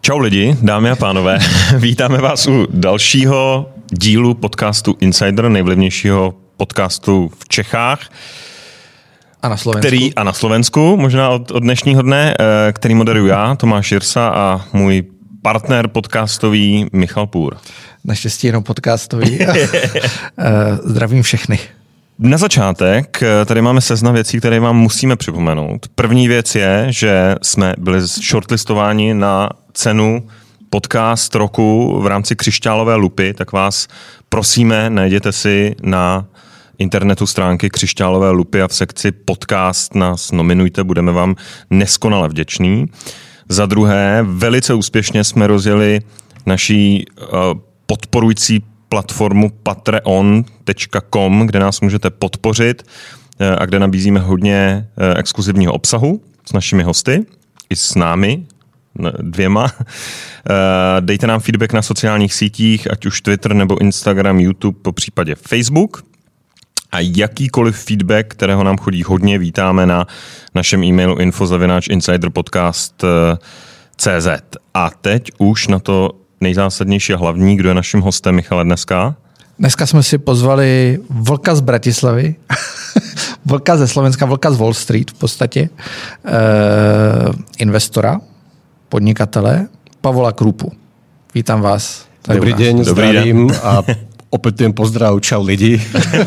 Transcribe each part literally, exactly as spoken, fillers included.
Čau lidi, dámy a pánové, vítáme vás u dalšího dílu podcastu Insider, nejvlivnějšího podcastu v Čechách. A na Slovensku. Který, a na Slovensku, možná od, od dnešního dne, který moderuju já, Tomáš Jirsa, a můj partner podcastový Michal Půr. Naštěstí jenom podcastový. Zdravím všechny. Na začátek tady máme seznam věcí, které vám musíme připomenout. První věc je, že jsme byli shortlistováni na cenu podcast roku v rámci Křišťálové lupy, tak vás prosíme, najděte si na internetu stránky Křišťálové lupy a v sekci podcast nás nominujte, budeme vám neskonale vděční. Za druhé, velice úspěšně jsme rozjeli naší uh, podporující platformu patreon tečka com, kde nás můžete podpořit uh, a kde nabízíme hodně uh, exkluzivního obsahu s našimi hosty i s námi dvěma. Uh, dejte nám feedback na sociálních sítích, ať už Twitter nebo Instagram, YouTube, po případě Facebook. A jakýkoliv feedback, kterého nám chodí hodně, vítáme na našem e-mailu info zavináč insiderpodcast tečka cé zet. A teď už na to nejzásadnější a hlavní, kdo je naším hostem, Michale, dneska? Dneska jsme si pozvali Vlka z Bratislavy, Vlka ze Slovenska, Vlka z Wall Street v podstatě, e, investora, podnikatele, Pavola Krupu. Vítám vás. Dobrý deň, zdravím a opätujem pozdrav, čau lidi.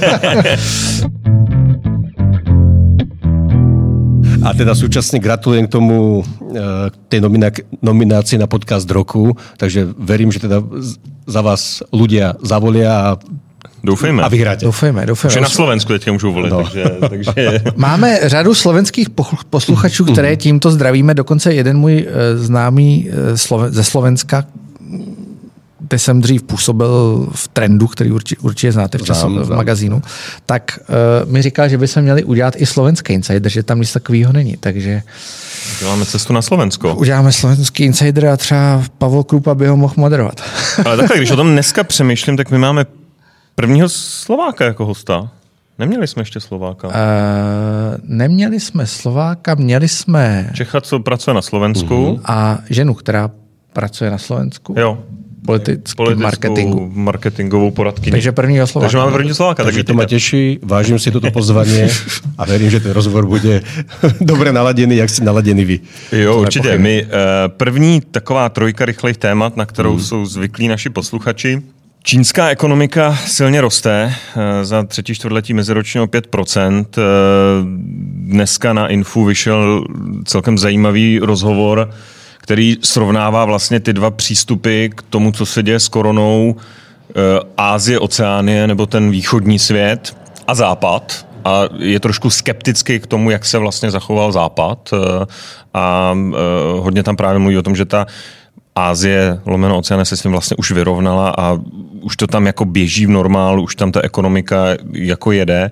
A teda súčasne gratulujem k tomu, k tej nominácii na podcast roku, takže verím, že teda za vás ľudia zavolia a Doufejme. A vyhráte. Doufejme, doufejme. Že na Slovensku teďka můžou volit. No. Takže, takže... Máme řadu slovenských posluchačů, které tímto zdravíme. Dokonce jeden můj známý ze Slovenska, kde jsem dřív působil v Trendu, který určitě, určitě znáte v, času, v magazínu, tak uh, mi říkal, že by se měli udělat i slovenský insider, že tam nic takového není. Takže děláme cestu na Slovensko. Uděláme slovenský insider a třeba Pavel Krupa by ho mohl moderovat. Ale takhle, když o tom dneska přemýšlím, tak my máme prvního Slováka jako hosta. Neměli jsme ještě Slováka. Uh, neměli jsme Slováka, měli jsme Čecha, co pracuje na Slovensku. Uh-huh. A ženu, která pracuje na Slovensku. Jo. Politický marketingu. marketingovou poradkyni. Takže prvního Slováka. Takže máme prvního Slováka. Takže to ma teší, vážim si toto pozvanie a verím, že ten rozhovor bude dobre naladený, jak si naladený vy. Jo, určitě. My, uh, první taková trojka rychlých témat, na kterou hmm. jsou zvyklí naši posluchači. Čínská ekonomika silně roste, za třetí čtvrtletí meziročně o pět procent. Dneska na Infu vyšel celkem zajímavý rozhovor, který srovnává vlastně ty dva přístupy k tomu, co se děje s koronou, Ázie, Oceánie nebo ten východní svět a Západ. A je trošku skeptický k tomu, jak se vlastně zachoval Západ. A hodně tam právě mluví o tom, že ta Ázie, lomeno Oceánie se s tím vlastně už vyrovnala a už to tam jako běží v normálu, už tam ta ekonomika jako jede.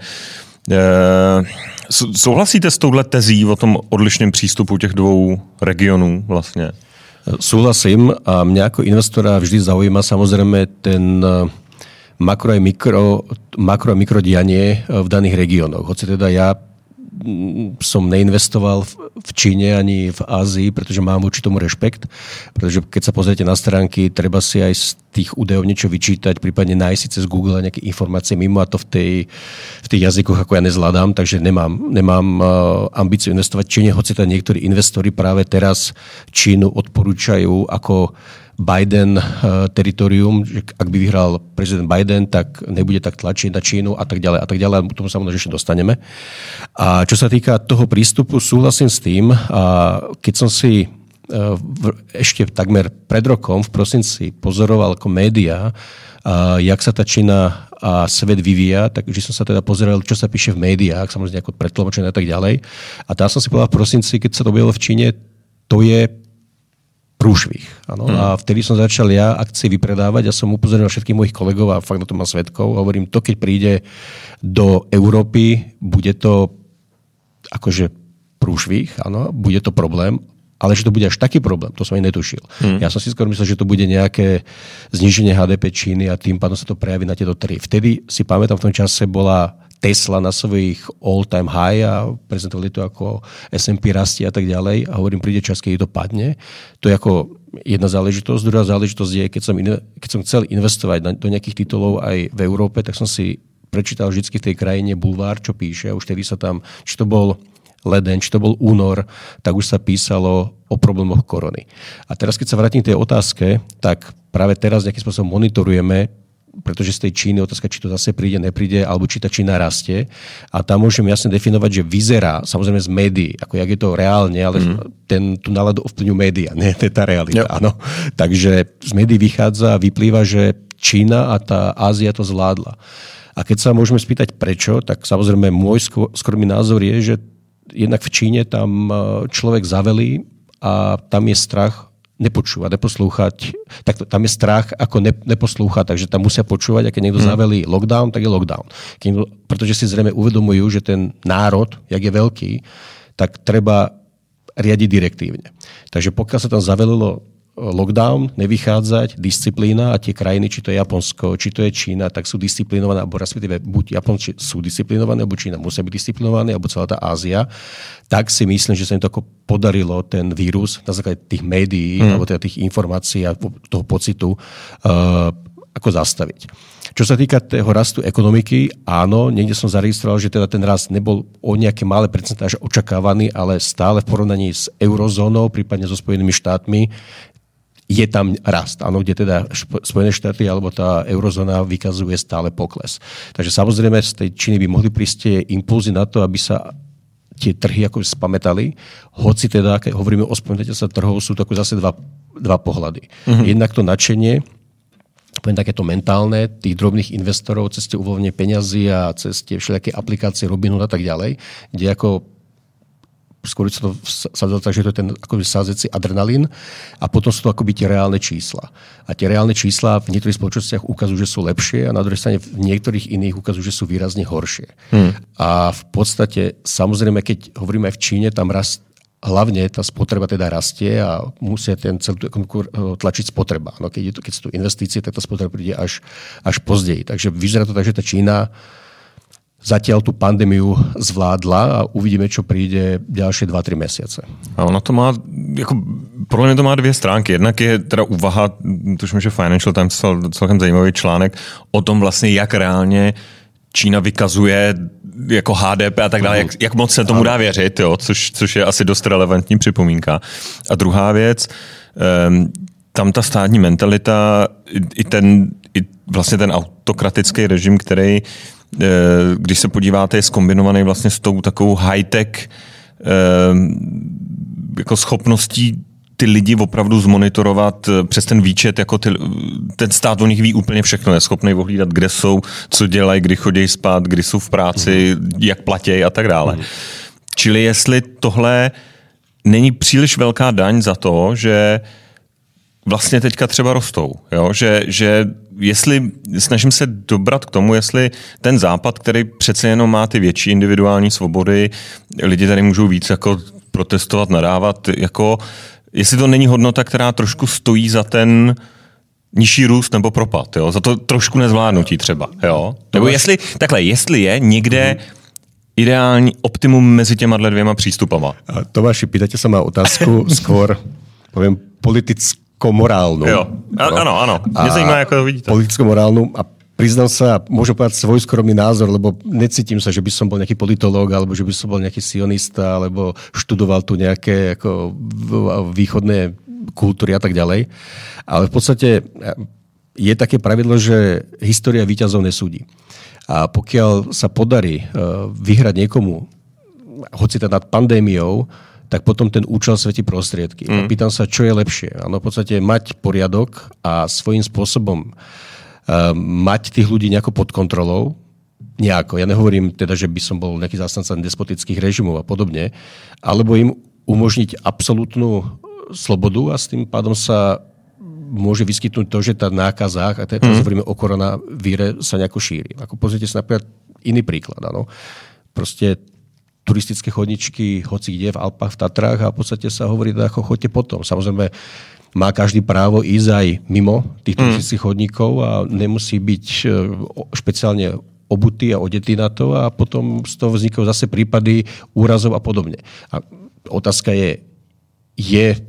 Souhlasíte s touhle tezí o tom odlišném přístupu těch dvou regionů vlastně? Súhlasím a mňa ako investora vždy zaujíma samozrejme ten makro a mikro, makro a mikro dianie v daných regiónoch. Hoci teda ja som neinvestoval v Číne ani v Ázii, pretože mám voči tomu rešpekt, pretože keď sa pozriete na stránky, treba si aj z tých údajov niečo vyčítať, prípadne nájsť si cez Google nejaké informácie mimo a to v, tej, v tých jazykoch ako ja nezvládam, takže nemám, nemám ambíciu investovať v Číne, hoci teda niektorí investori práve teraz Čínu odporúčajú ako Biden uh, teritorium, že ak by vyhral prezident Biden, tak nebude tak tlačiť na Čínu a tak ďalej a tak ďalej. A tomu sa možno ešte dostaneme. A čo sa týka toho prístupu, súhlasím s tým. A keď som si uh, v, ešte takmer pred rokom v prosinci pozoroval ako médiá, uh, jak sa tá Čína a svet vyvíja, takže som sa teda pozeral, čo sa píše v médiách, samozrejme ako pretlmočené a tak ďalej. A tam som si povedal v prosinci, keď sa to objavilo v Číne, to je prúšvih. Ano? Hmm. A vtedy som začal ja akcie vypredávať a som upozornil všetkých mojich kolegov a fakt na to mám svedkov. Hovorím, to keď príde do Európy, bude to akože prúšvih, áno, bude to problém, ale že to bude až taký problém, to som aj netušil. Hmm. Ja som si skôr myslel, že to bude nejaké zníženie há dé pé Číny a tým pádom sa to prejaví na tieto tri. Vtedy si pamätám, v tom čase bola Tesla na svojich all-time high a prezentovali to ako es end pí rastie a tak ďalej a hovorím, príde čas, keď to padne. To je ako jedna záležitosť. Druhá záležitosť je, keď som, in, keď som chcel investovať do nejakých titulov aj v Európe, tak som si prečítal vždy v tej krajine bulvár, čo píše. A už tedy sa tam, či to bol leden, či to bol únor, tak už sa písalo o problémoch korony. A teraz, keď sa vrátim k tej otázke, tak práve teraz nejakým spôsobom monitorujeme, pretože z tej Číny otázka, či to zase príde, nepríde, alebo či tá Čína rastie. A tam môžem jasne definovať, že vyzerá, samozrejme z médií, ako jak je to reálne, ale mm. ten, tú náladu ovplyvňujú médiá, nie to je tá realita. Yep. Áno. Takže z médií vychádza, vyplýva, že Čína a tá Ázia to zvládla. A keď sa môžeme spýtať prečo, tak samozrejme môj skromný názor je, že jednak v Číne tam človek zavelí a tam je strach nepočúvať, neposlúchať. Tak tam je strach, ako ne, neposlúchať, takže tam musia počúvať, a keď niekto hmm. zavelí lockdown, tak je lockdown. Keď niekto, pretože si zrejme uvedomujú, že ten národ, jak je veľký, tak treba riadiť direktívne. Takže pokiaľ sa tam zavelilo lockdown, nevychádzať, disciplína a tie krajiny, či to je Japonsko, či to je Čína, tak sú disciplinované, alebo respektíve buď Japonci sú disciplinované, alebo Čína musia byť disciplinované, alebo celá tá Ázia, tak si myslím, že sa im to ako podarilo ten vírus na základe tých médií, mm. alebo teda tých informácií a toho pocitu uh, ako zastaviť. Čo sa týka toho rastu ekonomiky, áno, niekde som zaregistroval, že teda ten rast nebol o nejaké malé percentáže očakávaný, ale stále v porovnaní s eurozónou, prípadne so Spojenými štátmi, je tam rast, áno, kde teda Spojené štáty alebo tá eurozóna vykazuje stále pokles. Takže samozrejme z tej Číny by mohli prísť tie impulzy na to, aby sa tie trhy ako spamätali. Hoci teda, keď hovoríme o spomenutí sa trhov, sú to ako zase dva, dva pohľady. Mm-hmm. Jednak to nadšenie, poviem takéto mentálne, tých drobných investorov cez tie uvoľnenie peňazí a cez tie všelijaké aplikácie Robinhood a tak ďalej, kde ako skôr sa to sadzalo tak, že to je ten akoby sázecí adrenalín a potom sú to akoby tie reálne čísla. A tie reálne čísla v niektorých spoločnostiach ukazujú, že sú lepšie a na druhej strane v niektorých iných ukazujú, že sú výrazne horšie. Hmm. A v podstate, samozrejme, keď hovoríme aj v Číne, tam rast, hlavne tá spotreba teda rastie a musia ten celú ekonomiku tlačiť spotreba. No, keď, je to, keď sú tu investície, tak tá spotreba príde až, až pozdeji. Takže vyzerá to tak, že tá Čína zatiaľ tú pandémiu zvládla a uvidíme, čo príde ďalšie dva tri mesiace. A ono to má, jako, podle mě to má dvě stránky. Jednak je teda úvaha, tuším, že Financial Times psal celkem zajímavý článek o tom vlastně, jak reálně Čína vykazuje jako H D P a tak dále, jak, jak moc se tomu dá věřit, jo, což, což je asi dost relevantní připomínka. A druhá věc, um, tam ta státní mentalita, i, i ten, i vlastně ten autokratický režim, který když se podíváte, je zkombinovaný vlastně s tou takovou high-tech jako schopností ty lidi opravdu zmonitorovat přes ten výčet, jako ty, ten stát o nich ví úplně všechno, je schopný ohlídat, kde jsou, co dělají, kdy chodí spát, kdy jsou v práci, mm. jak platějí a tak dále. Mm. Čili jestli tohle není příliš velká daň za to, že vlastně teďka třeba rostou. Jo? Že, že jestli, snažím se dobrat k tomu, jestli ten západ, který přece jenom má ty větší individuální svobody, lidi tady můžou víc jako protestovat, nadávat, jako, jestli to není hodnota, která trošku stojí za ten nižší růst nebo propad, jo? Za to trošku nezvládnutí třeba. Jo? Nebo jestli, takhle, jestli je někde ideální optimum mezi těma dvěma přístupama. Tomáši, pýtate sa ma otázku skôr, poviem, politickú morálnu. Jo, áno, áno. Mne zajímá, ako to vidíte. Politicko-morálnu a priznám sa, môžem povedať svoj skromný názor, lebo necítim sa, že by som bol nejaký politológ, alebo že by som bol nejaký sionista, alebo študoval tu nejaké ako východné kultúry a tak ďalej. Ale v podstate je také pravidlo, že história víťazov nesúdi. A pokiaľ sa podarí vyhrať niekomu, hoci teda nad pandémiou, tak potom ten účel svetí prostriedky. Mm. Pýtam sa, čo je lepšie. Áno, v podstate mať poriadok a svojím spôsobom uh, mať tých ľudí nejako pod kontrolou. Nejako. Ja nehovorím teda, že by som bol nejaký zástanca despotických režimov a podobne, alebo im umožniť absolútnu slobodu a s tým pádom sa môže vyskytnúť to, že tá nákaza, a teraz mm. hovoríme o koronavíre, sa nejako šíri. Ako pozrite sa napríklad iný príklad. Áno. Proste turistické chodničky, hoci kde v Alpách, v Tatrách a v podstate sa hovorí, ako choďte potom. Samozrejme, má každý právo ísť aj mimo tých turistických mm. chodníkov a nemusí byť špeciálne obutý a odetý na to a potom z toho vznikajú zase prípady úrazov a podobne. A otázka je, je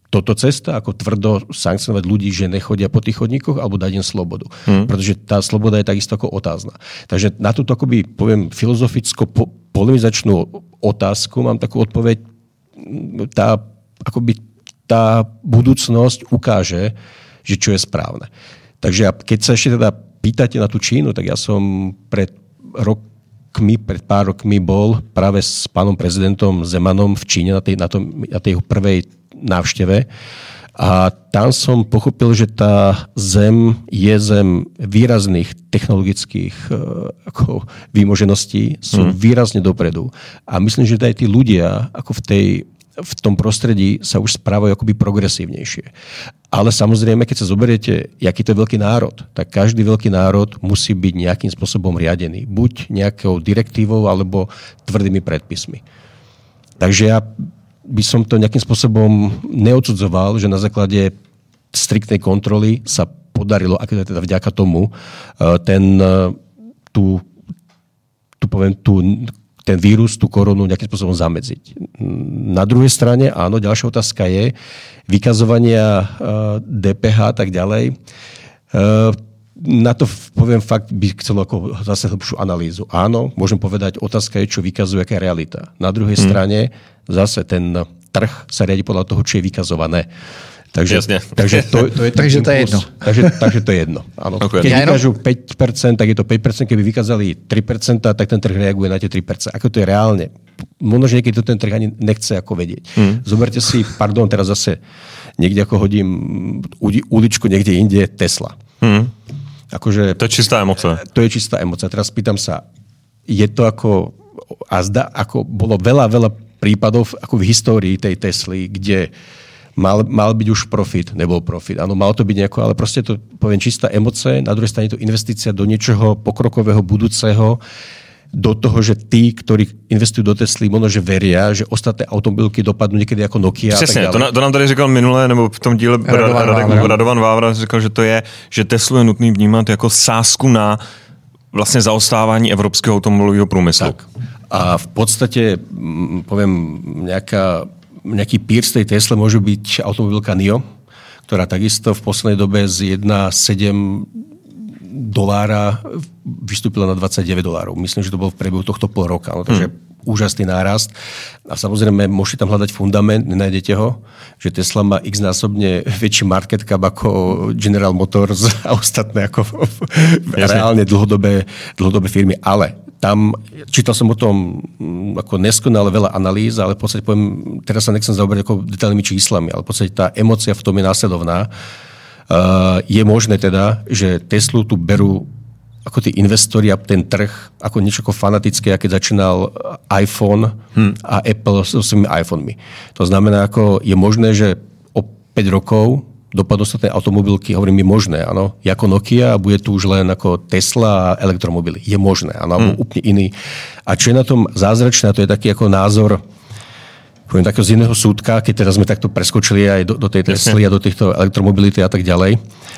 toto cesta, ako tvrdo sankcionovať ľudí, že nechodia po tých chodníkoch, alebo dať im slobodu. Hmm. Pretože tá sloboda je takisto ako otázna. Takže na túto, akoby, poviem, filozoficko-polemizačnú otázku mám takú odpoveď. Tá, akoby, tá budúcnosť ukáže, že čo je správne. Takže keď sa ešte teda pýtate na tú Čínu, tak ja som pred rokmi, pred pár rokmi bol práve s pánom prezidentom Zemanom v Číne na tej, na tom, na tej prvej návšteve. A tam som pochopil, že tá zem je zem výrazných technologických ako výmožeností, sú hmm. výrazne dopredu. A myslím, že aj tí ľudia ako v, tej, v tom prostredí sa už správajú akoby progresívnejšie. Ale samozrejme, keď sa zoberiete, aký to je veľký národ, tak každý veľký národ musí byť nejakým spôsobom riadený. Buď nejakou direktívou, alebo tvrdými predpismi. Takže ja by som to nejakým spôsobom neodsudzoval, že na základe striktnej kontroly sa podarilo, ako teda vďaka tomu, ten, tú, tú, poviem, tú, ten vírus, tú koronu nejakým spôsobom zamedziť. Na druhej strane, áno, ďalšia otázka je vykazovania dé pé há a tak ďalej. Na to, poviem, fakt by chcelo ako zase hlbšiu analýzu. Áno, môžem povedať, otázka je, čo vykazuje, aká je realita. Na druhej hmm. strane zase ten trh sa riadi podľa toho, čo je vykazované. Takže, takže, to, to, je takže to je jedno. Takže, takže to je jedno. Áno. Okay. Keď vykážu päť percent, tak je to päť percent. Keby vykázali tri percentá, tak ten trh reaguje na tie tri percentá. Ako to je reálne? Možno, že niekedy to ten trh ani nechce ako vedieť. Hmm. Zoberte si, pardon, teraz zase niekde ako hodím uličku niekde inde, Tesla. Hmm. Akože, to je čistá emocia. To je čistá emocia. Teraz pýtam sa, je to ako, a zda, ako bolo veľa, veľa prípadov ako v histórii tej Tesly, kde mal, mal byť už profit, nebol profit. Áno, mal to byť nejako, ale proste to, poviem, čistá emocia. Na druhej strane to investícia do niečoho pokrokového, budúceho, do toho, že tí, ktorí investujú do Tesly, možno, že veria, že ostatné automobilky dopadnú niekedy jako Nokia. Přesně, to, to nám tady říkal minule, nebo v tom díle Radovan, Radek, Vávra. Radovan Vávra říkal, že to je, že Teslu je nutný vnímat jako sázku na vlastně zaostávání evropského automobilového průmyslu. Tak. A v podstate, poviem, nejaká, nejaký peer z tej Tesle môže byť automobilka NIO, ktorá takisto v poslednej dobe z jedna celá sedem dolára vystúpila na dvadsaťdeväť dolárov. Myslím, že to bolo v priebehu tohto pol roka. No, takže hmm. úžasný nárast. A samozrejme, môžete tam hľadať fundament, nenájdete ho, že Tesla má x-násobne väčší market cap ako General Motors a ostatné ako reálne dlhodobé, dlhodobé firmy. Ale tam, čítal som o tom ako neskonale veľa analýz, ale v podstate poviem, teraz sa nechcem zaoberať ako detailnými číslami, ale v podstate tá emócia v tom je následovná. Uh, je možné teda, že Teslu tu berú ako tí investori a ten trh ako niečo ako fanatické, keď začínal iPhone hmm. a Apple so svojimi iPhonemi. To znamená, ako je možné, že o päť rokov dopadnú sa tie automobilky, hovorím, je možné, áno, ako Nokia a bude tu už len ako Tesla a elektromobily. Je možné, áno, hmm. úplne iný. A čo je na tom zázračné, to je taký ako názor, poviem takého z iného súdka, keď teraz sme takto preskočili aj do, do tej Tesly a do týchto elektromobility a tak ďalej,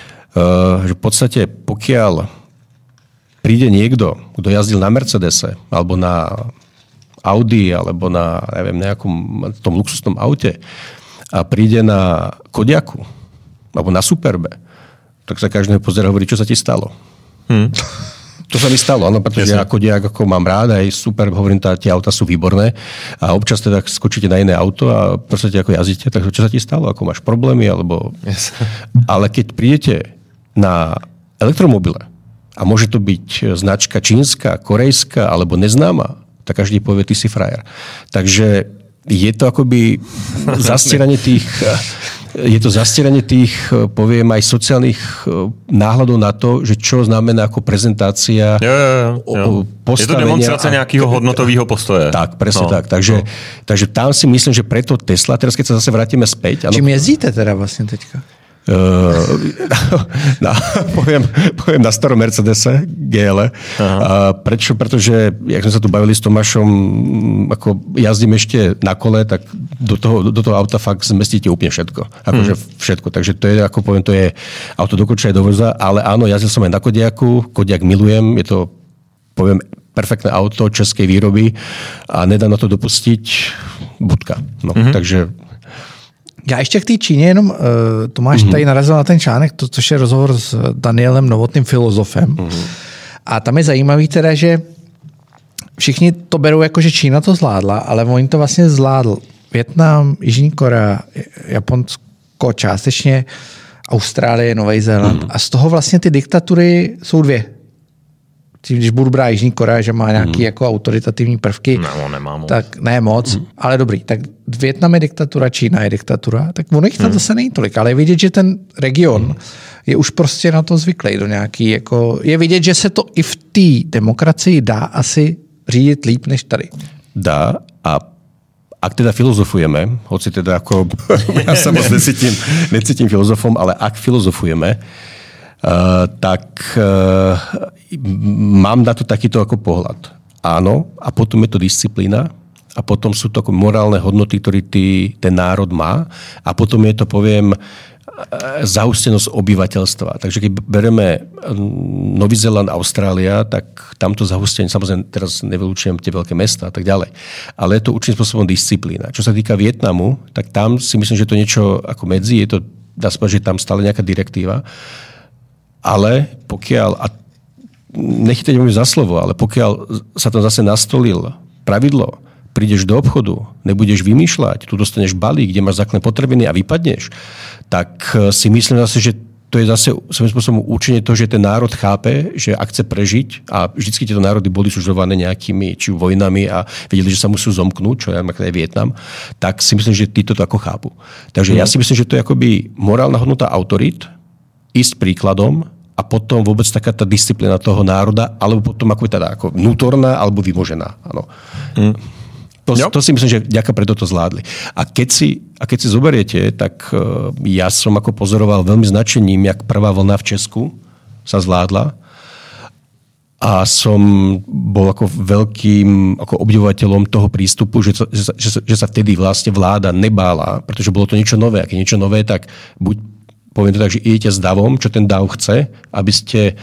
uh, že v podstate pokiaľ príde niekto, kto jazdil na Mercedese alebo na Audi alebo na neviem, nejakom tom luxusnom aute a príde na Kodiaku alebo na Superbe, tak sa každého pozerá a hovorí, čo sa ti stalo. Hmm. To sa mi stalo, áno, pretože ja Kodiak ako mám rád, aj super, hovorím, tá, tie auta sú výborné a občas teda skočíte na iné auto a proste ako jazdíte, tak čo sa ti stalo, ako máš problémy, alebo... Yes. Ale keď prídete na elektromobile a môže to byť značka čínska, korejská alebo neznáma, tak každý povie, ty si frajer. Takže je to akoby zastieranie tých... Je to zastieranie tých, poviem, aj sociálnych náhľadov na to, že čo znamená ako prezentácia jo, jo, jo. postavenia. Je to demonstrácia nejakého hodnotového postoje. Tak, presne no, tak. Takže, no. takže tam si myslím, že preto Tesla, teraz keď sa zase vrátime späť... Čím jezdíte teda vlastne teďka? Uh, na, poviem, poviem na starom Mercedese gé el. Uh, prečo? Pretože, jak sme sa tu bavili s Tomášom, ako jazdím ešte na kole, tak do toho, do toho auta fakt zmestíte úplne všetko. Akože mm. všetko. Takže to je, ako poviem, to je auto do koča aj do voza, ale áno, jazdil som aj na Kodiaku. Kodiak milujem, je to, poviem, perfektné auto českej výroby a nedá na to dopustiť bodka. No, mm-hmm. takže Já ještě k té Číně jenom, uh, Tomáš mm-hmm. tady narazil na ten článek, to, což je rozhovor s Danielem Novotným, filozofem. Mm-hmm. A tam je zajímavý teda, že všichni to berou jako, že Čína to zvládla, ale oni to vlastně zvládl. Vietnam, Jižní Korea, Japonsko částečně, Austrálie, Nový Zéland. Mm-hmm. A z toho vlastně ty diktatury jsou dvě. Když budu brát Jižní Korea, že má nějaké mm. jako autoritativní prvky, no, nemá moc. Tak ne moc, mm. ale dobrý. Tak Vietnam je diktatura, Čína je diktatura, tak ono jich tam mm. zase není tolik, ale je vidět, že ten region mm. je už prostě na to zvyklý do nějaký, jako, je vidět, že se to i v té demokracii dá asi řídit líp než tady. Dá a ak teda filozofujeme, hoci teda ako, ja sa moc necítim, necítim filozofom, ale ak filozofujeme, Uh, tak uh, mám na to takýto ako pohľad. Áno, a potom je to disciplína a potom sú to ako morálne hodnoty, ktoré ty, ten národ má a potom je to, poviem, zahustenosť obyvateľstva. Takže keď bereme Nový Zéland, Austrália, tak tamto zahustenie, samozrejme teraz nevylučujem tie veľké mesta a tak ďalej, ale je to určitým spôsobom disciplína. Čo sa týka Vietnamu, tak tam si myslím, že to niečo ako medzi, je to, dá sa povedať, že tam stále nejaká direktíva. Ale pokiaľ, a nechytajte mi za slovo, ale pokiaľ sa tam zase nastolil pravidlo, prídeš do obchodu, nebudeš vymýšľať, tu dostaneš balík, kde máš základné potrebiny a vypadneš, tak si myslím zase, že to je zase svojím spôsobom učenie toho, že ten národ chápe, že ak chce prežiť, a vždycky tieto národy boli sužované nejakými či vojnami a vedeli, že sa musí zomknúť, čo je aj Vietnam, tak si myslím, že títo to ako chápu. Takže mm. ja si myslím, že to je akoby morálna hodnota autorít, ísť príkladom a potom vôbec taká tá disciplína toho národa, alebo potom ako teda ako vnútorná, alebo vymožená. Áno. Mm. To, to si myslím, že vďaka preto to zvládli. A keď si, a keď si zoberiete, tak uh, ja som ako pozoroval veľmi značením, jak prvá vlna v Česku sa zvládla a som bol ako veľkým ako obdivovateľom toho prístupu, že, že, že, že sa vtedy vlastne vláda nebála, pretože bolo to niečo nové. A keď niečo nové, tak buď poviem to tak, že idete s davom, čo ten dav chce, aby ste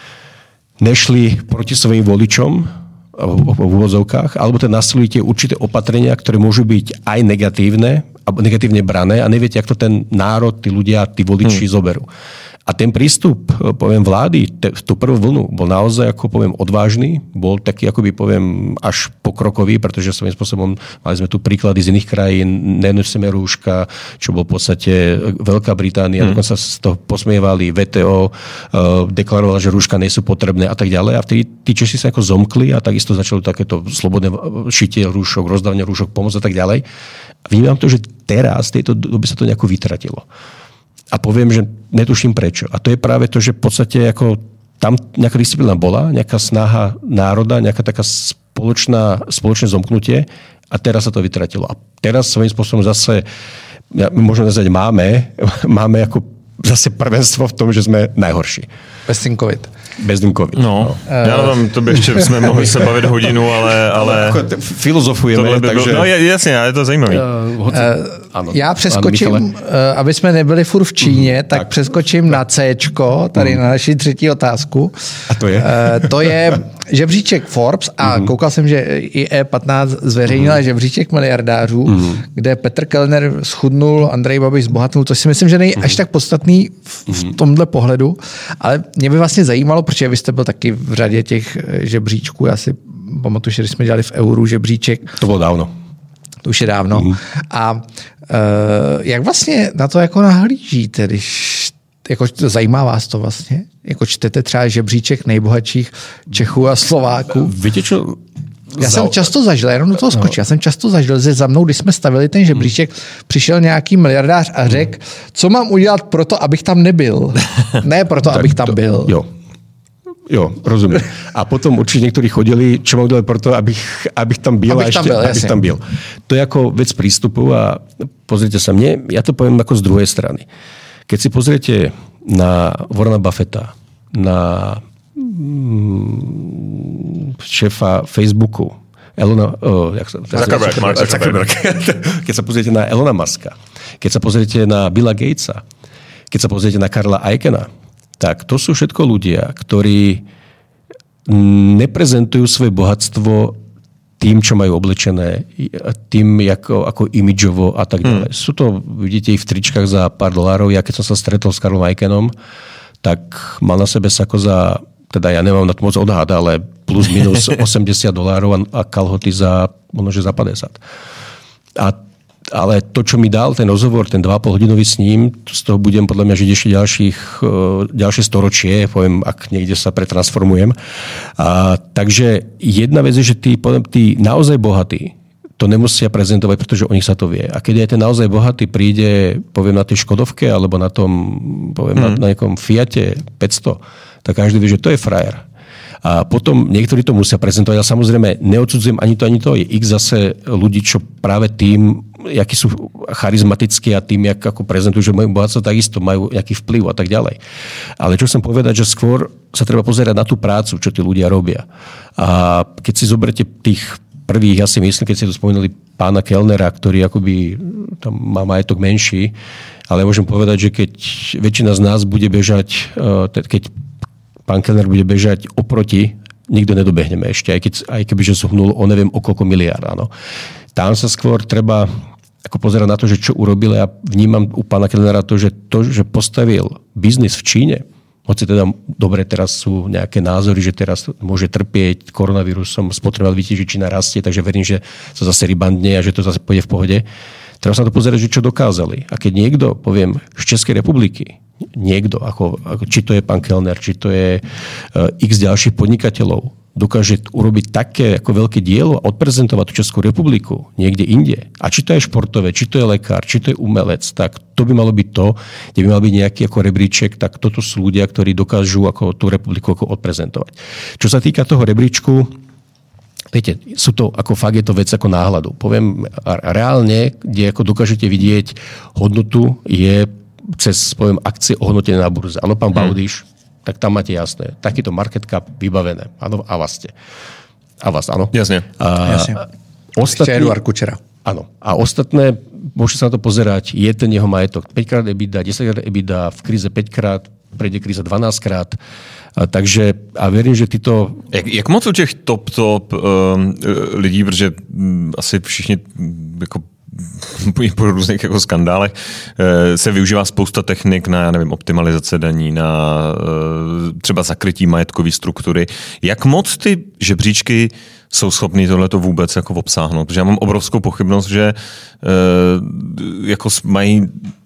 nešli proti svojim voličom v úvodzovkách, alebo teda nastolujete určité opatrenia, ktoré môžu byť aj negatívne, alebo negatívne brané a neviete, ako to ten národ, tí ľudia, tí voliči hmm. zoberú. A ten prístup, poviem, vlády, te, tú prvú vlnu bol naozaj, ako poviem, odvážny, bol taký, akoby poviem, až pokrokový, pretože svojím spôsobom mali sme tu príklady z iných krajín, nenosíme rúška, čo bol v podstate Veľká Británia, mm. dokonca z toho posmievali, vé té ó uh, deklarovala, že rúška nie sú potrebné a tak ďalej. A vtedy tí Češi sa ako zomkli a takisto začalo takéto slobodné šitie rúšok, rozdávanie rúšok, pomoc a tak ďalej. A vnímam to, že teraz, v tejto dobe sa to nejako vytratilo. A poviem, že netuším prečo. A to je práve to, že v podstate ako tam nejaká disciplína bola, nejaká snaha národa, nejaká taká spoločná, spoločné zomknutie a teraz sa to vytratilo. A teraz svojím spôsobom zase, ja, môžeme nazvať, máme, máme ako zase prvenstvo v tom, že sme najhorší. Bez tým COVID. Bez tým COVID. No, uh, já nevím, to by ještě jsme mohli se bavit hodinu, ale... ale filozofujeme, by takže... Bylo, no jasně, ale je to zajímavý. Uh, uh, ano, já přeskočím, ano, uh, aby jsme nebyli furt v Číně, uh, tak, tak přeskočím na Cčko, tady uh. na naši třetí otázku. A to je? Uh, to je žebříček Forbes a uh. koukal jsem, že i E patnáct zveřejnila uh. žebříček miliardářů, uh. kde Petr Kellner schudnul, Andrej Babiš zbohatnul, to si myslím, že není uh. až tak podstatný v, v tomhle pohledu, ale mě by vlastně zajímalo, protože vy jste byl taky v řadě těch žebříčků. Já si pamatuju, že když jsme dělali v Euru žebříček. To bylo dávno. To už je dávno. Mm. A uh, jak vlastně na to jako nahlížíte, když jako zajímá vás to vlastně? Jako čtete třeba žebříček nejbohatších Čechů a Slováků? Víte čo? Já jsem často zažil, jenom do toho skočil, já jsem často zažil, že za mnou, když jsme stavili ten žebříček, přišel nějaký miliardář a řekl, co mám udělat pro to, abych tam nebyl. Ne proto, abych tam byl. Jo. Jo, rozumiem. A potom určite niektorí chodili, čo mám udelať preto, abych, abych tam byl abych a ešte, tam byl, abych tam byl. To je ako vec prístupu a pozrite sa mne, ja to poviem ako z druhej strany. Keď si pozriete na Warrena Buffetta, na mm, šéfa Facebooku, Elona, oh, jak sa, Zuckerberg, Mark Zuckerberg. Keď sa pozriete na Elona Muska, keď sa pozriete na Billa Gatesa, keď sa pozriete na Karla Eichena, tak to sú všetko ľudia, ktorí neprezentujú svoje bohatstvo tým, čo majú oblečené, tým, ako, ako imidžovo a tak ďalej. Hmm. Sú to, vidíte, ich v tričkách za pár dolárov. Ja keď som sa stretol s Karlom Ikenom, tak mal na sebe sako za, teda ja nemám na to moc odhad, ale plus minus osemdesiat dolárov a kalhoty za, možno, že za päťdesiat. A ale to, čo mi dal ten rozhovor, ten dva a pol hodinový s ním, z toho budem podľa mňa žiť ešte ďalších, ďalšie storočie, poviem, ak niekde sa pretransformujem. A, takže jedna vec je, že tí, poviem, tí naozaj bohatí to nemusia prezentovať, pretože o nich sa to vie. A keď aj ten naozaj bohatý príde, poviem, na tej Škodovke alebo na tom, poviem, hmm. na, na nejakom Fiate päťsto, tak každý vie, že to je frajer. A potom niektorí to musia prezentovať, ale samozrejme neodsudzujem ani to, ani to. Je x zase ľudí, čo práve tým, akí sú charizmatickí a tým, jak ako prezentujú, že majú bohatstvo, takisto majú nejaký vplyv a tak ďalej. Ale čo chcem povedať, že skôr sa treba pozerať na tú prácu, čo tí ľudia robia. A keď si zoberiete tých prvých, ja si myslím, keď ste tu spomínali pána Kellnera, ktorý akoby tam má majetok menší, ale môžem povedať, že keď väčšina z nás bude bežať, keď pán Kellner bude bežať oproti, nikto nedobehneme ešte, aj, keď, aj keby že zhnul o neviem o koľko miliárd. Áno. Tam sa skôr treba ako pozerať na to, že čo urobil. Ja vnímam u pána Kellnera to, že to, že postavil biznis v Číne, hoci teda dobre, teraz sú nejaké názory, že teraz môže trpieť koronavírusom, spotreboval vidíte, že Čína rastie, takže verím, že sa zase rybandne a že to zase pôjde v pohode. Treba sa to pozerať, že čo dokázali. A keď niekto, poviem, z Českej republiky, niekto, ako, ako, či to je pán Kellner, či to je uh, x ďalších podnikateľov, dokáže urobiť také ako veľké dielo a odprezentovať tú Českú republiku niekde inde. A či to je športové, či to je lekár, či to je umelec, tak to by malo byť to, kde by mal byť nejaký ako rebríček, tak toto sú ľudia, ktorí dokážu ako tú republiku ako odprezentovať. Čo sa týka toho rebríčku, viete, sú to, ako fakt je to vec ako náhľadu. Poviem, reálne, kde ako dokážete vidieť hodnotu, je cez, poviem, akcie ohodnotené na burze. Áno, pán hmm. Baudyš, tak tam máte jasné. Takýto market cap vybavené. Áno, a vás ste. A vás, áno. Jasne. A, Jasne. Ostatní, Eduard Kučera. Áno. A ostatné, môžete sa na to pozerať, je ten jeho majetok päťkrát EBITDA, desaťkrát EBITDA, v kríze päťkrát, prejde kríza dvanásťkrát. A takže a verím, že tyto... Jak, jak moc u těch top, top um, lidí, protože um, asi všichni jako po různých jako skandálech se využívá spousta technik na, já nevím, optimalizace daní, na třeba zakrytí majetkové struktury. Jak moc ty žebříčky jsou schopný tohleto vůbec jako obsáhnout? Protože já mám obrovskou pochybnost, že jako mají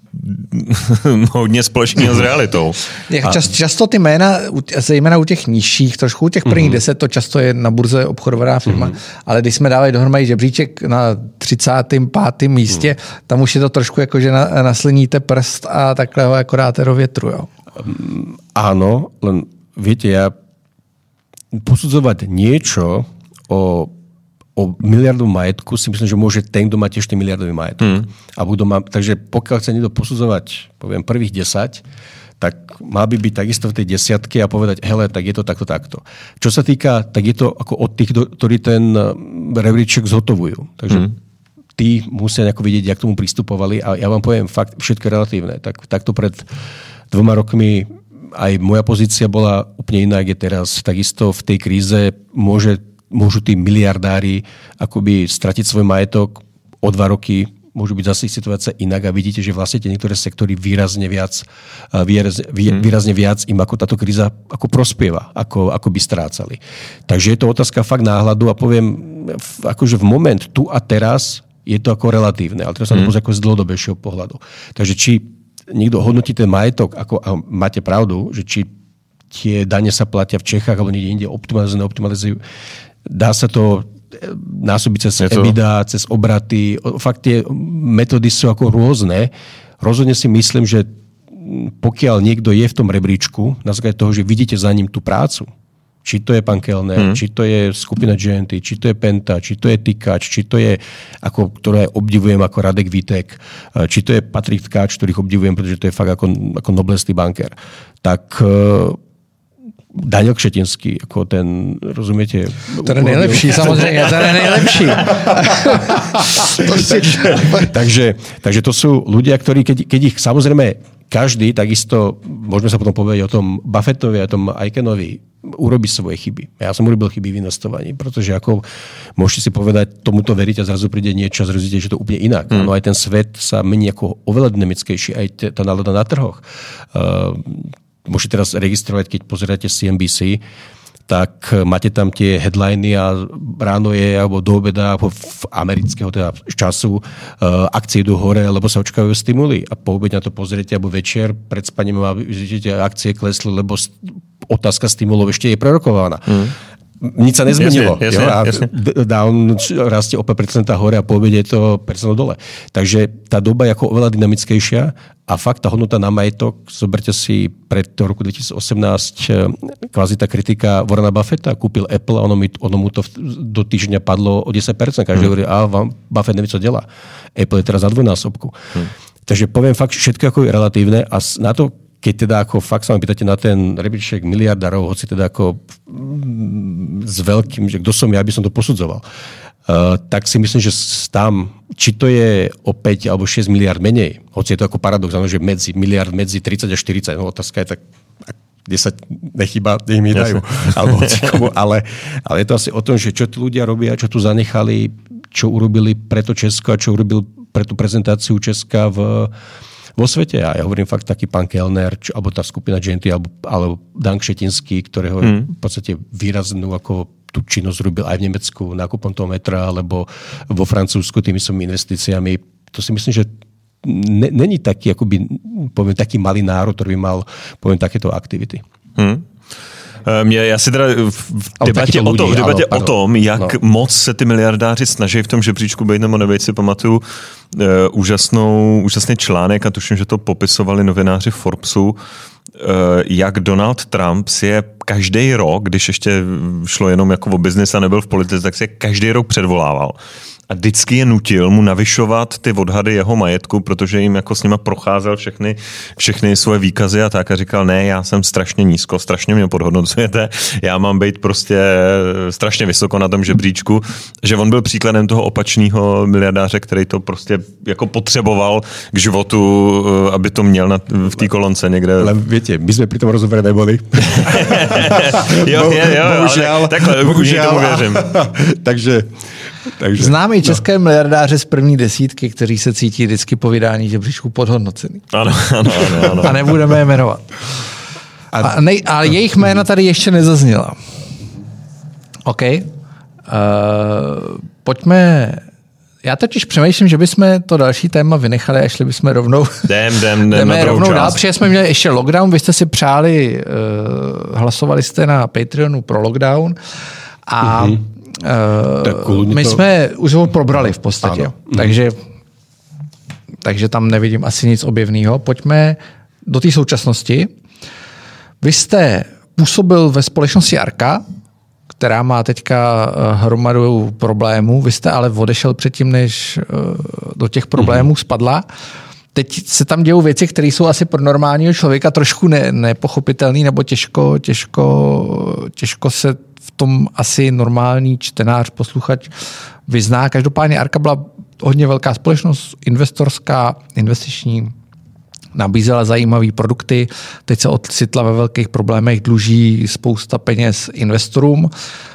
hodně společného s realitou. Jak čas, často ty jména, zejména u těch nižších, trošku u těch prvních mm-hmm. deset, to často je na burze obchodovaná firma, mm-hmm. ale když jsme dávali dohromady žebříček na třicátém pátém místě, mm. tam už je to trošku jako, že na, nasliníte prst a takhle ho jako dáte do větru. Jo? Um, áno, len viete, ja posudzovať niečo o o miliardu majetku si myslím, že môže ten, kto má tiež ten miliardový majetok. Mm. A budú ma, takže pokiaľ chce niekto posudzovať, poviem, prvých desať, tak má by byť takisto v tej desiatke a povedať, hele, tak je to takto, takto. Čo sa týka, tak je to ako od tých, ktorí ten rebríček zhotovujú. Takže mm. tí musia nejako vidieť, jak tomu pristupovali. A ja vám poviem, fakt, všetko relatívne. Tak, takto pred dvoma rokmi aj moja pozícia bola úplne iná, jak je teraz. Takisto v tej kríze môže môžu tí miliardári akoby stratiť svoj majetok o dva roky, môžu byť zase situácia inak a vidíte, že vlastne tie niektoré sektory výrazne viac, výrazne, výrazne viac im ako táto kríza ako prospieva, ako, ako by strácali. Takže je to otázka fakt náhľadu a poviem, akože v moment tu a teraz je to ako relatívne, ale teraz sa to pozrie ako z dlhodobejšieho pohľadu. Takže či niekto hodnotí ten majetok, ako, a máte pravdu, že či tie dane sa platia v Čechách alebo niekde inde optimalizujú, neoptimalizujú, dá sa to násobiť cez EBITDA, cez obraty. Fakt tie metódy sú ako rôzne. Rozhodne si myslím, že pokiaľ niekto je v tom rebríčku, na základe toho, že vidíte za ním tú prácu, či to je pán Kellner, hmm. či to je skupina gé en té, či to je Penta, či to je Tykač, či to je, ako, ktoré obdivujem ako Radek Vítek, či to je Patrik Tkáč, ktorých obdivujem, pretože to je fakt ako, ako noblesný bankér. Tak Daniel Kšetinský, ako ten, rozumiete? To je nejlepší, samozřejmě, to je nejlepší. takže, takže to sú ľudia, ktorí, keď, keď ich samozrejme, každý, takisto, môžeme sa potom povedať o tom Buffettovi a tom Aikenovi, urobí svoje chyby. Ja som urobil chyby v investovaní, pretože ako môžete si povedať, tomuto veriť a zrazu príde niečo a zrazu že to úplne inak. Mm. No aj ten svet sa mení ako oveľa dynamickejší, aj tá nálada na trhoch. Uh, môžete teraz registrovať, keď pozeráte C N B C, tak máte tam tie headliny a ráno je, alebo do obeda, alebo v amerického teda času uh, akcie idú hore, lebo sa očakajú stimuly. A po obede na to pozriete, alebo večer pred spaním a vidíte, akcie klesli, lebo otázka stimulov ešte je prerokovaná. Mm. Nič sa nezmenilo. Jasne, jasne, a jasne. Down rastie o päť percent hore a po obede je to percent dole. Takže tá doba je ako oveľa dynamickejšia a fakt tá hodnota na majetok, zoberte si pred roku dvetisícosemnásť kvázi tá kritika Warrena Buffetta, kúpil Apple a ono, mi, ono mu to do týždňa padlo o desať percent. Každý hmm. hovorí, a vám Buffett nevie, co delá. Apple je teraz za dvojnásobku. Hmm. Takže poviem fakt, všetko ako je relatívne a na to, keď teda ako fakt sa ma pýtate na ten rebríček miliardárov, hoci teda ako s veľkým, že kto som ja, aby som to posudzoval, uh, tak si myslím, že tam, či to je o päť alebo šesť miliard menej, hoci je to ako paradox, že medzi miliard medzi tridsať a štyridsať, no otázka je tak, desať nechýba, nech mi dajú. Alebo, ale, ale je to asi o tom, že čo tí ľudia robia, čo tu zanechali, čo urobili pre to Česko a čo urobil pre tú prezentáciu Česka v vo svete. A ja hovorím fakt taký pán Kellner, čo, alebo tá skupina Genty, alebo, alebo Dan Kšetinský, ktorého mm. v podstate výraznú ako tú činnosť robil aj v Nemecku nákupom toho metra, alebo vo Francúzsku tými svojimi investíciami. To si myslím, že ne, není taký, akoby, poviem, taký malý národ, ktorý by mal, poviem, takéto aktivity. Mm. Mě, já si teda v debatě, o, to, v debatě ano, o tom, jak no. moc se ty miliardáři snaží v tom žebříčku být nebo nebejt, si pamatuju uh, úžasnou, úžasný článek a tuším, že to popisovali novináři Forbesu, uh, jak Donald Trump si je každý rok, když ještě šlo jenom jako o biznis a nebyl v politice, tak si je každý rok předvolával. A vždycky je nutil mu navyšovat ty odhady jeho majetku, protože jim jako s nima procházel všechny, všechny svoje výkazy a tak a říkal, ne, já jsem strašně nízko, strašně mě podhodnocujete, já mám být prostě strašně vysoko na tom žebříčku, že on byl příkladem toho opačného miliardáře, který to prostě jako potřeboval k životu, aby to měl na, v té kolonce někde. Ale víte, my jsme při tom rozhovore neboli. jo, je, jo, bohužel, ale takhle, bohužel, tomu věřím. Takže Takže, známý české no. miliardáře z první desítky, kteří se cítí vždycky po vydání žebříčku podhodnocený. Ano, ano, ano, ano. A nebudeme je jmenovat. A, a, nej, a jejich jména tady ještě nezazněla. OK. Uh, pojďme... Já totiž přemýšlím, že bychom to další téma vynechali a šli bychom rovnou... Jdem, jdem, jdem jdeme rovnou dál, protože jsme měli ještě lockdown, vy jste si přáli, uh, hlasovali jste na Patreonu pro lockdown a... Mm-hmm. Uh, my to... jsme už ho probrali v podstatě, ano. takže, takže tam nevidím asi nic objevného. Pojďme do té současnosti. Vy jste působil ve společnosti Arka, která má teďka hromadu problémů. Vy jste ale odešel předtím, než do těch problémů spadla. Teď se tam dějou věci, které jsou asi pro normálního člověka trošku ne, nepochopitelné nebo těžko, těžko, těžko se v tom asi normální čtenář, posluchač vyzná. Každopádně Arka byla hodně velká společnost, investorská, investiční, nabízela zajímavé produkty, teď se ocitla ve velkých problémech, dluží spousta peněz investorům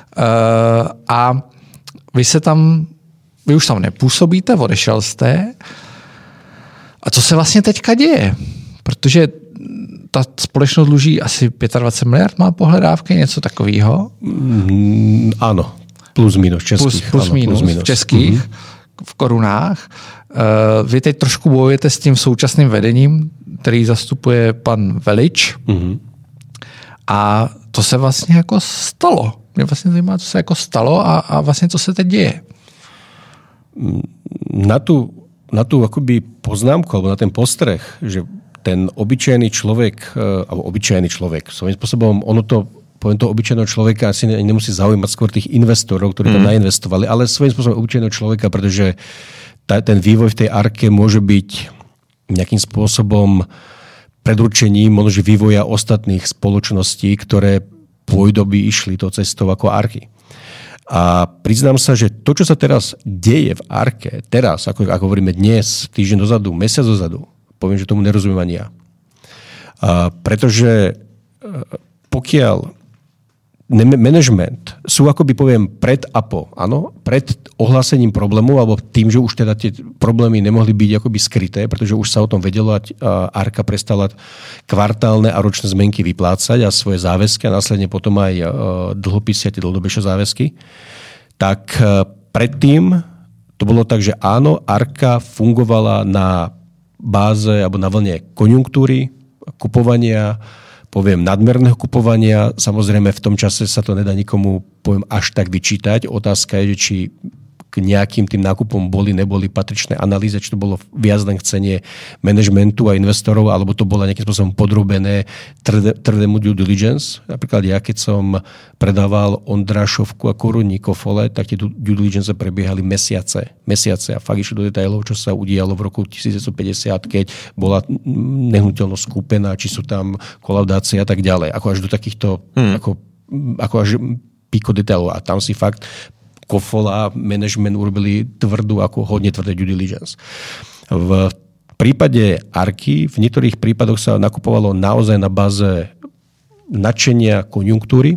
a vy se tam, vy už tam nepůsobíte, odešel jste. A co se vlastně teďka děje? Protože ta společnost dluží asi dvacet pět miliard, má pohledávky, něco takového? Mm, ano, plus minus českých. Plus, plus, ano, minus, plus minus v českých, mm-hmm. v korunách. Uh, vy teď trošku bojujete s tím současným vedením, který zastupuje pan Velič. Mm-hmm. A to se vlastně jako stalo. Mě vlastně zajímá, co se jako stalo a, a vlastně co se teď děje. Na tu, na tu akoby poznámku, alebo na ten postreh, že ten obyčajný človek, alebo obyčajný človek, svojím spôsobom, ono to, poviem toho obyčajného človeka, asi nemusí zaujímať skôr tých investorov, ktorí tam mm. nainvestovali, ale svojím spôsobom obyčajného človeka, pretože tá, ten vývoj v tej Arke môže byť nejakým spôsobom predurčením možno vývoja ostatných spoločností, ktoré pôjdoby išli tou cestou ako Arky. A priznám sa, že to, čo sa teraz deje v Arke, teraz, ako, ako hovoríme dnes, týždeň dozadu, mesiac dozadu, poviem, že tomu nerozumiem ani ja. A pretože pokiaľ management sú, akoby poviem, pred a po, áno, pred ohlásením problému, alebo tým, že už teda tie problémy nemohli byť akoby skryté, pretože už sa o tom vedelo a Arka prestala kvartálne a ročné zmenky vyplácať a svoje záväzky a následne potom aj dlhopisy a tie dlhodobejšie záväzky, tak predtým to bolo tak, že áno, Arka fungovala na báze alebo na vlne konjunktúry, kupovania, poviem, nadmerného kupovania. Samozrejme, v tom čase sa to nedá nikomu, poviem, až tak vyčítať. Otázka je, že či k nejakým tým nákupom boli, neboli patričné analýzy, či to bolo viac len chcenie manažmentu a investorov, alebo to bolo nejakým spôsobom podrobené tvrdému due diligence. Napríklad ja, keď som predával Ondrášovku a Korunníkov Fole, tak tie due diligence prebiehali mesiace. Mesiace a fakt išli do detailov, čo sa udialo v roku devätnásťstopäťdesiat, keď bola nehnuteľnosť kúpená, či sú tam kolaudácie a tak ďalej. Ako až do takýchto, hmm. ako, ako až píko detailov. A tam si fakt Kofol a management urobili tvrdú, ako hodne tvrdé due diligence. V prípade Arky v niektorých prípadoch sa nakupovalo naozaj na báze nadšenia konjunktúry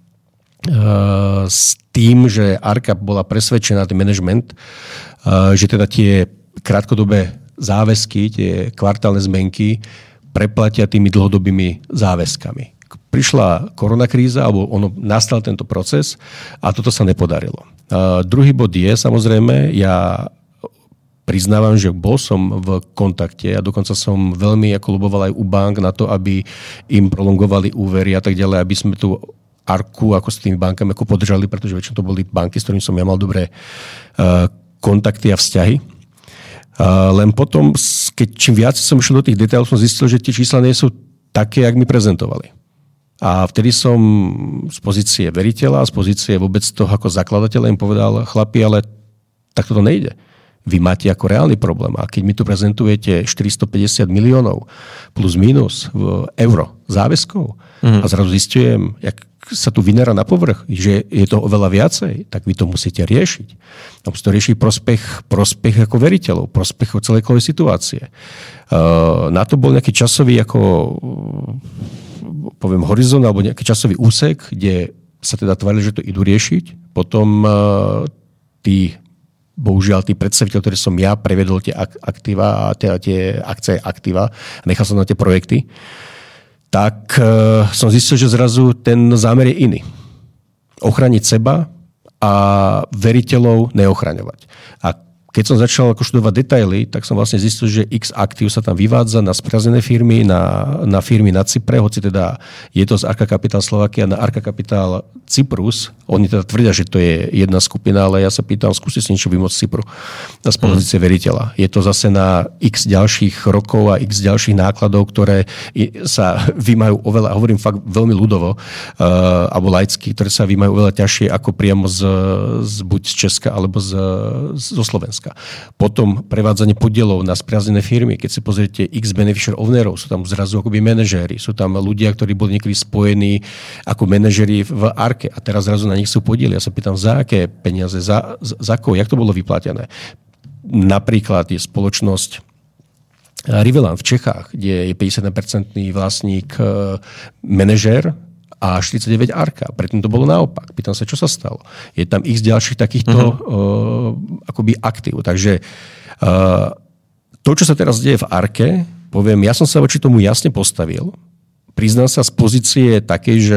s tým, že Arka bola presvedčená, ten management, že teda tie krátkodobé záväzky, tie kvartálne zmenky preplatia tými dlhodobými záväzkami. Prišla koronakríza, alebo ono nastal tento proces a toto sa nepodarilo. Uh, druhý bod je, samozrejme, ja priznávam, že bol som v kontakte a dokonca som veľmi ako loboval aj u bank na to, aby im prolongovali úvery a tak ďalej, aby sme tu Arku ako s tými bankami ako podržali, pretože väčšinou to boli banky, s ktorými som ja mal dobré uh, kontakty a vzťahy. Uh, len potom, keď čím viac som išiel do tých detailov, som zistil, že tie čísla nie sú také, jak mi prezentovali. A vtedy som z pozície veriteľa, z pozície vôbec toho ako zakladateľa im povedal, chlapi, ale takto to nejde. Vy máte ako reálny problém. A keď mi tu prezentujete štyristopäťdesiat miliónov plus minus v euro záväzkov mm. a zrazu zistujem, jak sa tu vynára na povrch, že je to oveľa viacej, tak vy to musíte riešiť. A musíte to riešiť prospech, prospech ako veriteľov, prospech celej situácie. Uh, na to bol nejaký časový ako poviem horizont alebo nejaký časový úsek, kde sa teda tvárili, že to idú riešiť. Potom uh, tí, bohužiaľ, tí predstaviteľ, ktorí som ja prevedol tie aktíva, tie, tie akcie aktíva, nechal som na tie projekty, tak uh, som zistil, že zrazu ten zámer je iný. Ochrániť seba a veriteľov neochraňovať. A keď som začal ako študovať detaily, tak som vlastne zistil, že X aktív sa tam vyvádza na sprazené firmy, na, na firmy na Cypre, hoci teda je to z Arka Capital Slovakia na Arka Capital Cyprus. Oni teda tvrdia, že to je jedna skupina, ale ja sa pýtam, skúste si niečo vymôcť z Cypru z pozície hmm. veriteľa. Je to zase na X ďalších rokov a X ďalších nákladov, ktoré sa vymajú oveľa, hovorím fakt veľmi ľudovo, uh, alebo laicky, ktoré sa vymajú oveľa ťažšie ako priamo z, z buď z Česka alebo z, zo Slovenska. Potom prevádzanie podielov na spriaznené firmy. Keď si pozriete X beneficiary ownerov, sú tam zrazu akoby manažéri, sú tam ľudia, ktorí boli niekedy spojení ako manažéri v Arke a teraz zrazu na nich sú podiely. Ja sa pýtam, za aké peniaze, za, za koho, jak to bolo vyplatené. Napríklad je spoločnosť Rivelan v Čechách, kde je päťdesiat percent vlastník manažér a štyridsaťdeväť Arka. Predtým to bolo naopak. Pýtam sa, čo sa stalo. Je tam x ďalších takýchto uh-huh. uh, akoby aktív. Takže uh, to, čo sa teraz deje v Arke, poviem, ja som sa voči tomu jasne postavil. Priznám sa z pozície takej, že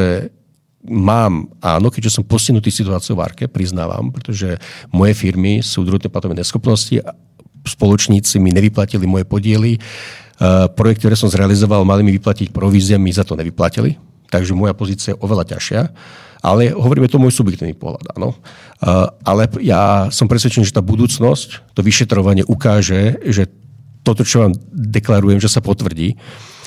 mám, áno, keďže som postihnutý situáciou v Arke, priznávam, pretože moje firmy sú druhotné platové neschopnosti a spoločníci mi nevyplatili moje podiely. Uh, projekt, ktoré som zrealizoval, mali mi vyplatiť provízie, mi za to nevyplatili. Takže moja pozícia je oveľa ťažšia. Ale hovoríme to môj subjektívny pohľad. Áno. Uh, ale ja som presvedčený, že tá budúcnosť, to vyšetrovanie ukáže, že toto, čo vám deklarujem, že sa potvrdí.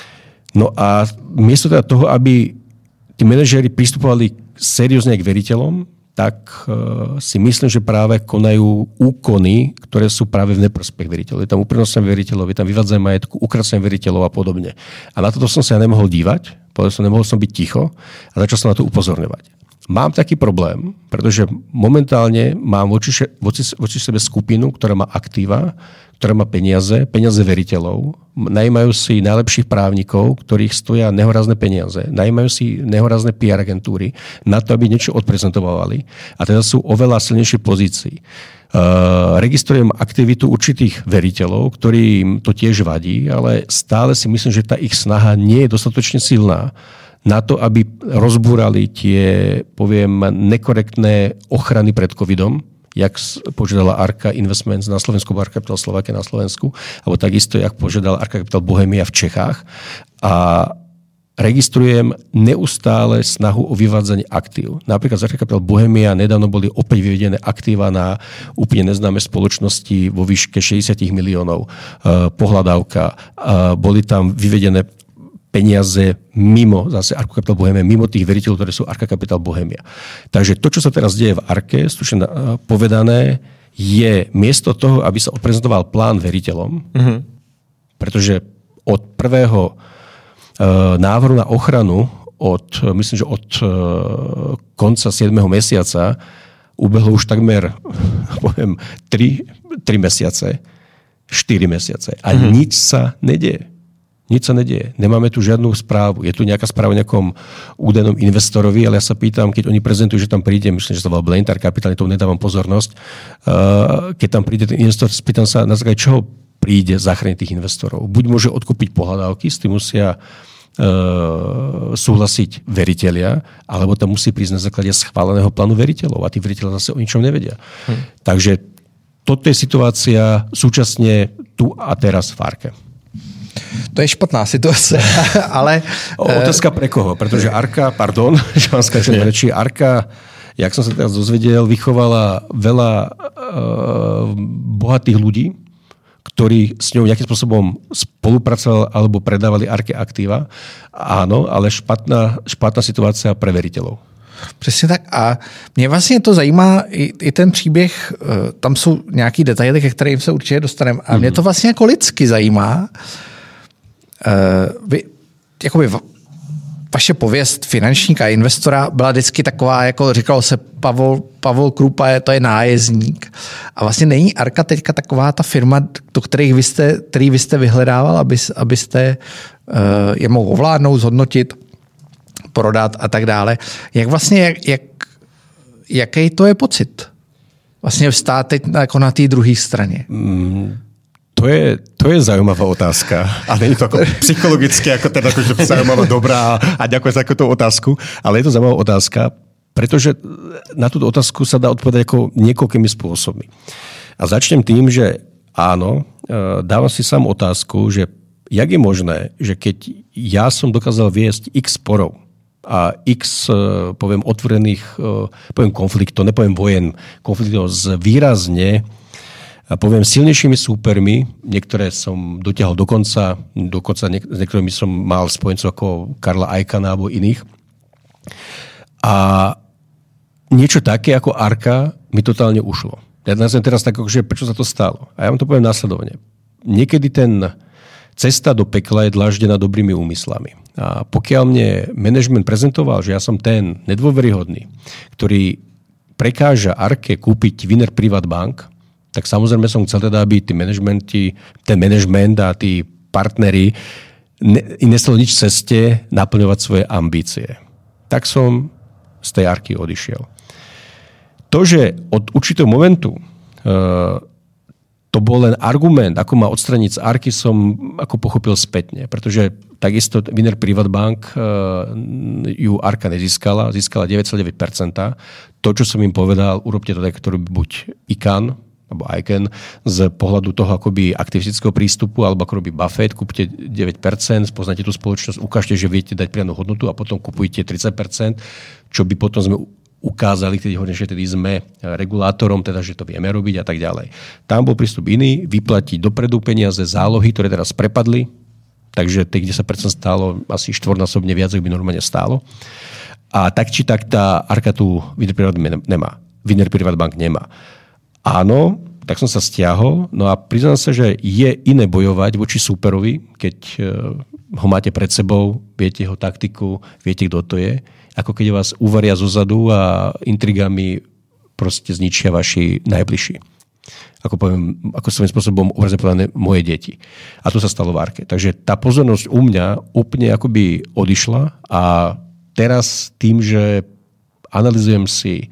No a miesto teda toho, aby tí manažéri pristupovali seriózne k veriteľom, tak uh, si myslím, že práve konajú úkony, ktoré sú práve v neprospech veriteľov. Je tam uprednostňovanie veriteľov, je tam vyvádzanie majetku, ukracanie veriteľov a podobne. A na toto som sa ja nemohol dívať, povedal som, nemohol som byť ticho a začal som na to upozorňovať. Mám taký problém, pretože momentálne mám voči, voči, voči sebe skupinu, ktorá má aktíva, ktorá má peniaze, peniaze veriteľov, najímajú si najlepších právnikov, ktorých stoja nehorázne peniaze, najímajú si nehorázne pé er agentúry na to, aby niečo odprezentovali a teda sú oveľa silnejšej pozícii. Uh, registrujem aktivitu určitých veriteľov, ktorým to tiež vadí, ale stále si myslím, že tá ich snaha nie je dostatočne silná na to, aby rozbúrali tie, poviem, nekorektné ochrany pred covidom, jak požiadala Arka Investments na Slovensku, Arka Capital Slovakia na Slovensku, alebo takisto, jak požiadala Arka Capital Bohemia v Čechách. A registrujem neustále snahu o vyvádzanie aktív. Napríklad z Arka Capital Bohemia nedávno boli opäť vyvedené aktíva na úplne neznáme spoločnosti vo výške šesťdesiat miliónov uh, pohľadávka. Uh, boli tam vyvedené peniaze mimo, zase Arka Capital Bohemia, mimo tých veriteľov, ktoré sú Arka Capital Bohemia. Takže to, čo sa teraz deje v Arke, stručne povedané, je miesto toho, aby sa odprezentoval plán veriteľom, mm-hmm. pretože od prvého uh, návrhu na ochranu, od, myslím, že od uh, konca siedmeho mesiaca ubehlo už takmer, poviem, tri mesiace, štyri mesiace a mm-hmm. nič sa nedieje. Nič sa nedieje. Nemáme tu žiadnu správu. Je tu nejaká správa o nejakom údajnom investorovi, ale ja sa pýtam, keď oni prezentujú, že tam príde, myslím, že to bol Blaintar Capital, tomu nedávam pozornosť, keď tam príde ten investor, spýtam sa, na základe čoho príde zachrániť tých investorov. Buď môže odkúpiť pohľadávky, s tým musia uh, súhlasiť veritelia, alebo tam musí prísť na základe schváleného plánu veriteľov a tí veriteľia zase o ničom nevedia. Hm. Takže toto je situácia súčasne tu a teraz v Arke. To je špatná situace, ale... Otázka pre koho? Pretože Arka, pardon, že vám skáčem reči, Arka, jak som sa teraz dozvedel, vychovala veľa uh, bohatých ľudí, ktorí s ňou nejakým spôsobom spolupracovali alebo predávali Arke aktíva. Áno, ale špatná, špatná situácia pre veriteľov. Přesně tak. A mě vlastně to zajímá, i, i ten příběh, tam jsou nějaký detaily, ke kterým se určitě dostaneme. A mě to vlastně jako lidsky zajímá. Vy, jakoby vaše pověst finančníka a investora byla vždycky taková, jako říkalo se, Pavol, Pavol Krúpa je, to je nájezdník. A vlastně není Arka teďka taková ta firma, do kterých vy jste, který vy jste vyhledával, aby, abyste je mohl ovládnout, zhodnotit, prodat a tak dále. Jak vlastně, jak, jak, jaký to je pocit? Vlastně vstát teď jako na té druhé straně. Mm, to, je, to je zaujímavá otázka. A nie je to ako psychologicky, ako teda akože zaujímavá, dobrá a ďakujem za tú otázku. Ale je to zaujímavá otázka, pretože na túto otázku sa dá odpovedať ako niekoľkými spôsobmi. A začnem tým, že áno, dávam si sám otázku, že jak je možné, že keď ja som dokázal viesť x sporov, a x, poviem, otvorených, poviem, konfliktov, nepoviem vojen, konfliktov s výrazne, poviem, silnejšími súpermi, niektoré som dotiahol do konca, dokonca niek- s niektorými som mal spojencov ako Karla Icahna alebo iných. A niečo také ako Arka mi totálne ušlo. Ja nazvem teraz tak, že prečo sa to stalo. A ja vám to poviem následovne. Niekedy ten cesta do pekla je dláždená dobrými úmyslami. A pokiaľ mne management prezentoval, že ja som ten nedôveryhodný, ktorý prekáža Arke kúpiť Wiener Privatbank, tak samozrejme som chcel teda, aby tí managementi, ten management a tí partneri nestalo nič v ceste naplňovať svoje ambície. Tak som z tej Arky odišiel. To, že od určitého momentu uh, to bol len argument, ako ma odstraniť z Arky, som ako pochopil spätne, pretože takisto Wiener Privatbank ju Arka nezískala, získala deväť celá deväť percent. To, čo som im povedal, urobte to tak, ktorý buď Icahn, alebo Icahn, z pohľadu toho akoby aktivistického prístupu, alebo ako robí Buffett, kúpte deväť percent, spoznáte tú spoločnosť, ukážte, že viete dať priamnu hodnotu a potom kupujte tridsať percent, čo by potom sme ukázali, keď hovorím, že tedy sme regulátorom, teda, že to vieme robiť a tak ďalej. Tam bol prístup iný, vyplatiť dopredu peniaze, zálohy, ktoré teraz prepadli, takže tých desať percent stálo asi štvornásobne viac, ako by normálne stálo. A tak či tak tá Arka tu Wiener Privatbank nemá. Wiener Privatbank nemá. Áno, tak som sa stiahol, no a priznám sa, že je iné bojovať voči súperovi, keď ho máte pred sebou, viete jeho taktiku, viete, kto to je, ako keď vás uvaria zozadu a intrigami proste zničia vaši najbližší. Ako poviem, ako svojím spôsobom obrazne povedané moje deti. A to sa stalo v Arke. Takže tá pozornosť u mňa úplne akoby odišla a teraz tým, že analyzujem si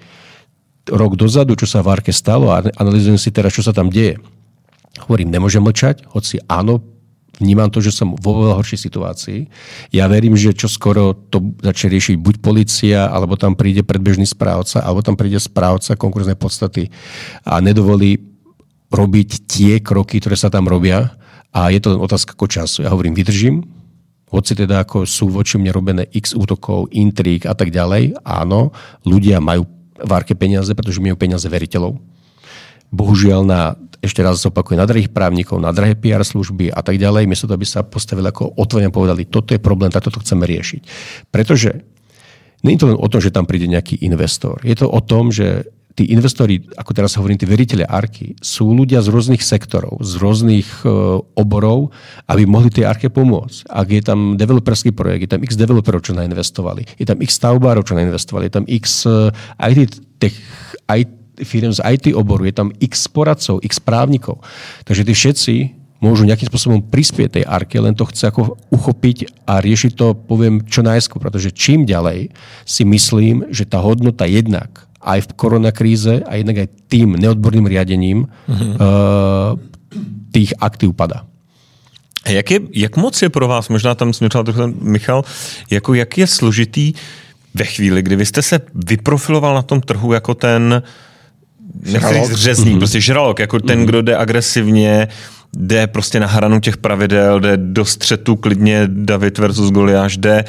rok dozadu, čo sa v Arke stalo a analyzujem si teraz, čo sa tam deje. Hovorím, nemôžem mlčať, hoci áno, vnímam to, že som vo veľa horšej situácii. Ja verím, že čo skoro to začne riešiť buď polícia, alebo tam príde predbežný správca, alebo tam príde správca konkurznej podstaty a nedovolí robiť tie kroky, ktoré sa tam robia a je to len otázka ako času. Ja hovorím, vydržím, hoci teda ako sú voči mne robené x útokov, intríg a tak ďalej. Áno, ľudia majú v Arke peniaze, pretože majú peniaze veriteľov. Bohužiaľ na, ešte raz opakujem, na drahých právnikov, na drahé pé er služby a tak ďalej, miesto toho, aby sa postavili ako otvorene povedali, toto je problém, tak toto chceme riešiť. Pretože nie je to len o tom, že tam príde nejaký investor. Je to o tom, že tí investori, ako teraz hovorím, tí veriteľe Arky, sú ľudia z rôznych sektorov, z rôznych uh, oborov, aby mohli tej Arke pomôcť. Ak je tam developerský projekt, je tam x developerov, čo nainvestovali, je tam x stavbárov, čo nainvestovali, je tam x uh, í té tech, í té firm z í té oboru, je tam x poradcov, x právnikov. Takže tí všetci môžu nejakým spôsobom prispieť tej Arke, len to chce ako uchopiť a riešiť to, poviem, čo najskôr, pretože čím ďalej si myslím, že tá hodnota jednak aj v koronakríze a jednak aj tým neodborným riadením mm-hmm. uh, tých aktív padá. Jak, je, jak moc je pro vás, možná tam směřoval trochu Michal, jako jak je složitý ve chvíli, kdy vy jste se vyprofiloval na tom trhu jako ten nechci říct řezník, mm-hmm. prostě žralok, jako ten, mm-hmm. kdo jde agresivně, jde prostě na hranu těch pravidel, jde do střetu klidně David versus Goliáš, jde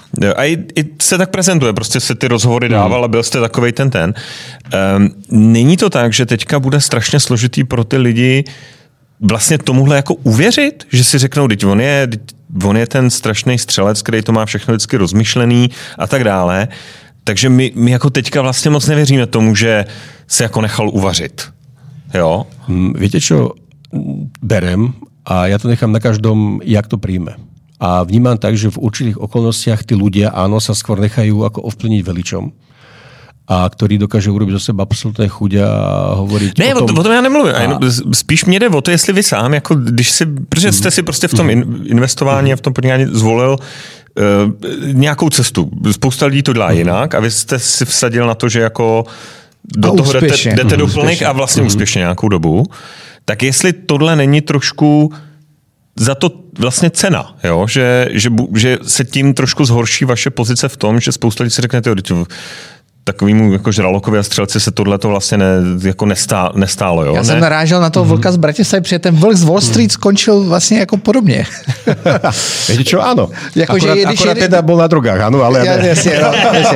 a i, i se tak prezentuje, prostě se ty rozhovory dával a byl jste takovej ten ten. Um, není to tak, že teďka bude strašně složitý pro ty lidi vlastně tomuhle jako uvěřit, že si řeknou, teď on je, on je ten strašný střelec, který to má všechno vždycky rozmyšlený a tak dále. Takže my, my jako teďka vlastně moc nevěříme tomu, že se jako nechal uvařit. Jo? Viete čo, berem a ja to nechám na každom, jak to príjme. A vnímam tak, že v určitých okolnostiach tí ľudia, áno, sa skôr nechajú ako ovplyvniť veličom. A který dokáže urobit do sebe absolutné chuť a hovoriť ne, o tom. Ne, o tom já nemluvím. A... Spíš mě jde o to, jestli vy sám, jako když si, protože jste si prostě v tom investování a v tom podnikání zvolil uh, nějakou cestu. Spousta lidí to dělá jinak a vy jste si vsadil na to, že jako do a toho jdete, jdete do plných a vlastně úspěšně nějakou dobu. Tak jestli tohle není trošku za to vlastně cena, jo? Že, že, že se tím trošku zhorší vaše pozice v tom, že spousta lidí si řekne, tyjo, takovýmu jako žralokovi a střelci se tohleto vlastně ne, jako nestá, nestálo. Jo? Já ne? jsem narážel na toho vlka z Bratislavy, protože ten vlk z Wall Street skončil vlastně jako podobně. Viete čo, áno. Jako, akurát že, akurát je, teda bol na drogách, áno, ale... Ja, jasně, no, jasně.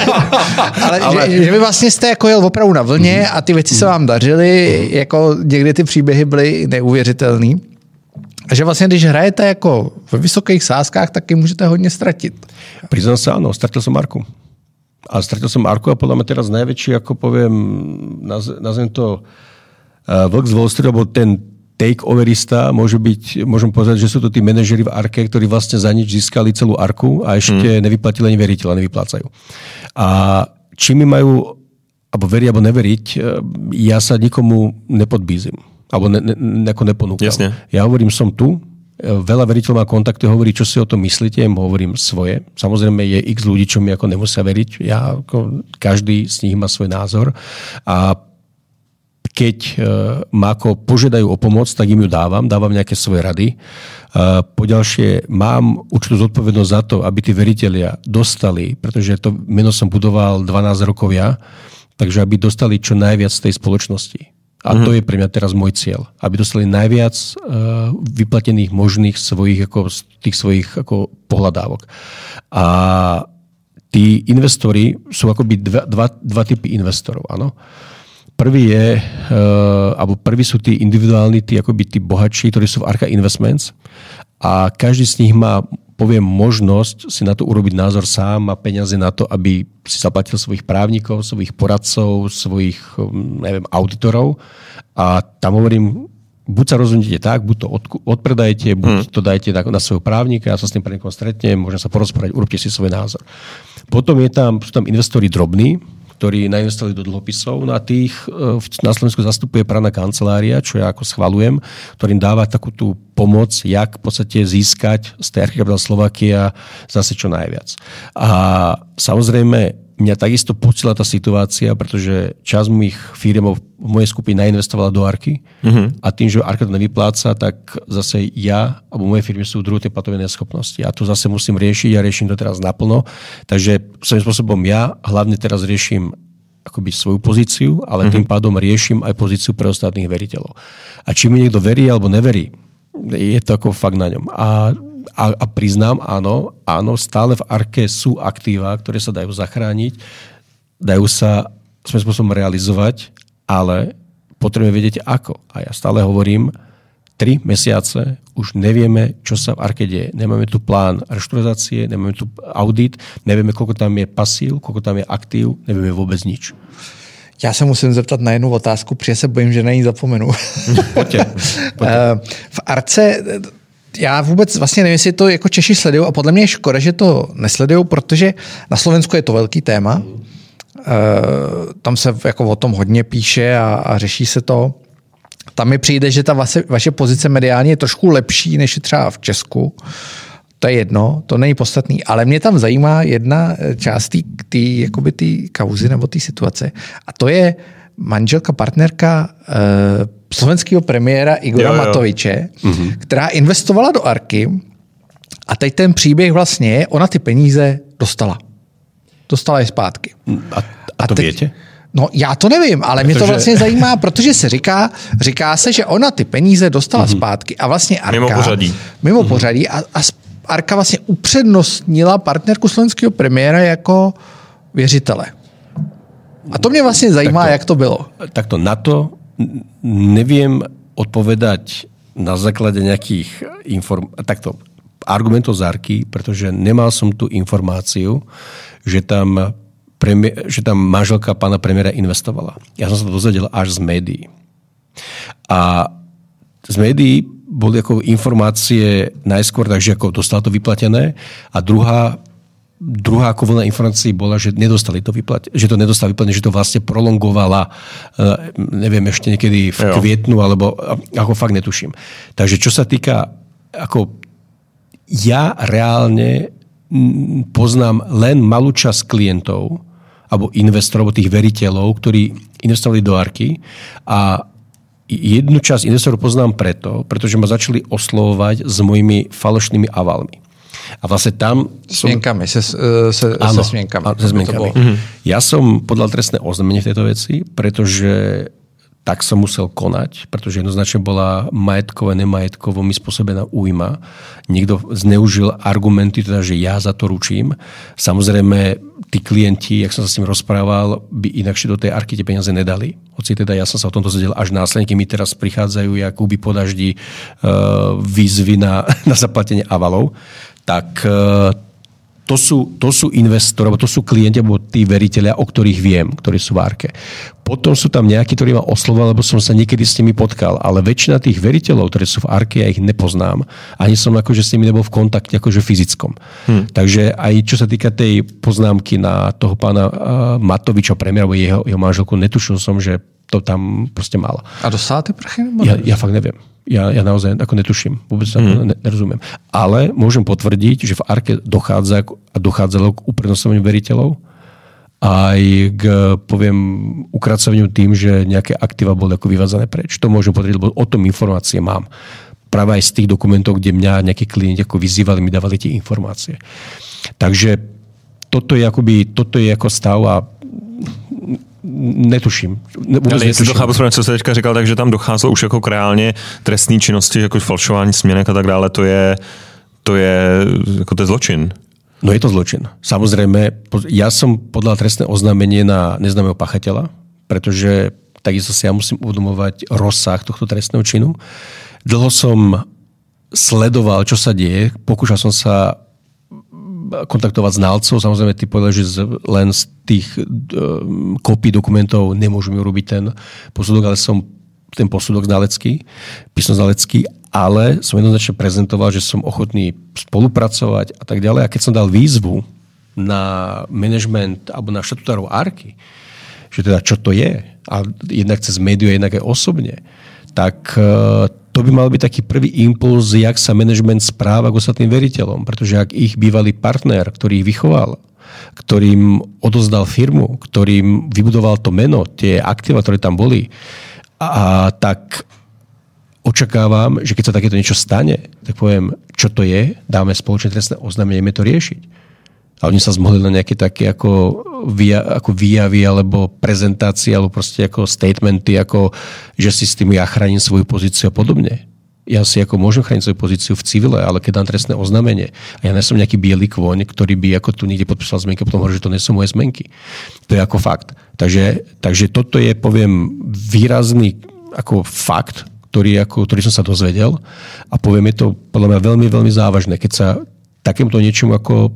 ale, ale... Že, že vy vlastně jste jako jel opravdu na vlně a ty věci se vám dařily, jako někdy ty příběhy byly neuvěřitelný. A že vlastně, když hrajete jako ve vysokých sázkách, taky můžete hodně ztratit. Priznám sa, áno, stratil som Arku. A stratil som Arku a podľa mňa teraz najväčší, ako poviem, naz, nazvem to uh, vlk z Wall Street, alebo ten take-overista, môže byť, môžem povedať, že sú to tí manažeri v Arke, ktorí vlastne za nič získali celú Arku a ešte hmm. nevyplatili ani veriteľa, nevyplácajú. A či mi majú, alebo veriť, alebo neveriť, ja sa nikomu nepodbízim. Alebo ne, ne, ako neponúkam. Jasne. Ja hovorím, som tu, veľa veriteľov má kontakty, hovorí, čo si o tom myslíte, im hovorím svoje. Samozrejme je x ľudí, čo mi ako nemusia veriť. Ja, ako, každý z nich má svoj názor. A keď e, ma ako požiadajú o pomoc, tak im ju dávam, dávam nejaké svoje rady. E, poďalšie, mám určitú zodpovednosť za to, aby tí veritelia dostali, pretože to meno som budoval dvanásť rokov ja, takže aby dostali čo najviac z tej spoločnosti. A to je pre mňa teraz môj cieľ. Aby dostali najviac uh, vyplatených možných svojich, ako, tých svojich ako, pohľadávok. A tí investori sú akoby dva, dva, dva typy investorov. Áno. Prvý je, uh, alebo prvý sú tí individuálni, tí, akoby tí bohatší, ktorí sú v Arka Investments. A každý z nich má, poviem, možnosť si na to urobiť názor sám, má peniaze na to, aby si zaplatil svojich právnikov, svojich poradcov, svojich, neviem, auditorov. A tam hovorím, buď sa rozhodnete tak, buď to od, odpredajte, buď hmm. to dajte na, na svojho právnika, ja sa s tým právnikom stretnem, môžem sa porozprávať, urobte si svoj názor. Potom je tam, sú tam investori drobní, ktorí nainvestovali do dlhopisov. No a tých na Slovensku zastupuje právna kancelária, čo ja ako schvalujem, ktorým dáva takú tú pomoc, jak v podstate získať z tej Archikapital Slovakia zase čo najviac. A samozrejme, mňa takisto pocila tá situácia, pretože časť mojich firiem v mojej skupine nainvestovala do Arky mm-hmm. a tým, že Arka to nevypláca, tak zase ja alebo moje firmy sú v druhej platovej neschopnosti. A to zase musím riešiť a riešim to teraz naplno. Takže svojím spôsobom ja hlavne teraz riešim akoby svoju pozíciu, ale mm-hmm. tým pádom riešim aj pozíciu pre ostatných veriteľov. A či mi niekto verí alebo neverí, je to ako fakt na ňom. A A, a priznám, áno, áno, stále v Arke sú aktíva, ktoré sa dajú zachrániť, dajú sa svojím spôsobom realizovať, ale potrebujeme vedieť ako. A ja stále hovorím, tri mesiace už nevieme, čo sa v Arke deje. Nemáme tu plán reštrukturizácie, nemáme tu audit, nevieme, koľko tam je pasív, koľko tam je aktív, nevieme vôbec nič. Já se musím zeptat na jednu otázku, protože se bojím, že na ní zapomenu. Pojďte, pojďte. V Arce... Já vůbec vlastně nevím, jestli to jako Češi sledují a podle mě je škoda, že to nesledují, protože na Slovensku je to velký téma. Mm. E, tam se jako o tom hodně píše a, a řeší se to. Tam mi přijde, že ta vaše, vaše pozice mediálně je trošku lepší než je třeba v Česku. To je jedno, to není podstatný, ale mě tam zajímá jedna část té kauzy nebo té situace a to je manželka, partnerka e, slovenského premiéra Igora jo, jo. Matoviče, mm-hmm. která investovala do Arky a teď ten příběh vlastně je, ona ty peníze dostala. Dostala je zpátky. A, a to teď, větě? No já to nevím, ale protože... mě to vlastně zajímá, protože se říká, říká se, že ona ty peníze dostala mm-hmm. zpátky a vlastně Arka... Mimo pořadí. Mimo mm-hmm. pořadí a, a Arka vlastně upřednostnila partnerku slovenského premiéra jako věřitele. A to mě vlastně zajímá, takto, jak to bylo. Takto na to neviem odpovedať na základe nejakých inform- takto, argumentov z Arky, pretože nemal som tú informáciu, že tam, premié- že tam manželka pána premiéra investovala. Ja som sa to dozvedel až z médií. A z médií boli ako informácie najskôr, takže ako dostala to vyplatené a druhá Druhá ako vlna informácií bola, že nedostali to vyplať, že to nedostali vyplatené, že to vlastne prolongovala, neviem, ešte niekedy v kvietnu, alebo ako fakt netuším. Takže čo sa týka, ako ja reálne poznám len malú časť klientov, alebo investorov, alebo tých veriteľov, ktorí investovali do Arky a jednu časť investorov poznám preto, pretože ma začali oslovovať s mojimi falošnými avalmi. A vlastne tam... Smienkami, se, se, áno, se smienkami. Se smienkami. Mm-hmm. Ja som podal trestné oznámenie v tejto veci, pretože tak som musel konať, pretože jednoznačne bola majetkové, nemajetkovo mi spôsobená újma. Niekto zneužil argumenty, teda, že ja za to ručím. Samozrejme, tí klienti, jak som sa s ním rozprával, by inakšie do tej Arky tie peniaze nedali. Hoci teda ja som sa o tomto zvedel až následne, keď mi teraz prichádzajú Jakuby po daždi uh, výzvy na, na zaplatenie avalov. Tak to sú, to sú investori, to sú klienti, alebo tí veriteľia, o ktorých viem, ktorí sú v Arke. Potom sú tam nejakí, ktorí ma oslovali, lebo som sa niekedy s nimi potkal. Ale väčšina tých veriteľov, ktorí sú v Arke, ja ich nepoznám. Ani som akože s nimi nebol v kontakte akože fyzickom. Hmm. Takže aj čo sa týka tej poznámky na toho pána uh, Matoviča, premiéra, alebo jeho, jeho manželku, netušil som, že to tam proste malo. A dostala ty prachy? Ja, ja fakt neviem. Ja, ja naozaj ako netuším. Vôbec mm. nerozumiem. Ale môžem potvrdiť, že v Arke dochádza a dochádzalo k uprednostňovaniu veriteľov aj k, poviem, ukracovaniu tým, že nejaké aktíva boli ako vyvádzané preč. To môžem potvrdiť, lebo o tom informácie mám. Práve aj z tých dokumentov, kde mňa nejakí klienti ako vyzývali, mi dávali tie informácie. Takže toto je, akoby, toto je ako stav a netuším. Ale jestli to chápu správně, co jste teďka říkal, takže tam docházelo už jako k reálně trestní činnosti, jako falšování směnek a tak dále, to je, to je, jako to je zločin. No je to zločin. Samozrejme, ja som podal trestné oznámenie na neznámeho pachateľa, pretože takisto si ja musím uvedomovať rozsah tohto trestného činu. Dlho som sledoval, čo sa deje, pokúšal som sa kontaktovať znalcov. Samozrejme, ty povedal, že len z tých um, kópií dokumentov nemôžem urobiť ten posudok, ale som ten posudok znalecký, písmo znalecký, ale som jednoznačne prezentoval, že som ochotný spolupracovať a tak ďalej. A keď som dal výzvu na management alebo na štatutárov Arky, že teda čo to je, a jednak cez médiu, jednak aj osobne, tak to by mal byť taký prvý impuls, jak sa management správa k ostatným veriteľom. Pretože ak ich bývalý partner, ktorý ich vychoval, ktorým odozdal firmu, ktorým vybudoval to meno, tie aktíva, ktoré tam boli, a tak očakávam, že keď sa takéto niečo stane, tak poviem, čo to je, dáme spoločné trestné oznámenie, ideme to riešiť. A oni sa zmohli na nejaké také ako, via, ako výjavy alebo prezentácie alebo proste ako statementy, ako že si s tým ja chránim svoju pozíciu a podobne. Ja si ako môžem chrániť svoju pozíciu v civile, ale keď dám trestné oznámenie a ja nie som nejaký biely kôň, ktorý by ako tu niekde podpísal zmenky a potom hovorí, že to nie sú moje zmenky. To je ako fakt. Takže, takže toto je, poviem, výrazný ako fakt, ktorý, ako, ktorý som sa dozvedel a poviem, je to podľa mňa veľmi, veľmi závažné, keď sa takémuto niečomu ako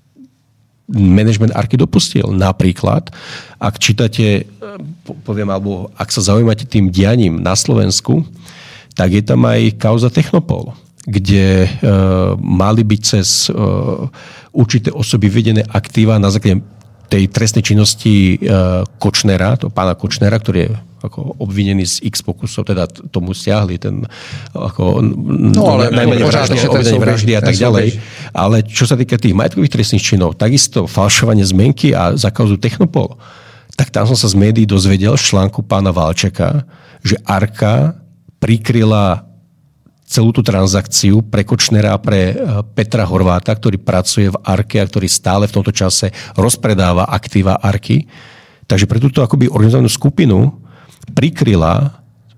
management Arky dopustil. Napríklad, ak čítate, poviem, alebo ak sa zaujímate tým dianím na Slovensku, tak je tam aj kauza Technopol, kde e, mali byť cez e, určité osoby vedené aktíva na základe tej trestnej činnosti e, Kočnera, to pána Kočnera, ktorý je ako obvinený z x pokusov, teda tomu stiahli ten ako, no, ale najmenej vraždy, obvinenie vraždy a tak ďalej. Ale čo sa týka tých majetkových trestných činov, takisto falšovanie zmenky a za kauzu Technopol, tak tam som sa z médií dozvedel z článku pána Valčeka, že Arka prikryla celú tú transakciu pre Kočnera a pre Petra Horváta, ktorý pracuje v Arke a ktorý stále v tomto čase rozpredáva aktíva Arky. Takže pre túto akoby organizovanú skupinu prikryla e,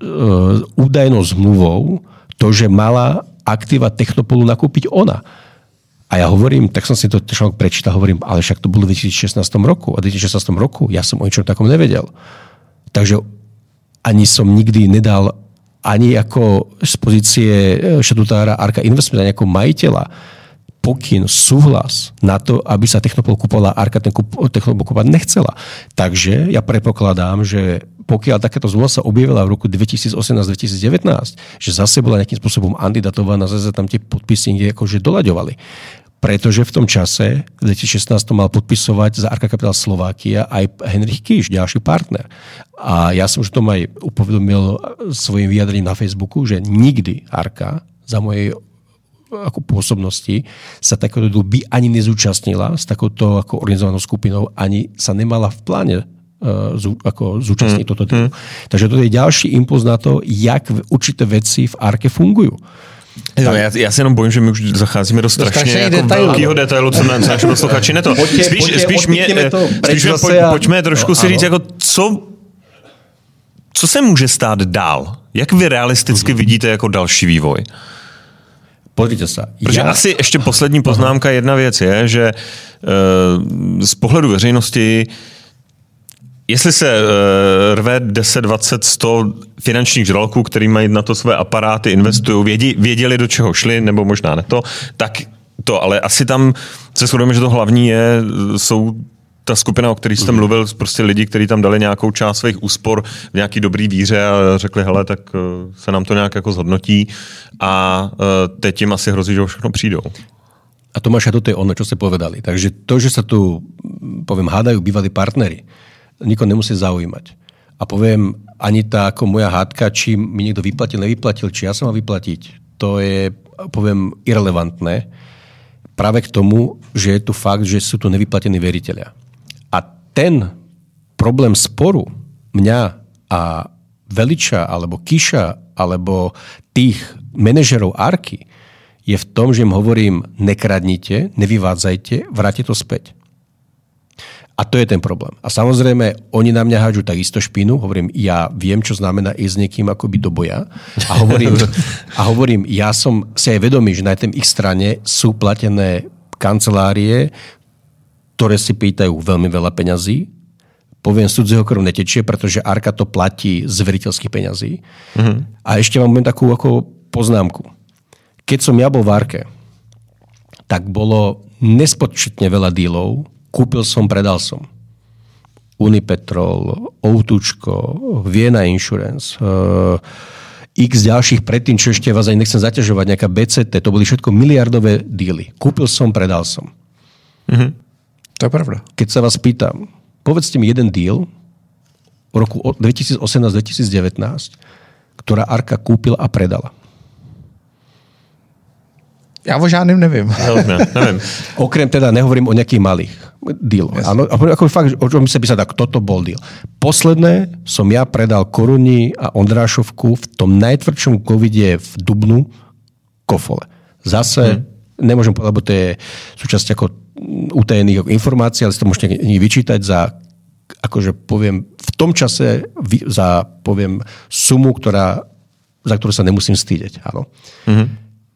údajnou zmluvou to, že mala aktíva Technopolu nakúpiť ona. A ja hovorím, tak som si to článok prečítal, hovorím, ale však to bolo v dvetisícšestnástom roku. A v dvetisícšestnástom roku ja som o ničom takom nevedel. Takže ani som nikdy nedal ani ako z pozície štatutára Arka Investment, ani ako majiteľa pokyn, súhlas na to, aby sa Technopol kúpovala, Arka ten Technopol kúpovať nechcela. Takže ja predpokladám, že pokiaľ takáto zmluva sa objavila v roku dvetisícosemnásť dvetisícdevätnásť, že zase bola nejakým spôsobom antidatovaná, zase tam tie podpisy niekde akože doľaďovali. Pretože v tom čase, v dvetisícšestnásť mal podpisovať za Arka Capital Slovakia aj Henrich Kiš, ďalší partner. A ja som už tom aj upovedomil svojim vyjadrením na Facebooku, že nikdy Arka za mojej ako pôsobnosti sa takéto by ani nezúčastnila s takouto ako organizovanou skupinou, ani sa nemala v pláne uh, zú, ako zúčastniť mm. toto. Mm. Takže to je ďalší impuls na to, jak určité veci v Arke fungujú. No, já, já se jenom bojím, že my už zacházíme do strašně jako detailu. velkého detailu, co nám naši posluchači neto. Pojďte, spíš pojďte, spíš mě, spíš mě pojď, pojďme trošku no, si říct, jako co, co se může stát dál? Jak vy realisticky mm-hmm. vidíte jako další vývoj? Pozrite sa. Protože ja... asi ještě poslední poznámka, jedna věc je, že uh, z pohledu veřejnosti jestli se uh, rve deset, dvacet, sto finančních žraloků, který mají na to své aparáty, investují, vědí, věděli, do čeho šli, nebo možná ne to, tak to, ale asi tam se shodujeme, že to hlavní je, jsou ta skupina, o které jste mluvil, prostě lidi, kteří tam dali nějakou část svých úspor v nějaký dobrý víře a řekli, hele, tak se nám to nějak jako zhodnotí a teď jim asi hrozí, že všechno přijdou. A Tomáš, a toto je ono, čo ste povedali. Takže to, že sa tu, poviem, hádajú bývalí partneri, nikoho nemusí zaujímať. A poviem, ani tá ako moja hádka, či mi niekto vyplatil, nevyplatil, či ja som mal vyplatiť, to je, poviem, irelevantné. Práve k tomu, že je tu fakt, že sú tu nevyplatení veriteľia. A ten problém sporu mňa a Veliča, alebo Kiša, alebo tých manažerov Arky je v tom, že im hovorím, nekradnite, nevyvádzajte, vráte to späť. A to je ten problém. A samozrejme, oni na mňa hádžu takisto špínu. Hovorím, ja viem, čo znamená ísť s niekým akoby do boja. A hovorím, a hovorím, ja som si aj vedomý, že na tej ich strane sú platené kancelárie, ktoré si pýtajú veľmi veľa peňazí. Poviem, z cudzieho krv netečie, pretože Arka to platí z veriteľských peňazí. Mm-hmm. A ešte mám takú ako poznámku. Keď som ja bol v Arke, tak bolo nespočetne veľa dílov. Kúpil som, predal som. Unipetrol, Outučko, Vienna Insurance, uh, x ďalších predtým, čo ešte vás aj nechcem zaťažovať, nejaká bé cé té, to boli všetko miliardové díly. Kúpil som, predal som. Mhm. To je pravda. Keď sa vás pýtam, povedzte mi jeden deal, v roku dvetisícosemnásť dvetisícdevätnásť, ktorá Arka kúpila a predala? Já o žádným nevím. Ne, nevím. Okrem teda, nehovorím o nejakých malých dealoch. Yes. Áno, ako fakt, o čom sa písať, tak toto bol deal. Posledné som ja predal Koruni a Ondrášovku v tom najtvrdšom covide v Dubnu Kofole. Zase, hmm. nemôžem povedať, lebo to je súčasť ako utajených informácií, ale si to môžete vyčítať za, akože poviem, v tom čase za, poviem, sumu, ktorá, za ktorú sa nemusím stýdeť. Áno. Hmm.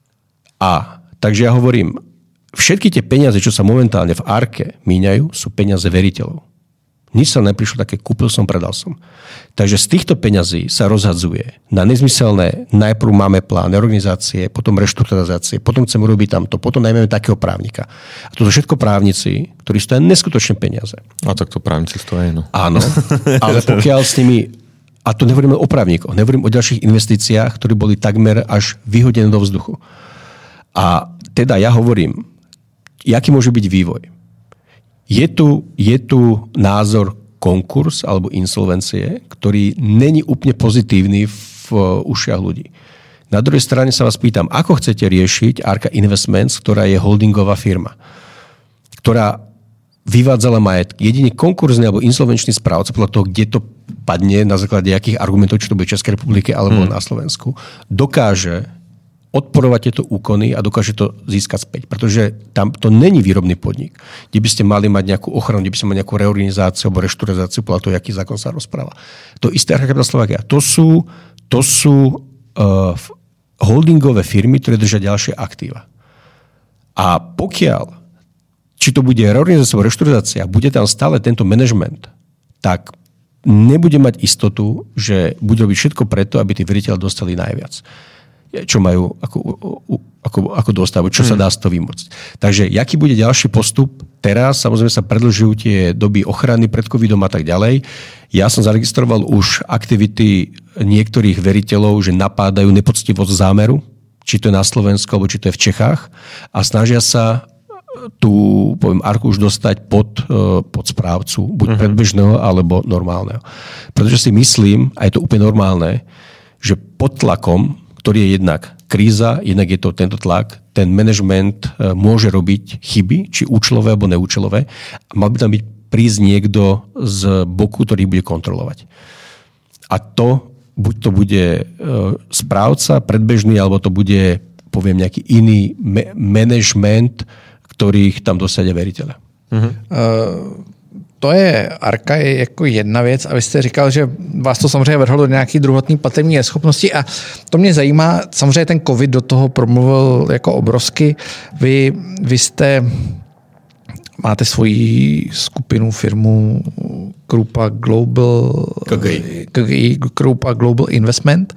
A takže ja hovorím, všetky tie peniaze, čo sa momentálne v Arke míňajú, sú peniaze veriteľov. Nič sa neprišlo také, kúpil som, predal som. Takže z týchto peňazí sa rozhadzuje na nezmyselné, najprv máme plán organizácie, potom reštrukturalizácie, potom chceme robiť tamto, potom najmä takého právnika. A to sú všetko právnici, ktorí stojí neskutočné peniaze. A tak to právnici stojí, no. Áno, ale pokiaľ s nimi, a to nehovorím o právnikoch, nehovorím o ďalších investíciách, ktoré boli takmer až vyhodené do vzduchu. A teda ja hovorím, jaký môže byť vývoj. Je tu, je tu názor konkurs alebo insolvencie, ktorý není úplne pozitívny v ušiach ľudí. Na druhej strane sa vás pýtam, ako chcete riešiť Arka Investments, ktorá je holdingová firma, ktorá vyvádzala majetky. Jedine konkurzný alebo insolvenčný správca, podľa toho, kde to padne, na základe akých argumentov, či to bude v Českej republike alebo hmm. na Slovensku, dokáže odporovať tieto úkony a dokáže to získať späť. Pretože tam to není výrobný podnik, kde by ste mali mať nejakú ochranu, kde by ste mali nejakú reorganizáciu alebo reštrukturizáciu podľa toho, aký zákon sa rozpráva. To isté Arka Capital Slovakia. To sú, to sú uh, holdingové firmy, ktoré držia ďalšie aktíva. A pokiaľ, či to bude reorganizácia alebo reštrukturizácia, bude tam stále tento manažment, tak nebude mať istotu, že bude robiť všetko preto, aby tí veriteľi dostali najviac, čo majú ako, ako, ako dostávajú, čo hmm. sa dá z toho vymôcť. Takže jaký bude ďalší postup? Teraz samozrejme sa predĺžujú tie doby ochrany pred covidom a tak ďalej. Ja som zaregistroval už aktivity niektorých veriteľov, že napádajú nepoctivosť zámeru, či to je na Slovensku, alebo či to je v Čechách a snažia sa tú, poviem, Arku už dostať pod, pod správcu, buď hmm. predbežného, alebo normálneho. Pretože si myslím, a je to úplne normálne, že pod tlakom, ktorý je jednak kríza, jednak je to tento tlak, ten manažment môže robiť chyby, či účelové alebo neúčelové. Mal by tam byť prísť niekto z boku, ktorý bude kontrolovať. A to, buď to bude správca, predbežný, alebo to bude, poviem, nejaký iný me- manažment, ktorých tam dosadia veriteľe. Uh-huh. Uh... To je Arka, je jako jedna věc a vy jste říkal, že vás to samozřejmě vrhlo do nějaký druhotný platební neschopnosti a to mě zajímá, samozřejmě ten covid do toho promluvil jako obrovsky. Vy, vy jste, máte svoji skupinu, firmu Krupa Global, K G I. K G I, Krupa Global Investment.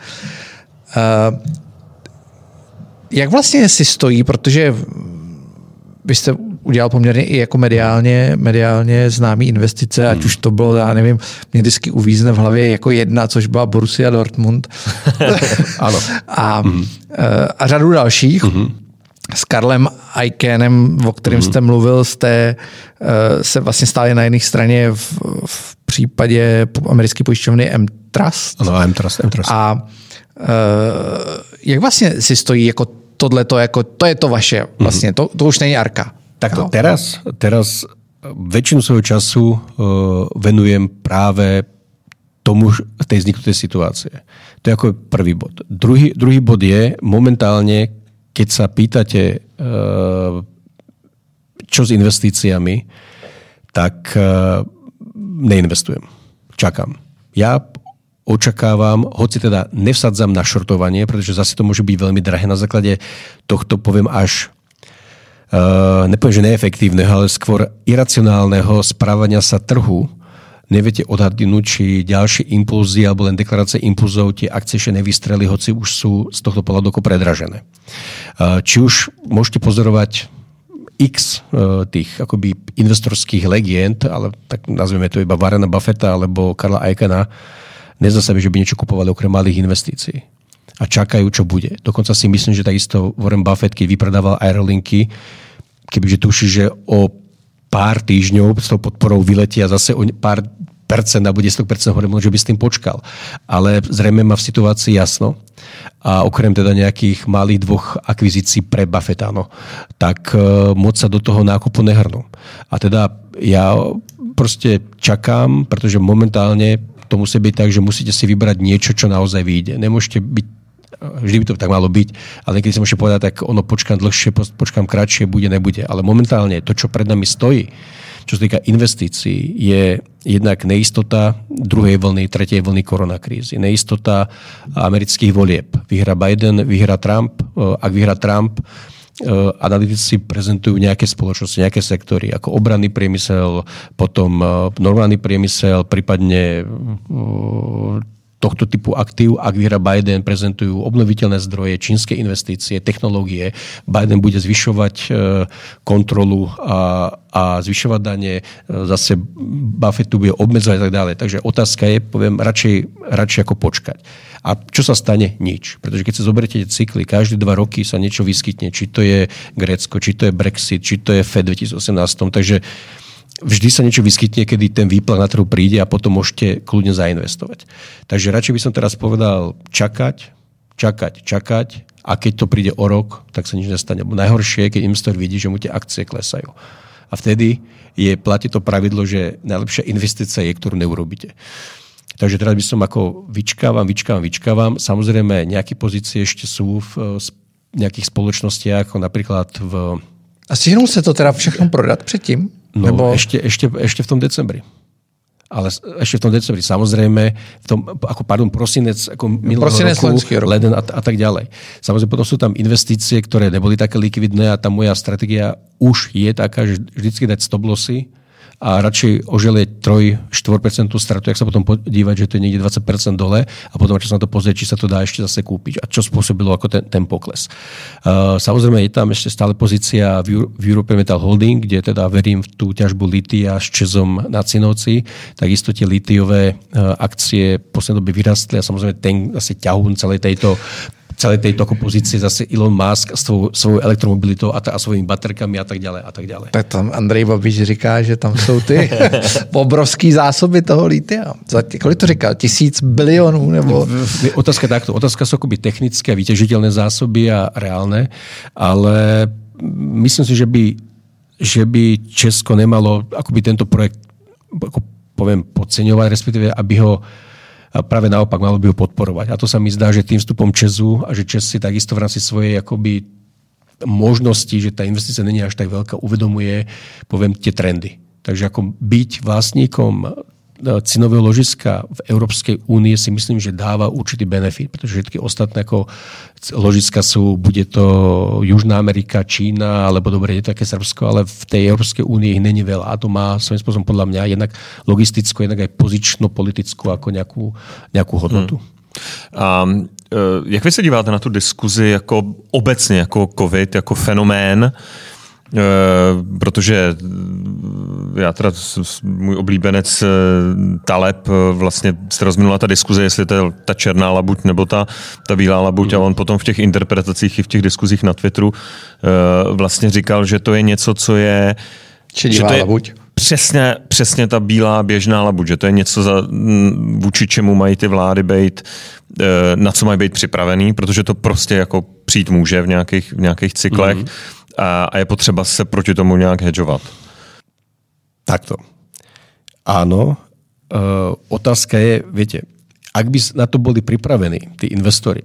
Jak vlastně si stojí, protože vy jste udělal poměrně i jako mediálně, mediálně známý investice, hmm. ať už to bylo, já nevím, mě vždycky uvízne v hlavě jako jedna, což byla Borussia Dortmund. Ano. A, hmm. a řadu dalších. Hmm. S Karlem Icahnem, o kterém hmm. jste mluvil, jste se vlastně stáli na jedné straně v, v případě americké pojišťovny M-Trust. Ano, M-Trust. M-Trust. A jak vlastně si stojí jako tohleto, jako to je to vaše, vlastně, to, to už není Arka. Takto, teraz, teraz väčšinu svojho času uh, venujem práve tomu, tej vzniknutej situácie. To je ako prvý bod. Druhý, druhý bod je, momentálne, keď sa pýtate, uh, čo s investíciami, tak uh, neinvestujem. Čakám. Ja očakávam, hoci teda nevsadzam na šortovanie, pretože zase to môže byť veľmi drahé na základe tohto, poviem, až Uh, nepoviem, že neefektívneho, ale skôr iracionálneho správania sa trhu. Neviete odhadnúť, či ďalšie impulzy alebo len deklarácie impulzov tie akcie ešte nevystreli, hoci už sú z tohto pohľadu predražené. Uh, či už môžete pozorovať x uh, tých akoby investorských legend, ale tak nazveme to iba Warrena Buffetta alebo Karla Icahna, nezdá sa mi, že by niečo kupovali okrem malých investícií. A čakajú, čo bude. Dokonca si myslím, že takisto Warren Buffett, keď vypredával aerolinky, kebyže tuší, že o pár týždňov s tou podporou vyletia zase o pár percent alebo desať percent hore, že by s tým počkal. Ale zrejme má v situácii jasno. A okrem teda nejakých malých dvoch akvizícií pre Buffetta, no, tak uh, moc sa do toho nákupu nehrnú. A teda ja proste čakám, pretože momentálne to musí byť tak, že musíte si vybrať niečo, čo naozaj vyjde. Nemôžete byť, vždy by to tak malo byť, ale keď si môžete povedať, tak ono počkám dlhšie, počkám kratšie, bude, nebude. Ale momentálne to, čo pred nami stojí, čo sa týka investícií, je jednak neistota druhej vlny, tretej vlny koronakrízy. Neistota amerických volieb. Vyhrá Biden, vyhrá Trump. Ak vyhrá Trump, analytici prezentujú nejaké spoločnosti, nejaké sektory, ako obranný priemysel, potom normálny priemysel, prípadne tohto typu aktív. Ak vyhrá Biden, prezentujú obnoviteľné zdroje, čínske investície, technológie. Biden bude zvyšovať kontrolu a, a zvyšovať dane. Zase Buffettu bude obmedzovať a tak ďalej. Takže otázka je, poviem, radšej, radšej ako počkať. A čo sa stane? Nič. Pretože keď sa zoberiete cykly, každé dva roky sa niečo vyskytne. Či to je Grécko, či to je Brexit, či to je Fed dvetisícosemnásť. Takže vždy sa niečo vyskytne, kedy ten výplach na trhu príde a potom môžete kľudne zainvestovať. Takže radšej by som teraz povedal čakať, čakať, čakať a keď to príde o rok, tak sa nič nestane. Najhoršie je, keď investor vidí, že mu tie akcie klesajú. A vtedy je, platí to pravidlo, že najlepšia investícia je, ktorú neurobíte. Takže teraz by som ako vyčkávam, vyčkávam, vyčkávam. Samozrejme, nejaké pozície ešte sú v nejakých spoločnostiach, ako napríklad v... A stihnul se to teda všechno prodat předtím? No, Nebo... ešte, ešte, ešte v tom decembri. Ale ešte v tom decembri. Samozrejme, v tom, ako, pardon, prosinec, ako minulého roku, leden a, a tak ďalej. Samozrejme, potom sú tam investície, ktoré neboli také likvidné a tá moja stratégia už je taká, že vždycky dať stop lossy a radšej oželieť tri až štyri percentá stratu, ak sa potom podívať, že to je niekde dvadsať percent dole a potom čo sa na to pozrieť, či sa to dá ešte zase kúpiť a čo spôsobilo ako ten, ten pokles. Uh, samozrejme je tam ešte stále pozícia v, v European Metal Holding, kde teda verím v tú ťažbu litia s ČEZom na Cinovci. Takisto tie litiové uh, akcie v poslednej dobe vyrastli a samozrejme ten asi ťahún celej tejto celej tejto pozície zase Elon Musk s svou, svou elektromobilitou a, a svojimi baterkami a tak ďalej a tak ďalej. Tak tam Andrej Babiš říká, že tam jsou ty obrovský zásoby toho litia. Za kolik to říkal? Tisíc bilionů? Nebo... Otázka takto. Otázka sú akoby technické a vyťažiteľné zásoby a reálne, ale myslím si, že by, že by Česko nemalo akoby tento projekt ako poviem podceňovať, respektíve aby ho a práve naopak malo by ho podporovať. A to sa mi zdá, že tým vstupom ČEZu a že ČEZ si takisto v rámci svojej akoby možnosti, že tá investícia není až tak veľká, uvedomuje, poviem, tie trendy. Takže ako byť vlastníkom cenového ložiska v Európskej únie si myslím, že dáva určitý benefit, pretože všetky ostatné ako ložiska sú, bude to Južná Amerika, Čína, alebo dobre, je také Srbsko, ale v tej Európskej únii ich není veľa. A to má svojím spôsobom podľa mňa jednak logistickú, jednak aj pozično-politickú ako nejakú, nejakú hodnotu. Hmm. A jak vy se díváte na tu diskuzi jako obecně, jako COVID, jako fenomén? E, protože já teda, můj oblíbenec Taleb, vlastně se rozminula ta diskuze, jestli to je ta černá labuť nebo ta, ta bílá labuť, a on potom v těch interpretacích i v těch diskuzích na Twitteru e, vlastně říkal, že to je něco, co je... Že to je labuť. Přesně, přesně ta bílá běžná labuť, že to je něco, za, vůči čemu mají ty vlády být, na co mají být připravený, protože to prostě jako přijít může v nějakých, v nějakých cyklech. Mm-hmm. A, a je potřeba se proti tomu nějak hedžovat. Takto. Áno. E, otázka je, viete, ak by na to boli pripravení tí investori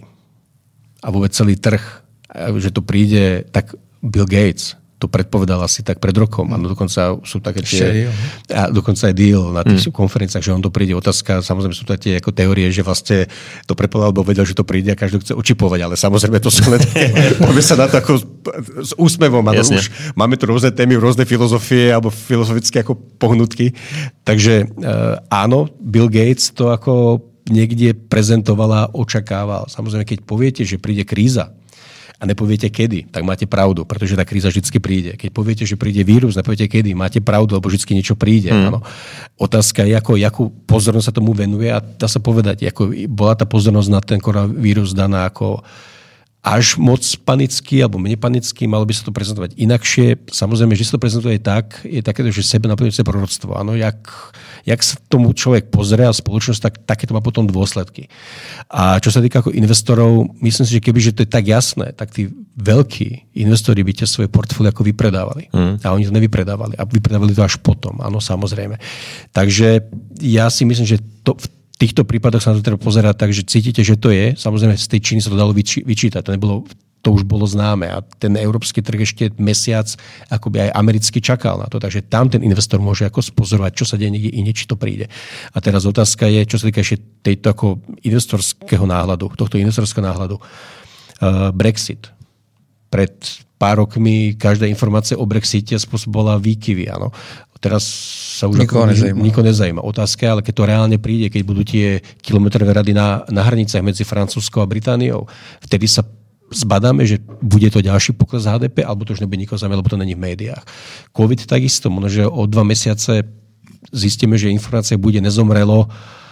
a vôbec celý trh, že to príde, tak Bill Gates to predpovedal asi tak pred rokom. A dokonca sú také tie... A dokonca aj deal na tých mm. konferenciách, že on to príde. Otázka, samozrejme sú to tie ako teórie, že vlastne to predpovedal, lebo vedel, že to príde a každý chce očipovať. Ale samozrejme to sú len také... Poďme sa na to ako s úsmevom. Ano, už máme tu rôzne témy, rôzne filozofie alebo filozofické ako pohnutky. Takže áno, Bill Gates to ako niekde prezentovala, očakával. Samozrejme, keď poviete, že príde kríza, a nepoviete kedy, tak máte pravdu, pretože tá kríza vždy príde. Keď poviete, že príde vírus, nepoviete kedy, máte pravdu, lebo vždy niečo príde. Hmm. Áno. Otázka je, ako, akú pozornosť sa tomu venuje a dá sa povedať, ako bola tá pozornosť na ten koronavírus daná ako až moc panický alebo menej panický, malo by sa to prezentovať inakšie. Samozrejme, že sa to prezentuje tak, je takéto, že sebe naplňujúce proroctvo. Áno, jak, jak sa tomu človek pozrie a spoločnosť, tak takéto má potom dôsledky. A čo sa týka ako investorov, myslím si, že keby že to je tak jasné, tak tí veľkí investori by tie svoje portfólia ako vypredávali. Mm. A oni to nevypredávali. A vypredávali to až potom, áno, samozrejme. Takže ja si myslím, že to v týchto prípadoch sa na to treba pozerať tak, že cítite, že to je. Samozrejme, z tej Číny sa to dalo vyči- vyčítať. To, nebolo, to už bolo známe. A ten európsky trh ešte mesiac akoby aj americky čakal na to. Takže tam ten investor môže ako spozorovať, čo sa deje niekde inde, či to príde. A teraz otázka je, čo sa týka ešte tejto ako investorského náhľadu, tohto investorského náhľadu. Uh, Brexit. Pred pár rokmi každá informácia o Brexite spôsobovala výkyvy. Áno. Teraz sa už nikoho nezajíma. Nikoho nezajíma. Otázka je, ale keď to reálne príde, keď budú tie kilometrové rady na, na hranicách medzi Francúzskou a Britániou, vtedy sa zbadáme, že bude to ďalší pokles há dé pé, alebo to už nebude nikoho zaujímať, lebo to není v médiách. COVID takisto, možno, že o dva mesiace zistíme, že informácia bude nezomrelo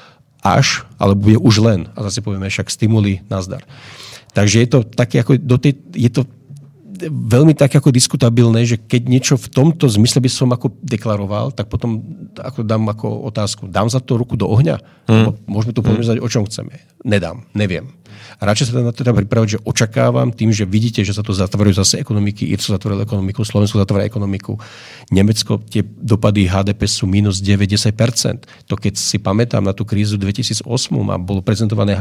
až, ale bude už len. A zase povieme však stimuly, nazdar. Takže je to také ako do tej, je to veľmi tak ako diskutabilné, že keď niečo v tomto zmysle by som ako deklaroval, tak potom ako dám ako otázku, dám za to ruku do ohňa? Hmm. Môžeme tu polemizovať, o čom chceme. Nedám, neviem. A radšej sa na to teda pripraviť, že očakávam tým, že vidíte, že sa to zatvárajú zase ekonomiky, Írsko zatvorilo ekonomiku, Slovensko zatvára ekonomiku, Nemecko, tie dopady há dé pé sú minus deväť až desať percent. To keď si pamätám na tú krízu dvetisícosem a bolo prezentované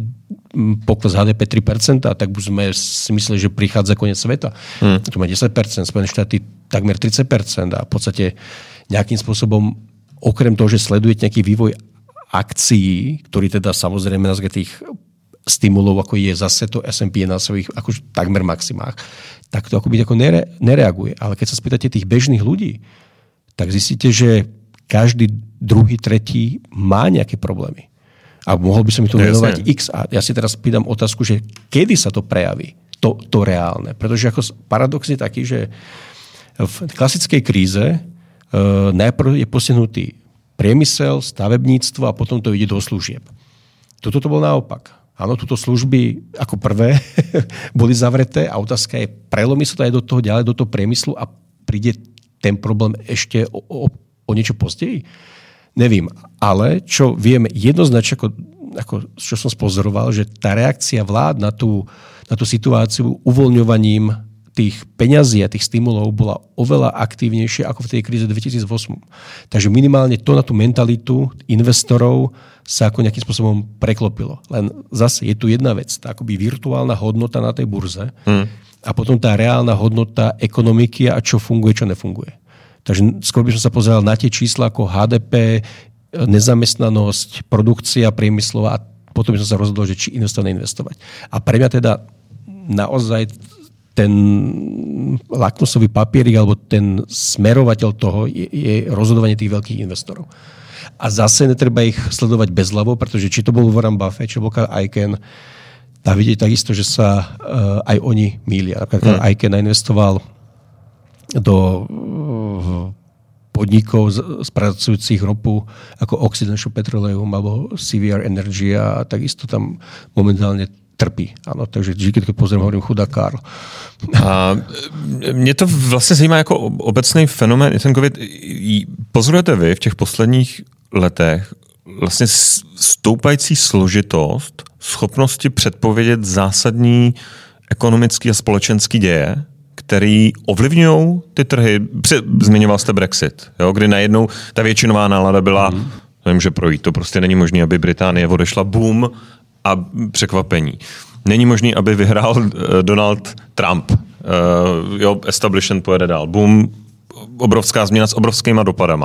pokles há dé pé tri percentá, tak už sme si mysleli, že prichádza koniec sveta. Hmm. To má desať percent, Spojené štáty takmer tridsať percent a v podstate nejakým spôsobom, okrem toho, že sledujete nejaký vývoj akcií, ktorý teda samozrejme na základe tých stimulov, ako je zase to es end pí na svojich akož takmer maximách, tak to akoby ako nere, nereaguje. Ale keď sa spýtate tých bežných ľudí, tak zistíte, že každý druhý, tretí má nejaké problémy. A mohol by som mi tu venovať x. A ja si teraz pýtam otázku, že kedy sa to prejaví, to, to reálne. Pretože ako paradox je taký, že v klasickej kríze e, najprv je postihnutý priemysel, stavebníctvo a potom to ide do služieb. Toto to bolo naopak. Áno, túto služby ako prvé boli zavreté a otázka je, prelomí sa to aj do toho ďalej, do toho priemyslu a príde ten problém ešte o, o, o niečo pozdeji? Nevím, ale čo vieme jednoznačne, ako, ako čo som spozoroval, že tá reakcia vlád na tú, na tú situáciu uvoľňovaním tých peňazí a tých stimulov bola oveľa aktívnejšia ako v tej kríze dvetisícosem. Takže minimálne to na tú mentalitu investorov sa ako nejakým spôsobom preklopilo. Len zase je tu jedna vec, tá akoby virtuálna hodnota na tej burze hmm. a potom tá reálna hodnota ekonomiky a čo funguje, čo nefunguje. Takže skôr by som sa pozeral na tie čísla ako há dé pé, nezamestnanosť, produkcia priemyslová a potom by som sa rozhodol, že či investovať, neinvestovať. A pre mňa teda naozaj ten lakmusový papierik alebo ten smerovateľ toho je, je rozhodovanie tých veľkých investorov. A zase netreba ich sledovať bezhlavo, pretože či to bol Warren Buffett, či to bol Carl Icahn, a vidieť takisto, že sa uh, aj oni mýlia. Carl hmm. Icahn investoval do uh, podnikov spracujúcich ropu ako Occidental Petroleum alebo C V R Energy a takisto tam momentálne trpí. Ano, takže vždy, keď pozriem, hovorím chudá Karl. A mě to vlastně zajímá jako obecný fenomén. Ten COVID, pozorujete vy v těch posledních letech vlastně stoupající složitost schopnosti předpovědět zásadní ekonomický a společenský děje, který ovlivňují ty trhy. Zmiňoval jste Brexit, jo, kdy najednou ta většinová nálada byla, mm. nemůže projít, to prostě není možné, aby Británie odešla, boom, a překvapení. Není možný, aby vyhrál uh, Donald Trump. Uh, jo, establishment pojede dál. Boom, obrovská změna s obrovskýma dopadama.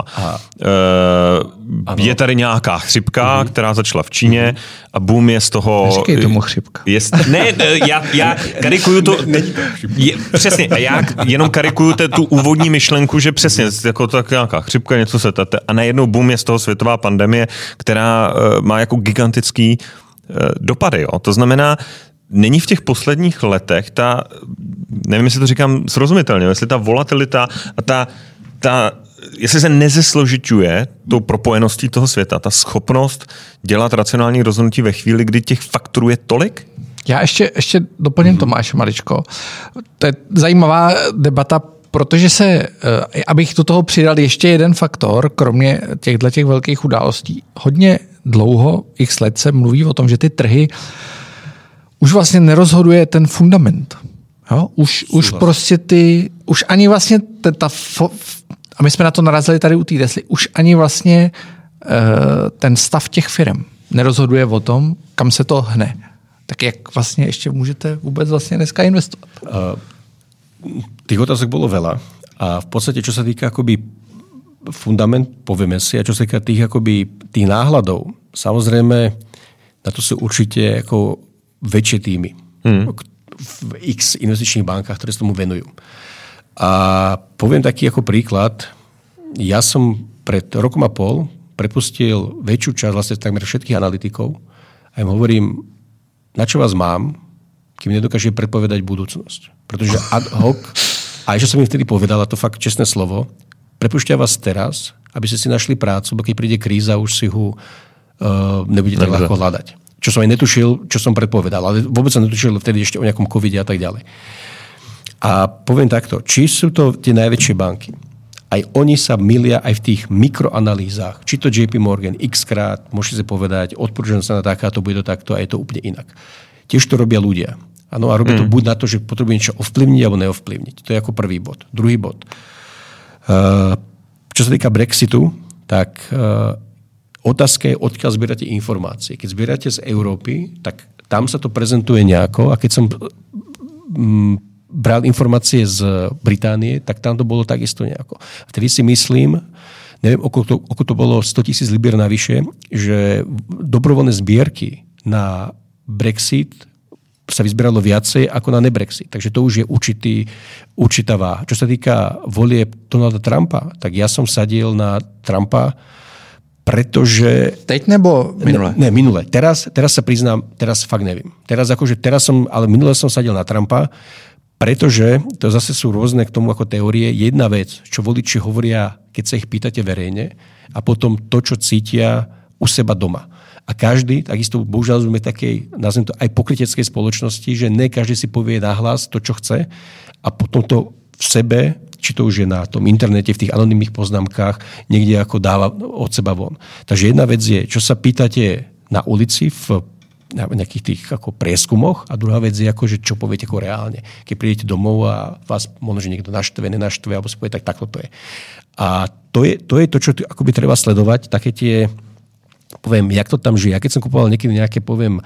Uh, je tady nějaká chřipka, uh-huh. která začala v Číně uh-huh. a boom je z toho... Neříkej tomu chřipka. Je, ne, já, já karikuju to... Je, přesně, já jenom karikuju tu úvodní myšlenku, že přesně, jako tak nějaká chřipka, něco se tete a najednou boom je z toho světová pandemie, která uh, má jako gigantický dopady. Jo. To znamená, není v těch posledních letech ta, nevím, jestli to říkám srozumitelně, jestli ta volatilita a ta, ta jestli se nezesložiťuje tou propojeností toho světa, ta schopnost dělat racionální rozhodnutí ve chvíli, kdy těch faktorů je tolik? Já ještě, ještě doplním mm-hmm. Tomáše maličko. To je zajímavá debata, protože se, abych do toho přidal ještě jeden faktor, kromě těchto těch velkých událostí. Hodně dlouho, x let se mluví o tom, že ty trhy už vlastně nerozhoduje ten fundament. Jo? Už, už prostě ty, už ani vlastně ta, ta a my jsme na to narazili tady u té Tesly, už ani vlastně uh, ten stav těch firm nerozhoduje o tom, kam se to hne. Tak jak vlastně ještě můžete vůbec vlastně dneska investovat? Uh, tých otázok bolo veľa a v podstate, čo sa týka akoby fundament, povieme si, a čo sa týka tých akoby tých náhľadov, samozrejme na to sú určite ako väčšie týmy hmm. v x investičných bankách, ktoré sa tomu venujú. A poviem taký ako príklad, ja som pred rokom a pol prepustil väčšiu časť vlastne takmer všetkých analytikov a im hovorím, na čo vás mám, kým nedokáže predpovedať budúcnosť. Pretože ad hoc, a čo som im vtedy povedal, a to fakt čestné slovo, prepúšťa vás teraz, aby ste si našli prácu, bo keď príde kríza, už si ho uh, nebudete tak ľahko hľadať. Čo som aj netušil, čo som predpovedal, ale vôbec som netušil vtedy ešte o nejakom covide a tak ďalej. A poviem takto, či sú to tie najväčšie banky, aj oni sa milia aj v tých mikroanalýzach, či to J P Morgan x krát, môžete si povedať, odporúčam sa na takáto, bude to takto a je to úplne inak. Tiež to robia ľudia. Ano, a robia to mm. buď na to, že potrebujú niečo ovplyvniť alebo neovplyvniť. To je ako prvý bod. Druhý bod. Uh, čo sa týka Brexitu, tak uh, otázka je, odkiaľ zbierate informácie. Keď zbierate z Európy, tak tam sa to prezentuje nejako a keď som um, bral informácie z Británie, tak tam to bolo takisto nejako. Vtedy si myslím, neviem, okolo to, okolo to bolo sto tisíc libier navyše, že dobrovoľné zbierky na Brexit sa vyzbieralo viacej ako na nebrexit. Takže to už je určitý, určitá váha. Čo sa týka volieb Donalda Trumpa, tak ja som sadil na Trumpa, pretože... Teď nebo minule? Ne, ne minule. Teraz, teraz sa priznám, teraz fakt neviem. Teraz akože, teraz som, ale minule som sadil na Trumpa, pretože, to zase sú rôzne k tomu ako teórie, jedna vec, čo voliči hovoria, keď sa ich pýtate verejne, a potom to, čo cítia u seba doma. A každý, takisto bohužiaľ sme takej, nazvem to aj pokryteckej spoločnosti, že ne každý si povie nahlas to, čo chce a potom to v sebe, či to už je na tom internete, v tých anonymných poznámkach, niekde ako dáva od seba von. Takže jedna vec je, čo sa pýtate na ulici v nejakých tých ako prieskumoch a druhá vec je, ako, že čo poviete ako reálne. Keď prídete domov a vás možno, že niekto naštve, nenaštve, alebo si povie, tak takto to je. A to je to, je to čo akoby treba sledovať, také tie poviem, jak to tam žije. Ja keď som kupoval niekedy nejaké, poviem,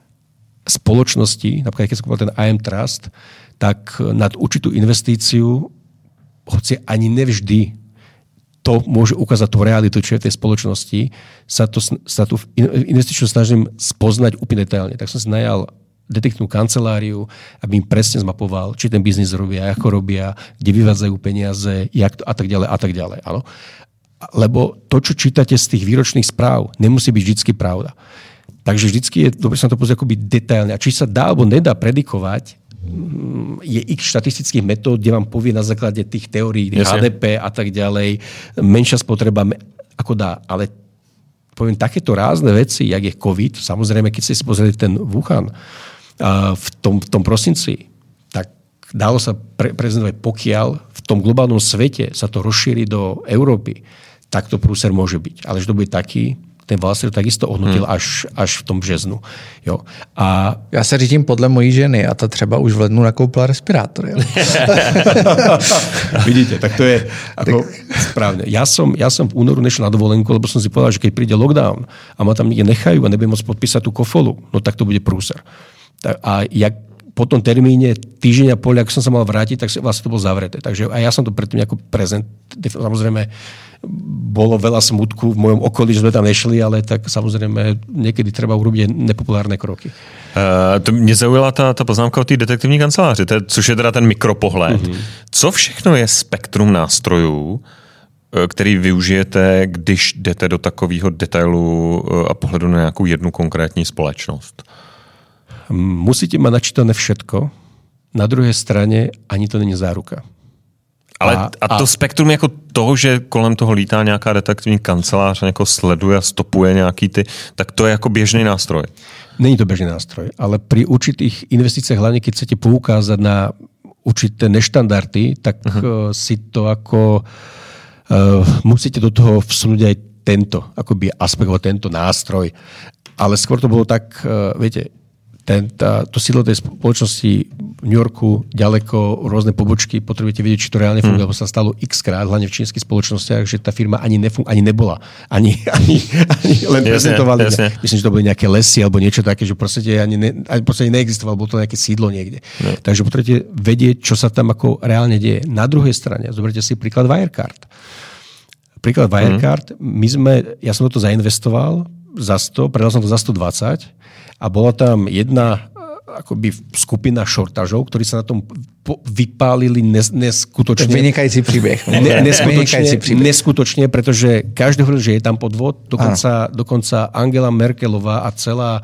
spoločnosti, napríklad keď som kupoval ten I M Trust, tak nad určitú investíciu, hoci ani nevždy to môže ukázať tú realitu, čo je v tej spoločnosti, sa, to, sa tu investičnú snažím spoznať úplne detailne. Tak som si najal detektívnu kanceláriu, aby im presne zmapoval, či ten biznis robia, ako robia, kde vyvádzajú peniaze, jak to, a tak ďalej, a tak ďalej. Áno. Lebo to, čo čítate z tých výročných správ, nemusí byť vždycky pravda. Takže vždycky je dobre sa na to pozrieť akoby detailne. A či sa dá alebo nedá predikovať, je x štatistických metód, kde vám povie na základe tých teórií, yes, H D P a tak ďalej, menšia spotreba, ako dá. Ale poviem, takéto rázne veci, jak je COVID, samozrejme, keď ste si pozreli ten Wuhan v tom, v tom prosinci, tak dalo sa pre, prezentovať, pokiaľ v tom globálnom svete sa to rozšíri do Európy, tak to prúser môže byť. Ale že to bude taký, ten Wall Street takisto ohnutil hmm. až, až v tom březnu. Jo. A... Já se řídím podle mojí ženy a ta třeba už v lednu nakoupila respirátor. Jo. Vidíte, tak to je ako tak... správne. Ja som, ja som v únoru nešiel na dovolenku, lebo som si povedal, že keď príde lockdown a ma tam niekde nechajú a nebudem môcť podpísať tú kofolu, no tak to bude prúser. A jak po tom termíne týždeň a pol, ak som sa mal vrátiť, tak vlastne to bolo zavreté. Takže aj ja som to predtým nejako prezent. Samozrejme, bolo veľa smutku v mojom okolí, že sme tam nešli, ale tak samozrejme niekedy treba urobiť nepopulárne kroky. Uh, to mě zaujala ta, ta poznámka o té detektivní kanceláři, to je, což je teda ten mikropohled. Mm-hmm. Co všechno je spektrum nástrojů, který využijete, když jdete do takového detailu a pohledu na nějakou jednu konkrétní společnost? Musíte mať načítané všetko. Na druhej strane ani to není záruka. Ale a, a to a... spektrum jako toho, že kolem toho lítá nějaká detektivní kancelář a někoho sleduje a stopuje nějaký ty, tak to je jako běžný nástroj. Není to bežný nástroj, ale pri určitých investíciách, hlavne keď chcete poukázať na určité neštandardy, tak uh-huh. si to ako uh, musíte do toho vsunúť aj tento akoby aspekt, tento nástroj. Ale skôr to bolo tak, uh, viete, ten, tá, to sídlo tej spoločnosti v New Yorku, ďaleko, rôzne pobočky, potrebujete vedieť, či to reálne funguje, hmm. lebo sa stalo x krát, hlavne v čínskych spoločnostiach, že tá firma ani, nefung- ani nebola. Ani, ani, ani len jasne, prezentovali. Jasne. Myslím, že to boli nejaké lesy alebo niečo také, že proste ani, ne, ani proste neexistovalo, bolo to nejaké sídlo niekde. No. Takže potrebujete vedieť, čo sa tam ako reálne deje. Na druhej strane, zoberte si príklad Wirecard. Príklad Wirecard, hmm. my sme, ja som to zainvestoval za sto, predal som to za stodvadsať, a bola tam jedna akoby skupina šortažov, ktorí sa na tom po- vypálili nes- neskutočne. Vynikající príbeh. Ne- neskutočne, neskutočne, pretože každý hovoril, že je tam podvod. Dokonca, dokonca Angela Merkelová a celá,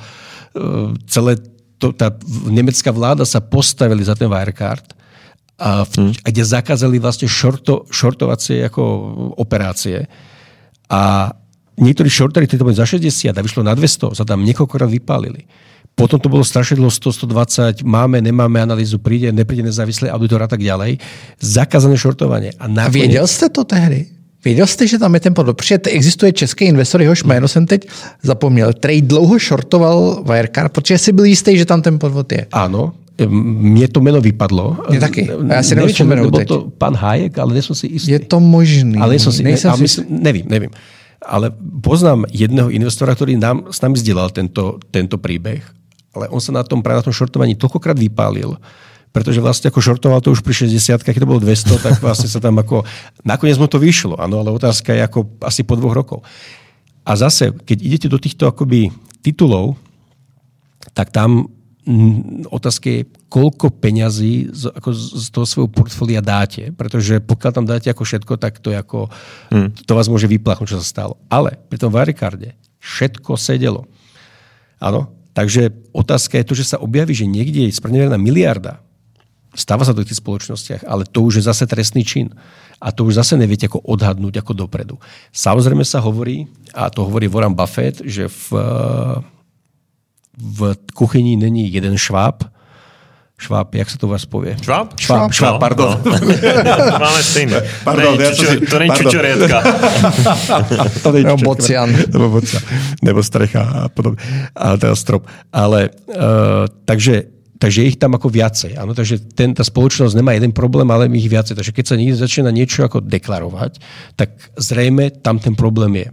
celé to, tá nemecká vláda sa postavili za ten Wirecard, a v, hmm. kde zakázali vlastne šorto, šortovacie ako operácie. A niektorí shorteri, ktorí to boli za šesťdesiat a vyšlo na dvesto, sa tam niekoľkokrát vypálili. Potom to bolo strašne dlho sto, stodvadsať, máme, nemáme analýzu, príde, nepríde nezávislý auditor a tak ďalej. Zakázané shortovanie. A, nakoniec... a věděl jste to tehdy? Věděl jste, že tam je ten podvod? Protože existuje český investor, jehož jméno jsem teď zapomněl, který dlouho shortoval Wirecard, protože si byl jistý, že tam ten podvod je. Áno. Mne to meno vypadlo. Mne taky. A ja si neviem spomenúť teď. To pán Hayek, ale nie som si istý. Je to možný. Ale som si, Nejsem ale si... myslím, nevím, nevím. Ale poznám jedného investora, ktorý nám, s nami zdieľal tento, tento príbeh, ale on sa na tom, práve na tom shortovaní toľkokrát vypálil, pretože vlastne ako shortoval to už pri šesťdesiatkách, keď to bolo dvesto, tak vlastne sa tam ako... Nakoniec mu to vyšlo, áno, ale otázka je ako asi po dvoch rokov. A zase, keď idete do týchto akoby titulov, tak tam otázka je, koľko peňazí z, ako z toho svojho portfólia dáte. Pretože pokiaľ tam dáte ako všetko, tak to, je ako, hmm. to vás môže vyplachnúť, čo sa stalo. Ale pri tom Wirecarde všetko sedelo. Áno. Takže otázka je to, že sa objaví, že niekde je spreneverená miliarda. Stáva sa to v tých spoločnostiach, ale to už je zase trestný čin. A to už zase neviete ako odhadnúť ako dopredu. Samozrejme sa hovorí, a to hovorí Warren Buffett, že v v kuchyni není jeden šváb. Šváb, jak sa to vás povie? Šváb? Šváb, šváb, pardon. No. Máme stejné. Pardon, Nej, čučo, to není čučoriedka. To není Nebo bocian. Nebo bocian. Nebo strecha a podobne. A teda strop. Ale, uh, takže, takže je ich tam ako viacej. Áno, takže ten, tá spoločnosť nemá jeden problém, ale ich viacej. Takže keď sa niekde začína niečo ako deklarovať, tak zrejme tam ten problém je.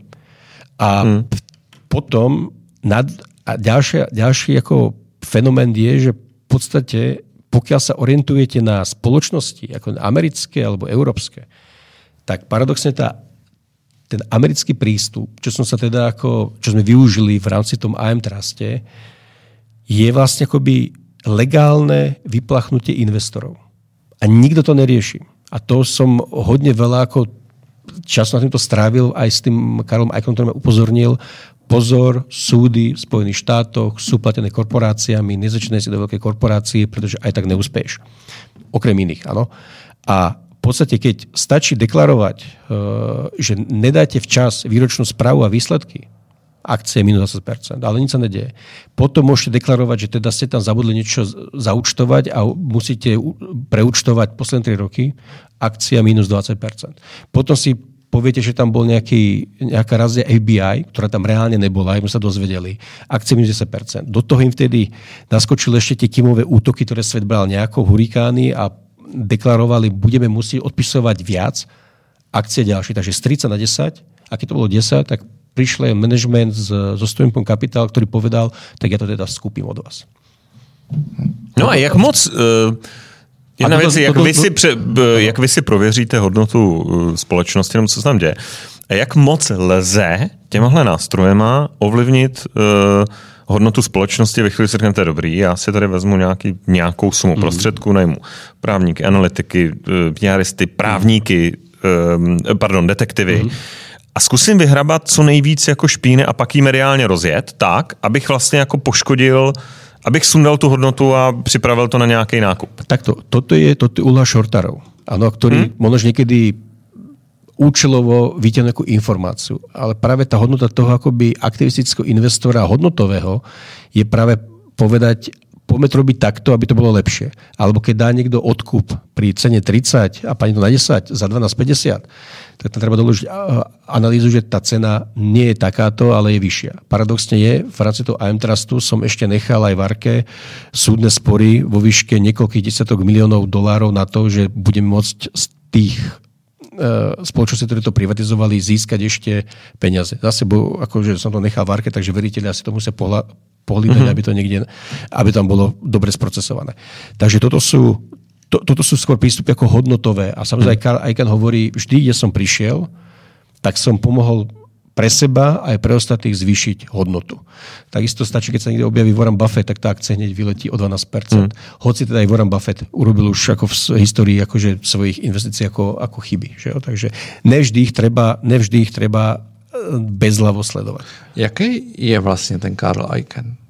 A hmm. potom nad A ďalšie, ďalší ako fenomén je, že v podstate, pokiaľ sa orientujete na spoločnosti, ako americké alebo európske, tak paradoxne tá, ten americký prístup, čo som sa teda ako, čo sme využili v rámci tom á em Truste, je vlastne akoby legálne vyplachnutie investorov. A nikto to nerieši. A to som hodne veľa ako času na týmto strávil, aj s tým Karlom Eichlom, ktorý ma upozornil. Pozor, súdy v Spojených štátoch sú platené korporáciami, nezačínaj si do veľkej korporácie, pretože aj tak neúspeješ. Okrem iných, áno. A v podstate, keď stačí deklarovať, že nedáte včas výročnú správu a výsledky, akcie minus dvadsať percent, ale nič sa nedieje. Potom môžete deklarovať, že teda ste tam zabudli niečo zaúčtovať a musíte preúčtovať posledné tri roky, akcia minus dvadsať percent. Potom si poviete, že tam bol nejaký, nejaká razia ef bí í, ktorá tam reálne nebola, aj sme sa dozvedeli. Akcie minus desať percent. Do toho im vtedy naskočili ešte tie kimové útoky, ktoré svet bral nejako, hurikány a deklarovali, budeme musieť odpisovať viac, akcie ďalšie. Takže z tridsať na desať, a keď to bolo desať, tak prišiel management so Stoimpom Capital, ktorý povedal, tak ja to teda skúpim od vás. No a jak moc... Uh... Jedna věc je, jak, vy si pře, jak vy si prověříte hodnotu společnosti, nebo co se tam děje. A jak moc lze těmahle nástrojema ovlivnit uh, hodnotu společnosti ve chvíli, si řeknete, dobrý, já si tady vezmu nějaký, nějakou sumu mm. prostředků, najmu právníky, analytiky, píáristy, právníky, um, pardon, detektivy, mm. a zkusím vyhrabat co nejvíc jako špíny a pak jí mediálně rozjet tak, abych vlastně jako poškodil, abych sundal tu hodnotu a připravil to na nějaký nákup. Takto, toto je, toto je úloha shortarov, ano, ktorí hmm? možno niekedy účelovo vyťahnuť nejakú informáciu. Ale práve tá hodnota toho akoby aktivistického investora hodnotového je práve povedať, poďme to robiť takto, aby to bolo lepšie. Alebo keď dá niekto odkup pri cene tridsať a pani to na desať za dvanásť päťdesiat, tak tam treba doložiť analýzu, že tá cena nie je takáto, ale je vyššia. Paradoxne je, v rámci toho á em Trustu som ešte nechal aj v Arke súdne spory vo výške niekoľkých desiatok miliónov dolárov na to, že budeme môcť z tých spoločnosti, ktoré to privatizovali, získať ešte peniaze. Zase, bo, akože som to nechal v Arke, takže veriteľi asi to musia pohľa, pohlídať, mm-hmm. aby to niekde, aby tam bolo dobre sprocesované. Takže toto sú, to, toto sú skôr prístupy ako hodnotové. A samozrejme, mm. Carl Icahn hovorí, vždy, kde som prišiel, tak som pomohol pre seba aj pre ostatných zvýšiť hodnotu. Takisto stačí, keď sa niekde objaví Warren Buffett, tak tá akcia hneď vyletí o dvanásť percent. Mm. Hoci teda aj Warren Buffett urobil už ako v histórii akože svojich investícií ako, ako chyby. Že jo? Takže nevždy ich treba, nevždy ich treba bezhlavo sledovať. Jaký je vlastne ten Carl Icahn?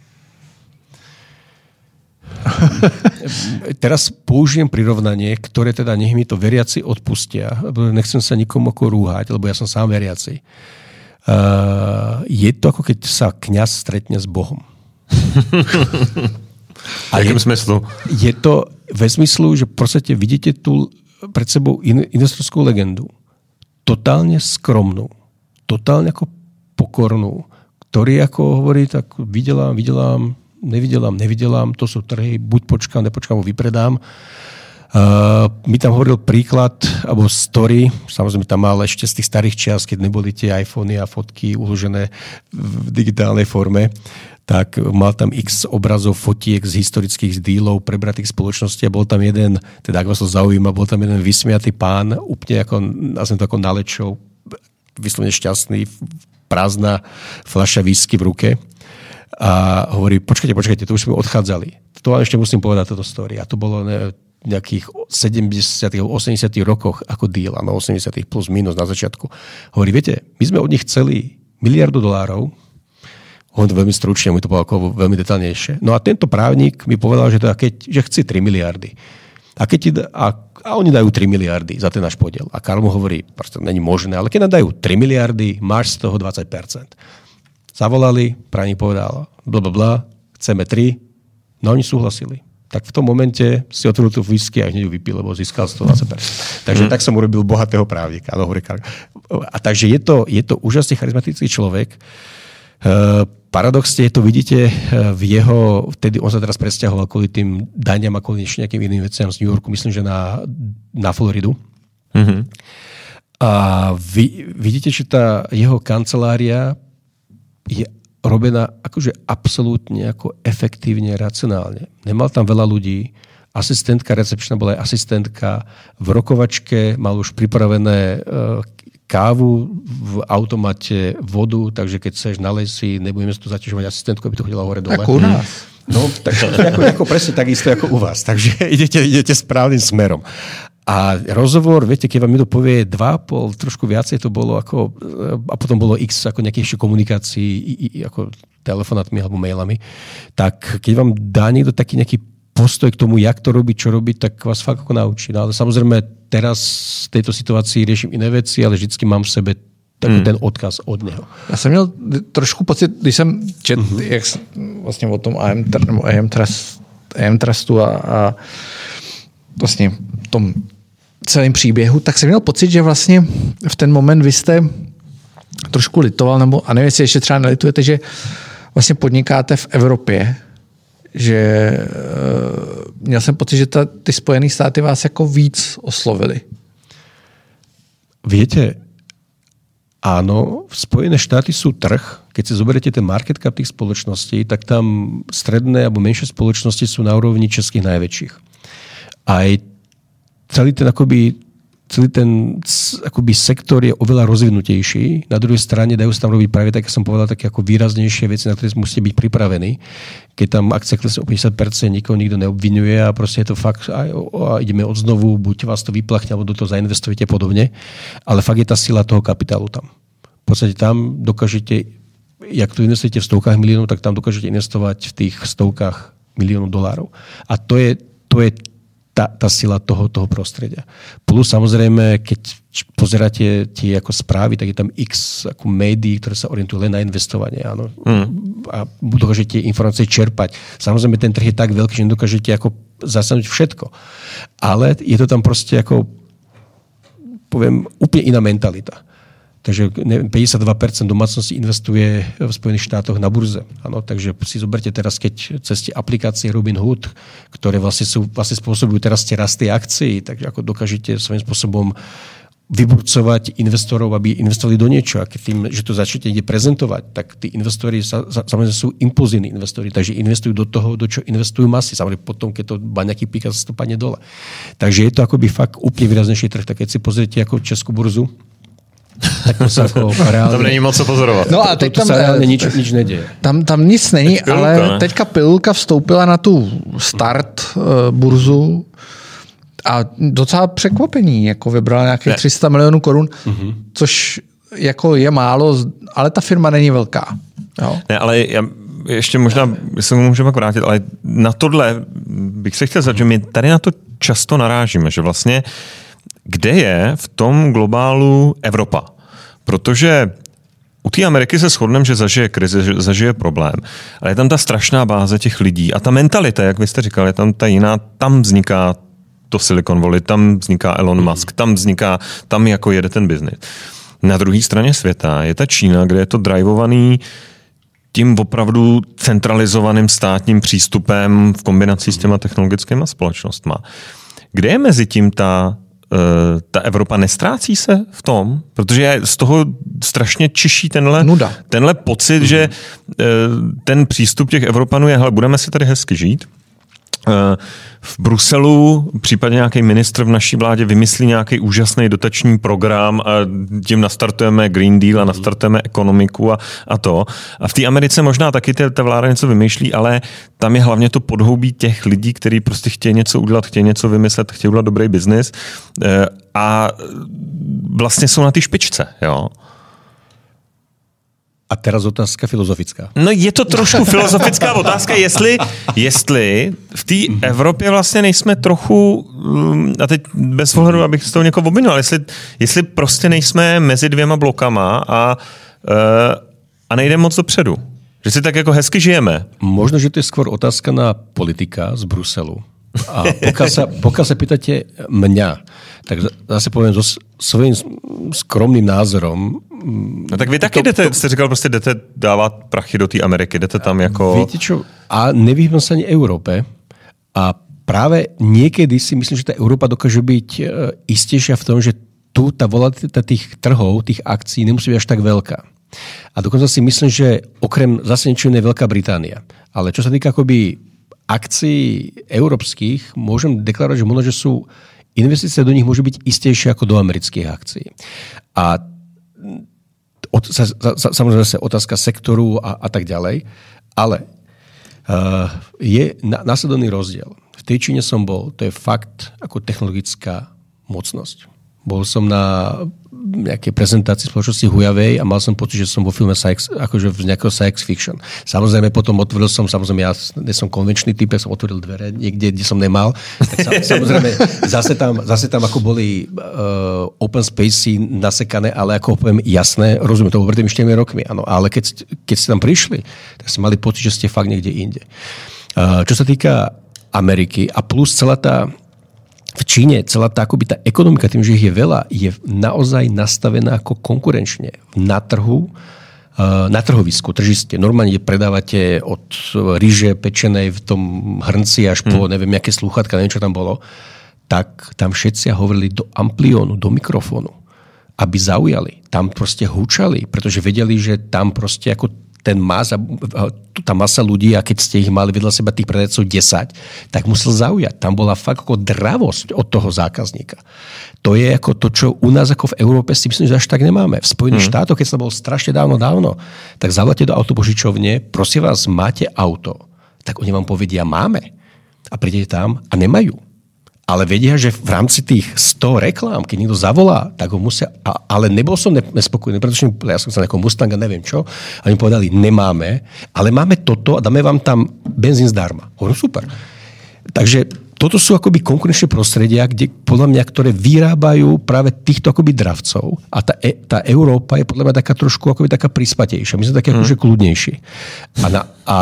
Teraz použijem prirovnanie, ktoré teda nech mi to veriaci odpustia. Nechcem sa nikomu ako rúhať, lebo ja som sám veriaci. Uh, je to ako keď sa kňaz stretne s Bohom. A v jakém smyslu? Je to ve smyslu, že proste vidíte tu pred sebou investorskú legendu. Totálne skromnú. Totálne ako pokornú. Ktorý ako hovorí, tak videlám, videlám, nevidelám, nevidelám, to sú trhy, buď počkám, nepočkám, vypredám. Uh, mi tam hovoril príklad, alebo story, samozrejme tam mal ešte z tých starých čias, keď neboli tie iPhony a fotky uložené v digitálnej forme, tak mal tam x obrazov, fotiek z historických dílov prebratých spoločností a bol tam jeden, teda ak vás to zaujíma, bol tam jeden vysmiatý pán, úplne ako, nazvem to ako nalečov, vyslovene šťastný, prázdna fľaša whisky v ruke. A hovorí, počkajte, počkajte, to už sme odchádzali. To vám ešte musím povedať toto story. A to bolo ne, nejakých sedemdesiatych osemdesiatych rokoch ako deal, áno, osemdesiatych plus minus na začiatku. Hovorí, viete, my sme od nich chceli miliardu dolárov, on to veľmi stručne, mi to povedal veľmi detailnejšie. No a tento právnik mi povedal, že, teda keď, že chce tri miliardy. A, keď ti, a, a oni dajú tri miliardy za ten náš podiel. A Karl mu hovorí, proste není možné, ale keď nám dajú tri miliardy, máš z toho dvadsať percent. Zavolali, právnik povedal, blablabla, chceme tri, no oni súhlasili. Tak v tom momente si otvoril tú whisky a hneď ju vypil, lebo získal sto dvadsať percent. Takže mm. tak som urobil bohatého právnika. A takže je to, je to úžasne charizmatický človek. Uh, paradoxne to vidíte v jeho, vtedy on sa teraz presťahoval kvôli tým daňam a kvôli nejakým iným veciam z New Yorku, myslím, že na, na Floridu. Mm-hmm. A vy, vidíte, že tá jeho kancelária je robená akože absolútne ako efektívne, racionálne. Nemal tam veľa ľudí, asistentka recepčná bola aj asistentka, v rokovačke mal už pripravené kávu, v automate vodu, takže keď chceš nalej si, nebudeme si tu zaťažovať asistentku, aby to chodila hore dole. Ako u nás. No, tak, ako, ako presne takisto ako u vás. Takže idete, idete správnym smerom. A rozhovor, viete, keď vám niekto povie dva a pol, trošku viacej to bolo ako, a potom bolo x ako nejakých ešte komunikácií, ako telefonátmi alebo mailami, tak keď vám dá niekto taký nejaký postoj k tomu, jak to robiť, čo robiť, tak vás fakt ako naučí. No ale samozrejme teraz v tejto situácii riešim iné veci, ale vždycky mám v sebe takový hmm. ten odkaz od něho. Já jsem měl trošku pocit, když jsem četl, mm-hmm. jak vlastně o tom á em, nebo á em, Trust, á em Trustu a, a vlastně tom celém příběhu, tak jsem měl pocit, že vlastně v ten moment vy jste trošku litoval, nebo a nevím, jestli ještě třeba nelitujete, že vlastně podnikáte v Evropě, že uh, měl jsem pocit, že ta, ty Spojené státy vás jako víc oslovili. Viete, áno, Spojené štáty sú trh. Keď si zoberiete ten market cap tých spoločností, tak tam stredné alebo menšie spoločnosti sú na úrovni českých najväčších. Aj celý ten akoby celý ten akoby sektor je oveľa rozvinutejší. Na druhej strane dajú sa tam robiť práve, tak som povedal, také ako výraznejšie veci, na ktoré musíte byť pripravení. Keď tam akcia klesne o päťdesiat percent, nikoho nikto neobvinuje a proste je to fakt, a, a ideme od znovu, buď vás to vyplachne, alebo do toho zainvestujete podobne. Ale fakt je tá sila toho kapitálu tam. V podstate tam dokážete, jak tu investujete v stovkách miliónov, tak tam dokážete investovať v tých stovkách miliónov dolárov. A to je, to je tá, tá sila toho, toho prostredia. Plus samozrejme, keď pozeráte tie ako správy, tak je tam x ako médií, ktoré sa orientujú len na investovanie. Áno. Mm. A dokážete informácie čerpať. Samozrejme, ten trh je tak veľký, že nedokážete ako zasadnúť všetko. Ale je to tam proste ako, poviem, úplne iná mentalita. Takže päťdesiatdva percent domácností investuje v Spojených štátoch na burze. Ano, takže si zoberte teraz, keď cez tie aplikácie Robinhood, ktoré vlastne, sú, vlastne spôsobujú teraz tie rasty akcií, takže ako dokážete svojím spôsobom vyburcovať investorov, aby investovali do niečo. A keď tým, že to začnete niekde prezentovať, tak tí investori sa, samozrejme sú impulzívni investori, takže investujú do toho, do čo investujú masy. Samozrejme potom, keď to baňaký píka, sa to padne dole. Takže je to akoby fakt úplne výraznejší trh. Tak keď si pozriete ako Českú burzu, tak to sa ako reálne... Tam není moc co pozorovat. No a teď to, to tam, sa reálne nič, nič nedieje. Tam, tam nic není, pilulka, ale ne? teďka Pilulka vstoupila na tu start uh, burzu a docela překvapení, jako vybrala nějakých tři sta milionů korun, mm-hmm. což jako je málo, ale ta firma není velká. Jo? Ne, ale já ještě možná se můžeme vrátit, ale na tohle bych se chtěl zeptat, že my tady na to často narážíme, že vlastně kde je v tom globálu Evropa? Protože u té Ameriky se shodneme, že zažije krizi, že zažije problém. Ale je tam ta strašná báze těch lidí. A ta mentalita, jak vy jste říkali, je tam ta jiná, tam vzniká to Silicon Valley, tam vzniká Elon Musk, tam vzniká, tam jako jede ten biznis. Na druhé straně světa je ta Čína, kde je to drivovaný tím opravdu centralizovaným státním přístupem v kombinaci s těma technologickými společnostma. Kde je mezi tím ta ta Evropa nestrácí se v tom? Protože je z toho strašně čiší tenhle, tenhle pocit, mm-hmm. že ten přístup těch Evropanů je, hele, budeme si tady hezky žít. V Bruselu případně nějaký ministr v naší vládě vymyslí nějaký úžasný dotační program a tím nastartujeme Green Deal a nastartujeme ekonomiku a, a to. A v té Americe možná taky ta vláda něco vymýšlí, ale tam je hlavně to podhoubí těch lidí, kteří prostě chtějí něco udělat, chtějí něco vymyslet, chtějí udělat dobrý biznis a vlastně jsou na té špičce, jo. A teraz otázka filozofická. No je to trošku filozofická otázka, jestli, jestli v té Evropě vlastně nejsme trochu, a teď bez ohledu, abych z toho někoho obvinil, jestli, jestli prostě nejsme mezi dvěma blokama a, a nejde moc dopředu. Že si tak jako hezky žijeme. Možno, že to je skôr otázka na politika z Bruselu. A pokiaľ sa, pokiaľ sa pýtate mňa, tak zase poviem so svojím skromným názorom. No tak vy taky to, jdete, to, jste říkal, prostě jdete dávat prachy do té Ameriky, jdete tam jako... Viete čo? A nevyhýbam sa ani Európe. A práve niekedy si myslím, že tá Európa dokáže byť istejšia v tom, že tu tá volatilita tých trhov, tých akcií nemusí byť až tak veľká. A dokonca si myslím, že okrem zase niečo je Veľká Británia. Ale čo sa týka akoby akcií európskych, môžem deklarovať, že možno, že sú investície do nich môžu byť istejšie ako do amerických akcií. A od, sa, sa, samozrejme sa otázka sektoru a, a tak ďalej, ale uh, je na, následovný rozdiel. V tej Číne som bol, to je fakt ako technologická mocnosť. Bol som na nejakej prezentácii spoločnosti Huawei a mal som pocit, že som vo filme science, akože z nejakého science fiction. Samozrejme potom otvoril som, samozrejme ja nie som konvenčný typ, ja som otvoril dvere niekde, kde som nemal. Tak samozrejme zase tam, zase tam ako boli uh, open spacey nasekané, ale ako poviem jasné, rozumiem, to bolo pred tými štyrmi rokmi, áno, ale keď, keď ste tam prišli, tak ste mali pocit, že ste fakt niekde inde. Uh, čo sa týka Ameriky a plus celá tá v Číne celá tá, akoby tá ekonomika, tým, že ich je veľa, je naozaj nastavená ako konkurenčne na trhu, na trhovisku, tržiste. Normálne predávate od ryže pečenej v tom hrnci až po, hmm. neviem, aké slúchatka, neviem, čo tam bolo, tak tam všetci hovorili do ampliónu, do mikrofónu, aby zaujali. Tam proste húčali, pretože vedeli, že tam proste ako ten masa, tá masa ľudí, a keď ste ich mali vedľa seba tých predajcov desať, tak musel zaujať. Tam bola fakt ako dravosť od toho zákazníka. To je ako to, čo u nás ako v Európe si myslím, že až tak nemáme. V Spojených hmm. štátoch, keď sa bol strašne dávno, dávno, tak zavoláte do autopožičovne, prosím vás, máte auto? Tak oni vám povedia, máme. A prídete tam a nemajú. Ale vedia, že v rámci tých sto reklám, keď niekto zavolá, tak ho musia... A, ale nebol som nespokojný, pretože ja som chcel nejakého Mustanga, neviem čo. A oni povedali, nemáme, ale máme toto a dáme vám tam benzín zdarma. Hovorím, super. Takže toto sú akoby konkurenčné prostredia, kde podľa mňa, ktoré vyrábajú práve týchto akoby dravcov. A tá, e, tá Európa je podľa mňa taká trošku akoby taká prispatejšia. My sme také mm. akože kľudnejší. A, na, a,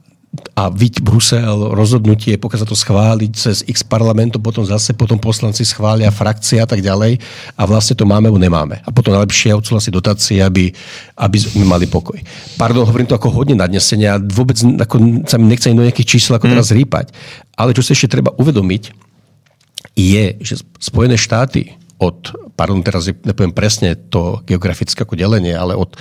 a viď Brusel, rozhodnutie, pokiaľ sa to schváliť cez x parlamentu, potom zase potom poslanci schvália frakcie a tak ďalej. A vlastne to máme, alebo nemáme. A potom najlepšie odsúhlasiť dotácie, aby, aby sme mali pokoj. Pardon, hovorím to ako hodne nadnesenia. Vôbec ako, sa mi nechce do nejakých čísel ako mm. teraz rýpať. Ale čo sa ešte treba uvedomiť, je, že Spojené štáty od, pardon, teraz nepoviem presne to geografické ako delenie, ale od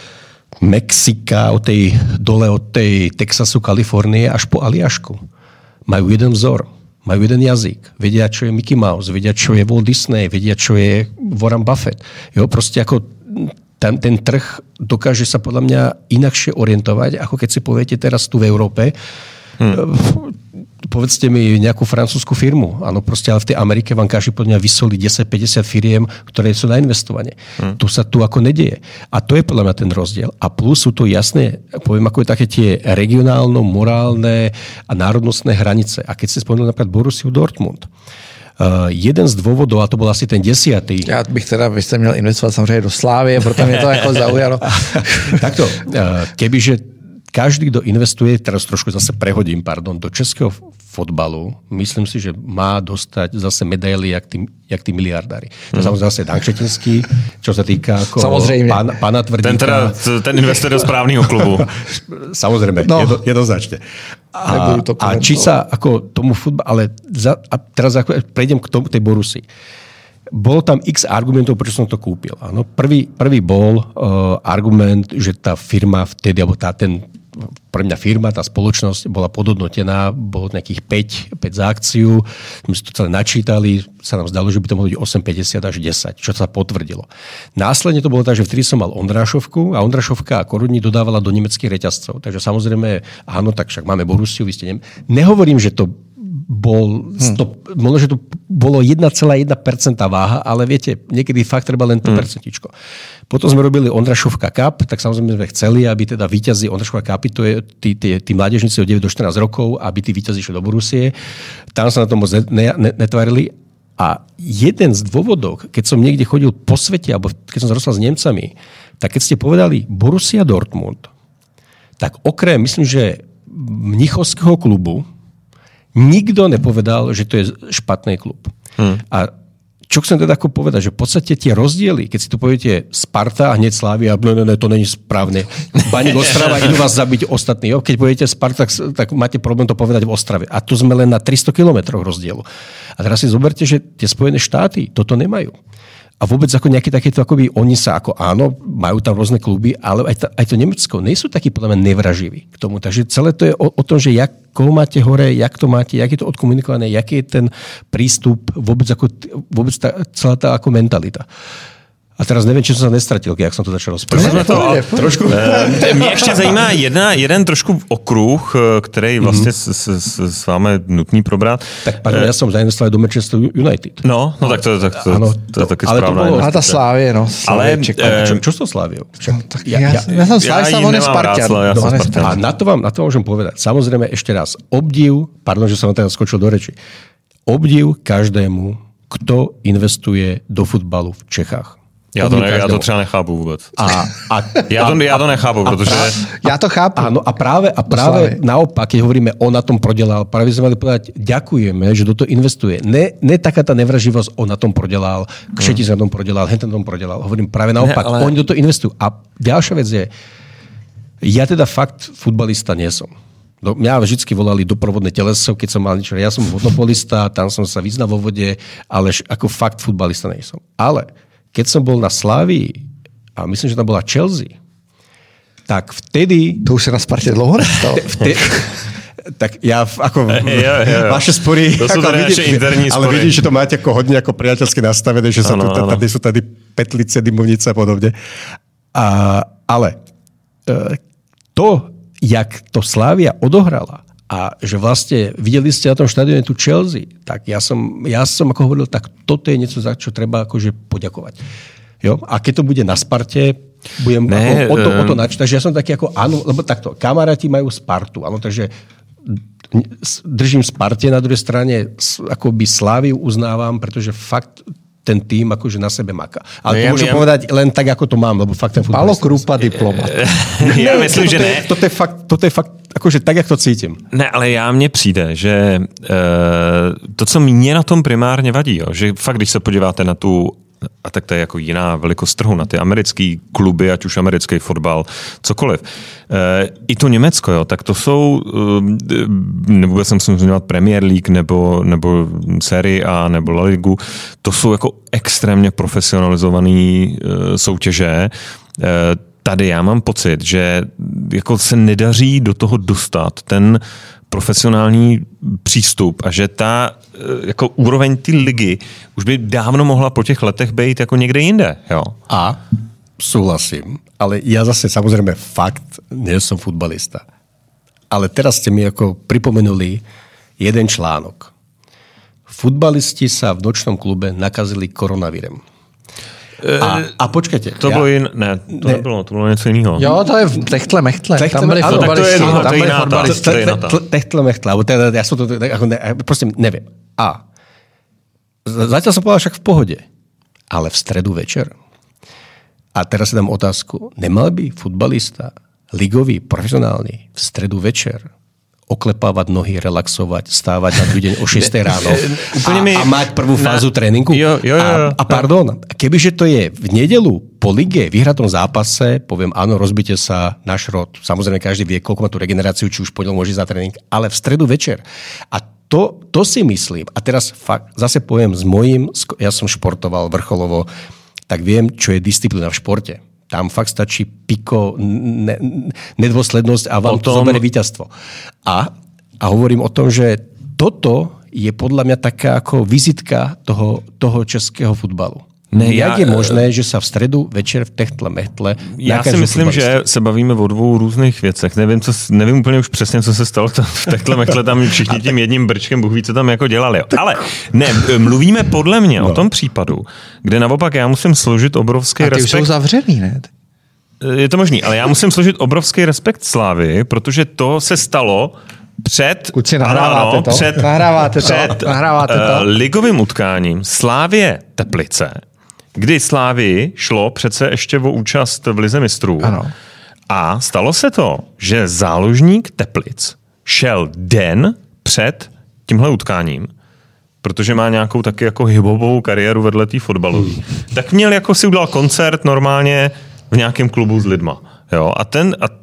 Mexika, od tej, dole od tej Texasu, Kalifornie až po Aliašku majú jeden vzor, majú jeden jazyk. Vedia, čo je Mickey Mouse, vedia, čo je Walt Disney, vedia, čo je Warren Buffett. Jo, proste ako ten, ten trh dokáže sa podľa mňa inakšie orientovať, ako keď si poviete teraz tu v Európe. Hmm. Povedzte mi nejakú francúzsku firmu. Áno, proste, ale v tej Amerike vám každý podľa mňa vysolí desať päťdesiat firiem, ktoré sú na investovanie. Hmm. Tu sa tu ako nedieje. A to je podľa mňa ten rozdiel. A plus sú to jasné, poviem, ako je také tie regionálno, morálne a národnostné hranice. A keď ste spomenuli napríklad Borussiu Dortmund, Uh, jeden z dôvodov, a to bol asi ten desiatý. Já bych teda, vy jste měl investovat samozřejmě do Slávie, proto mě to jako zaujalo. Takto, uh, kebyže každý, kto investuje, teraz trošku zase prehodím, pardon, do českého fotbalu, myslím si, že má dostať zase medaily, jak tí, jak tí miliardári. To je mm. samozrejme zase Dan Kšetinský, čo sa týka ako pán, pána Tvrdíka. Ten, teda, ten investuje do správneho klubu. Samozrejme, no. jedno, jednoznačne. A, a či sa ako tomu futbalu, ale za, a teraz ako prejdem k tomu, tej Borussii. Bolo tam x argumentov, prečo som to kúpil. Ano, prvý, prvý bol uh, argument, že tá firma vtedy, alebo tá, ten, pre mňa firma, tá spoločnosť bola podhodnotená, bolo nejakých päť, päť za akciu, my sme to celé načítali, sa nám zdalo, že by to mohlo byť osem päťdesiat až desať, čo sa potvrdilo. Následne to bolo tak, že vtedy som mal Ondrášovku a Ondrášovka a Korudní dodávala do nemeckých reťazcov. Takže samozrejme, áno, tak však máme Borussiu, vy ste nem... Nehovorím, že to bol, hmm. to, možno, že to bolo jeden celá jedna percent váha, ale viete, niekedy fakt treba len to hmm. percentičko. Potom sme robili Ondrášovka Cup, tak samozrejme sme chceli, aby teda víťazi Ondrášovka Cupy, to je tí, tí, tí mládežníci od deväť do štrnásť rokov, aby tí víťazi išli do Borussie. Tam sa na to moc netvarili. A jeden z dôvodov, keď som niekde chodil po svete, alebo keď som sa rozprával s Nemcami, tak keď ste povedali Borussia Dortmund, tak okrem, myslím, že mnichovského klubu, nikto nepovedal, že to je špatný klub. Hmm. A čo chcem teda ako povedať, že v podstate tie rozdiely, keď si to poviete Sparta a hneď Slavia, no, no, no, to není správne. Baník Ostrava, idú vás zabiť ostatní. Jo? Keď poviete Sparta, tak, tak máte problém to povedať v Ostrave. A tu sme len na tristo kilometrov rozdielu. A teraz si zoberte, že tie Spojené štáty toto nemajú. A vôbec ako nejaké takéto, akoby oni sa ako áno, majú tam rôzne kluby, ale aj, ta, aj to Nemecko nie sú takí podľa mňa nevraživí k tomu. Takže celé to je o, o tom, že jak, koho máte hore, jak to máte, jak je to odkomunikované, jaký je ten prístup, vôbec, ako, vôbec tá, celá tá ako mentalita. A teraz nevím, či jsem se nestratil, jak jsem to začal rozprávať. To, trošku. Mě ještě zajímá jedna, jeden trošku okruh, který vlastně mm-hmm. s, s, s vámi nutný probrat. Tak pardon, já jsem zainvestoval do Manchester United. No, no tak to, tak to, ano, to je taky správná. Ale ta Slávie, no. Ale čo, čo s tou Sláviou? No, tak ja, ja, ja som Slávie, on je Spartan. Ja som Spartan. A na to, vám, na to môžem povedať. Samozrejme ešte raz, obdiv, pardon, že som vám teraz skočil do reči, obdiv každému, kto investuje do futbalu v Čechách. Já to, ne, já to třeba nechápu vůbec. A, a, já, to, já to nechápu, protože... Já to chápu. Áno, a práve, a práve naopak, keď hovoríme, on na tom prodelal, práve sme mali povedať, ďakujeme, že do toho investuje. Ne, ne taká tá nevraživosť, on na tom prodelal, Kšetic na tom prodelal, hen na tom prodelal. Hovorím práve naopak, ne, ale... oni do toho investujú. A ďalšia vec je, ja teda fakt futbalista nie som. No, mňa vždycky volali doprovodné teleso, keď som mal niečo. Ja som monopolista, tam som sa vyznal vo vode, ale ako fakt futbalista nie som. Ale keď som bol na Slávii, a myslím, že tam bola Chelsea, tak vtedy... To už sa na Sparte dlouho nestalo. Vtedy, tak ja ako... Jo, jo, jo. Vaše spory... To sú tady naše interní spory. Ale vidím, že to máte ako hodne ako priateľsky nastavené, že sa ano, tu, tady sú tady petlice, dymovnice a podobne. A, ale to, jak to Slavia odohrala, a že vlastne videli ste na tom štadióne tu Chelsea, tak ja som, ja som ako hovoril, tak toto je niečo, za čo treba akože poďakovať. Jo? A keď to bude na Sparte, budem ne, ako, o to, um... o to nač. Takže ja som taký ako, áno, lebo takto, kamaráti majú Spartu, áno, takže držím Sparte, na druhej strane akoby Sláviu uznávam, pretože fakt ten tým akože na sebe maká. Ale no, to môžem ja, povedať len tak, ako to mám, lebo fakt ten futbal... Pálo Krúpa, diplomat. Já myslím, že ne. To je fakt, toto je fakt akože tak, jak to cítím. Ne, ale já mně přijde, že uh, to, co mě na tom primárně vadí, jo, že fakt, když se podíváte na tu, a tak to je jako jiná velikost trhu, na ty americký kluby, ať už americký fotbal, cokoliv. Uh, I to Německo, jo, tak to jsou, uh, nebo jsem musím zmiňovat Premier League, nebo, nebo Serie A, nebo La Ligu, to jsou jako extrémně profesionalizované uh, soutěže. Uh, Tady já mám pocit, že jako se nedaří do toho dostat ten profesionální přístup a že ta jako úroveň té ligy už by dávno mohla po těch letech být jako někde jinde. Jo? A súhlasím, ale ja zase samozrejme fakt nie som futbalista. Ale teraz ste mi ako pripomenuli jeden článok. Futbalisti sa v nočnom klube nakazili koronavírem. A, a počkejte. To já, bylo jin, ne, to ne. nebylo, to bylo něco jiného. Jo, to je v Techtle Mechtle. Techtle, tam byli fotbalisti. Tam byli fotbalisti. Techtle Mechtle, alebo teda, ja som to, ako ne, proste neviem. A zatiaľ som povedal však v pohode, ale v stredu večer. A teraz si dám otázku. Nemal by futbalista, ligový, profesionálny, v stredu večer oklepávať nohy, relaxovať, stávať na druhý deň o šiestej ráno a, mi... a mať prvú fázu na... tréninku. Jo, jo, jo, a, a pardon, kebyže to je v nedelu po lige, vyhratom zápase, poviem áno, rozbite sa na šrot. Samozrejme, každý vie, koľko má tú regeneráciu, či už podiel môže za tréning, ale v stredu večer. A to, to si myslím, a teraz fakt, zase poviem s mojím, ja som športoval vrcholovo, tak viem, čo je disciplína v športe. Tam fakt stačí piko, ne, nedôslednosť a vám tom... to zoberie víťazstvo. A, a hovorím o tom, že toto je podľa mňa taká ako vizitka toho, toho českého futbalu. Ne, Jak já, je možné, že se v středu večer v Techtle Mechtle... Já si myslím, že se bavíme o dvou různých věcech. Nevím, co, nevím úplně už přesně, co se stalo tam v Techtle Mechtle, tam všichni tím jedním brčkem, Bůh ví, co tam jako dělali. Ale ne, mluvíme podle mě no. o tom případu, kde naopak já musím složit obrovský respekt... A ty respekt. Už jsou zavřený, ne? Je to možný, ale já musím složit obrovský respekt Slávy, protože to se stalo před, Kuci, nahráváte ano, to? Před, nahráváte před to? Nahráváte to? Uh, ligovým utkáním Slávie Teplice, kdy Slávii šlo přece ještě o účast v Lize mistrů. Ano. A stalo se to, že záložník Teplic šel den před tímhle utkáním, protože má nějakou taky jako hip-hopovou kariéru vedle té fotbalové. Hmm. Tak měl jako si udělal koncert normálně v nějakém klubu s lidma. Jo? A ten... A,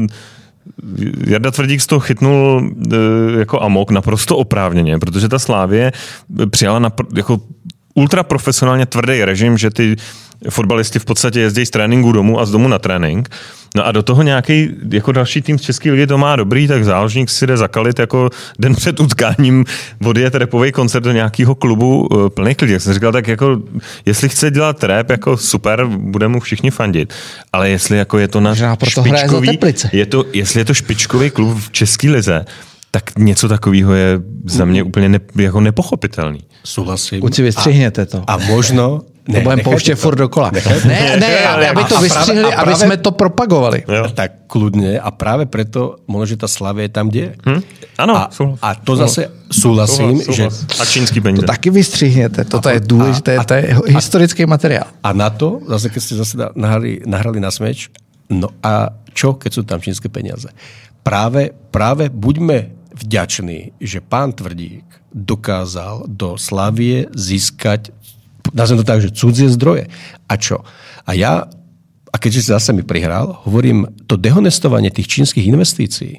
Jarda Tvrdík z toho chytnul e, jako amok naprosto oprávněně, protože ta Slávie přijala na, jako ultraprofesionálně tvrdý režim, že ty fotbalisti v podstatě jezdí z tréninku domů a z domu na trénink. No a do toho nějaký jako další tým z České ligy to má dobrý, tak záložník si jde zakalit jako den před utkáním odjet rapový koncert do nějakého klubu uh, plných lidí. Jak jsem říkal, tak jako jestli chce dělat rap, jako super, bude mu všichni fandit. Ale jestli jako je to na špičkový, je to, jestli je to špičkový klub v České lize, tak něco takového je za mě úplně ne, jako nepochopitelný. Souhlasím. Kuci, vystřihněte to. A možno... Ne, to budeme pouštět furt dokola. Ne, ne, aby, aby to vystřihli, aby práve, jsme to propagovali. Jo. Tak kľudne a práve preto možno, že tá Slavia je tam, kde je. Hm? Ano, a, a to zase súhlasím, že... A čínský peníze. To taky vystřihněte, toto je důležité, to je historický materiál. A na to, zase keď ste zase nahrali, nahrali na smeč, no a čo, keď sú tam čínske peniaze? Práve, práve buďme vďační, že pán Tvrdík dokázal do Slavie získať, nazvem to tak, že cudzie zdroje. A čo? A ja, a keďže si zase mi prihral, hovorím, to dehonestovanie tých čínskych investícií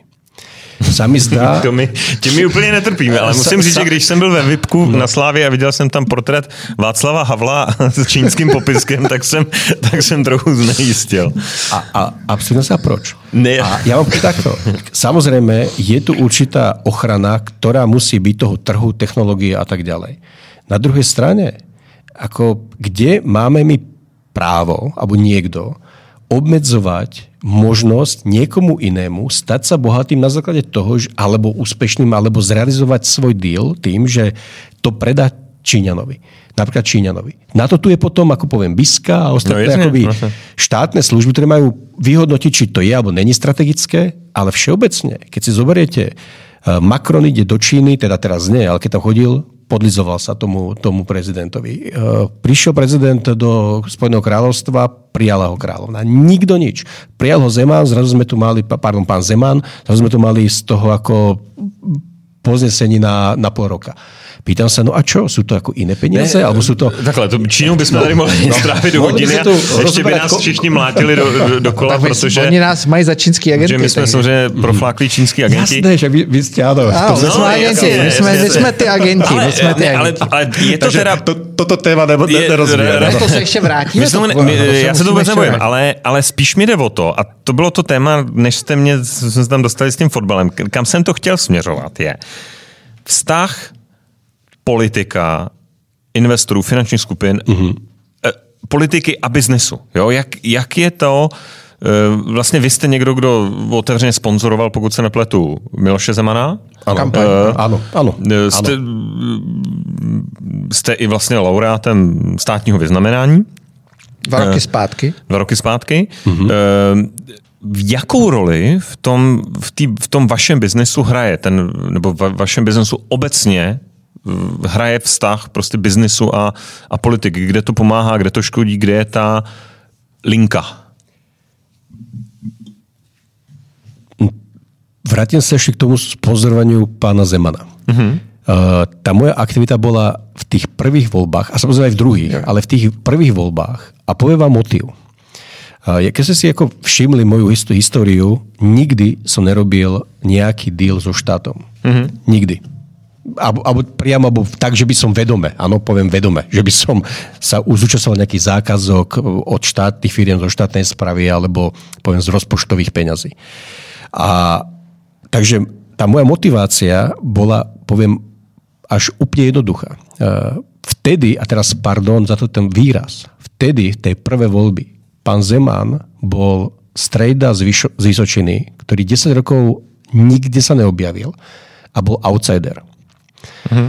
sa mi zdá... to my, tím my úplně netrpíme, ale musím říct, že když jsem byl ve VIPku no. na Slávě a viděl jsem tam portrét Václava Havla s čínským popiskem, tak jsem, tak jsem trochu znejistil. A, a absolutně sa proč? Ne. A ja vám takto. Samozrejme, je tu určitá ochrana, ktorá musí byť toho trhu, technológie a tak ďalej. Na druhej strane, ako kde máme my právo, alebo niekto, obmedzovať možnosť niekomu inému stať sa bohatým na základe toho, že, alebo úspešným, alebo zrealizovať svoj deal tým, že to predá Číňanovi. Napríklad Číňanovi. Na to tu je potom, ako poviem, Biska a ostatné no, akoby štátne služby, ktoré majú vyhodnotiť, či to je alebo není strategické, ale všeobecne, keď si zoberiete Macron ide do Číny, teda teraz nie, ale keď tam chodil, podlizoval sa tomu, tomu prezidentovi. Prišiel prezident do Spojeného kráľovstva, prijala ho kráľovna. Nikto nič. Prijal ho Zeman, zrazu sme tu mali, pardon, pán Zeman, zrazu sme tu mali z toho ako poznesení na, na pol roka. Pýtam sa, no a čo? Sú to ako iné peniaze? Ne, alebo sú to... Takhle, to Čínou bychom no, tady mohli no, strávit do hodiny a ještě by nás ko... všichni mlátili do, do, do kola, no, protože... Oni nás mají za čínský agenty. Že my jsme samozřejmě profláklí čínský agenti. Jasné, že vy, vy jste, áno. Áno, my jsme agenti, my jsme, my jsme ty agenti. Ale, my jsme ty ale, agenti. ale je to teda... To, toto téma ne, ne, nerozvíjeme. Ne, to se ještě vrátíme. To, to, já se to vůbec nebojím, ale, ale spíš mi jde o to, a to bylo to téma, než jste mě jsme se tam dostali s tím fotbalem, kam jsem to chtěl směřovat, je vztah politika, investorů, finančních skupin, mm-hmm. eh, politiky a biznesu. Jo? Jak, jak je to, eh, vlastně vy jste někdo, kdo otevřeně sponzoroval, pokud se nepletu, Miloše Zemana? Ano, eh, ano, ano. Jste, ano. Jste i vlastně laureátem státního vyznamenání. Dva roky zpátky. Dva roky zpátky. Mm-hmm. Eh, v jakou roli v tom, v, tý, v tom vašem biznesu hraje ten, nebo v vašem biznesu obecně hraje vztah prostě biznesu a, a politiky, kde to pomáhá, kde to škodí, kde je ta linka? Vrátim sa ešte k tomu sponzorovaniu pána Zemana. Uh-huh. Uh, tá moja aktivita bola v tých prvých voľbách, a samozrejme aj v druhých, yeah. ale v tých prvých voľbách, a poviem vám motív. Uh, keď ste si ako všimli moju históriu, nikdy som nerobil nejaký deal so štátom. Uh-huh. Nikdy. Alebo, alebo priamo, alebo tak, že by som vedome, áno, poviem vedome, že by som sa zúčastňoval nejaký zákazok od štátnych firiem, zo štátnej správy, alebo poviem z rozpočtových peňazí. A takže tá moja motivácia bola, poviem, až úplne jednoduchá. Vtedy, a teraz pardon za to ten výraz, vtedy, v tej prvé voľby, pán Zeman bol strejda z, Vyšo, z Vysočiny, ktorý desať rokov nikde sa neobjavil a bol outsider. Uh-huh.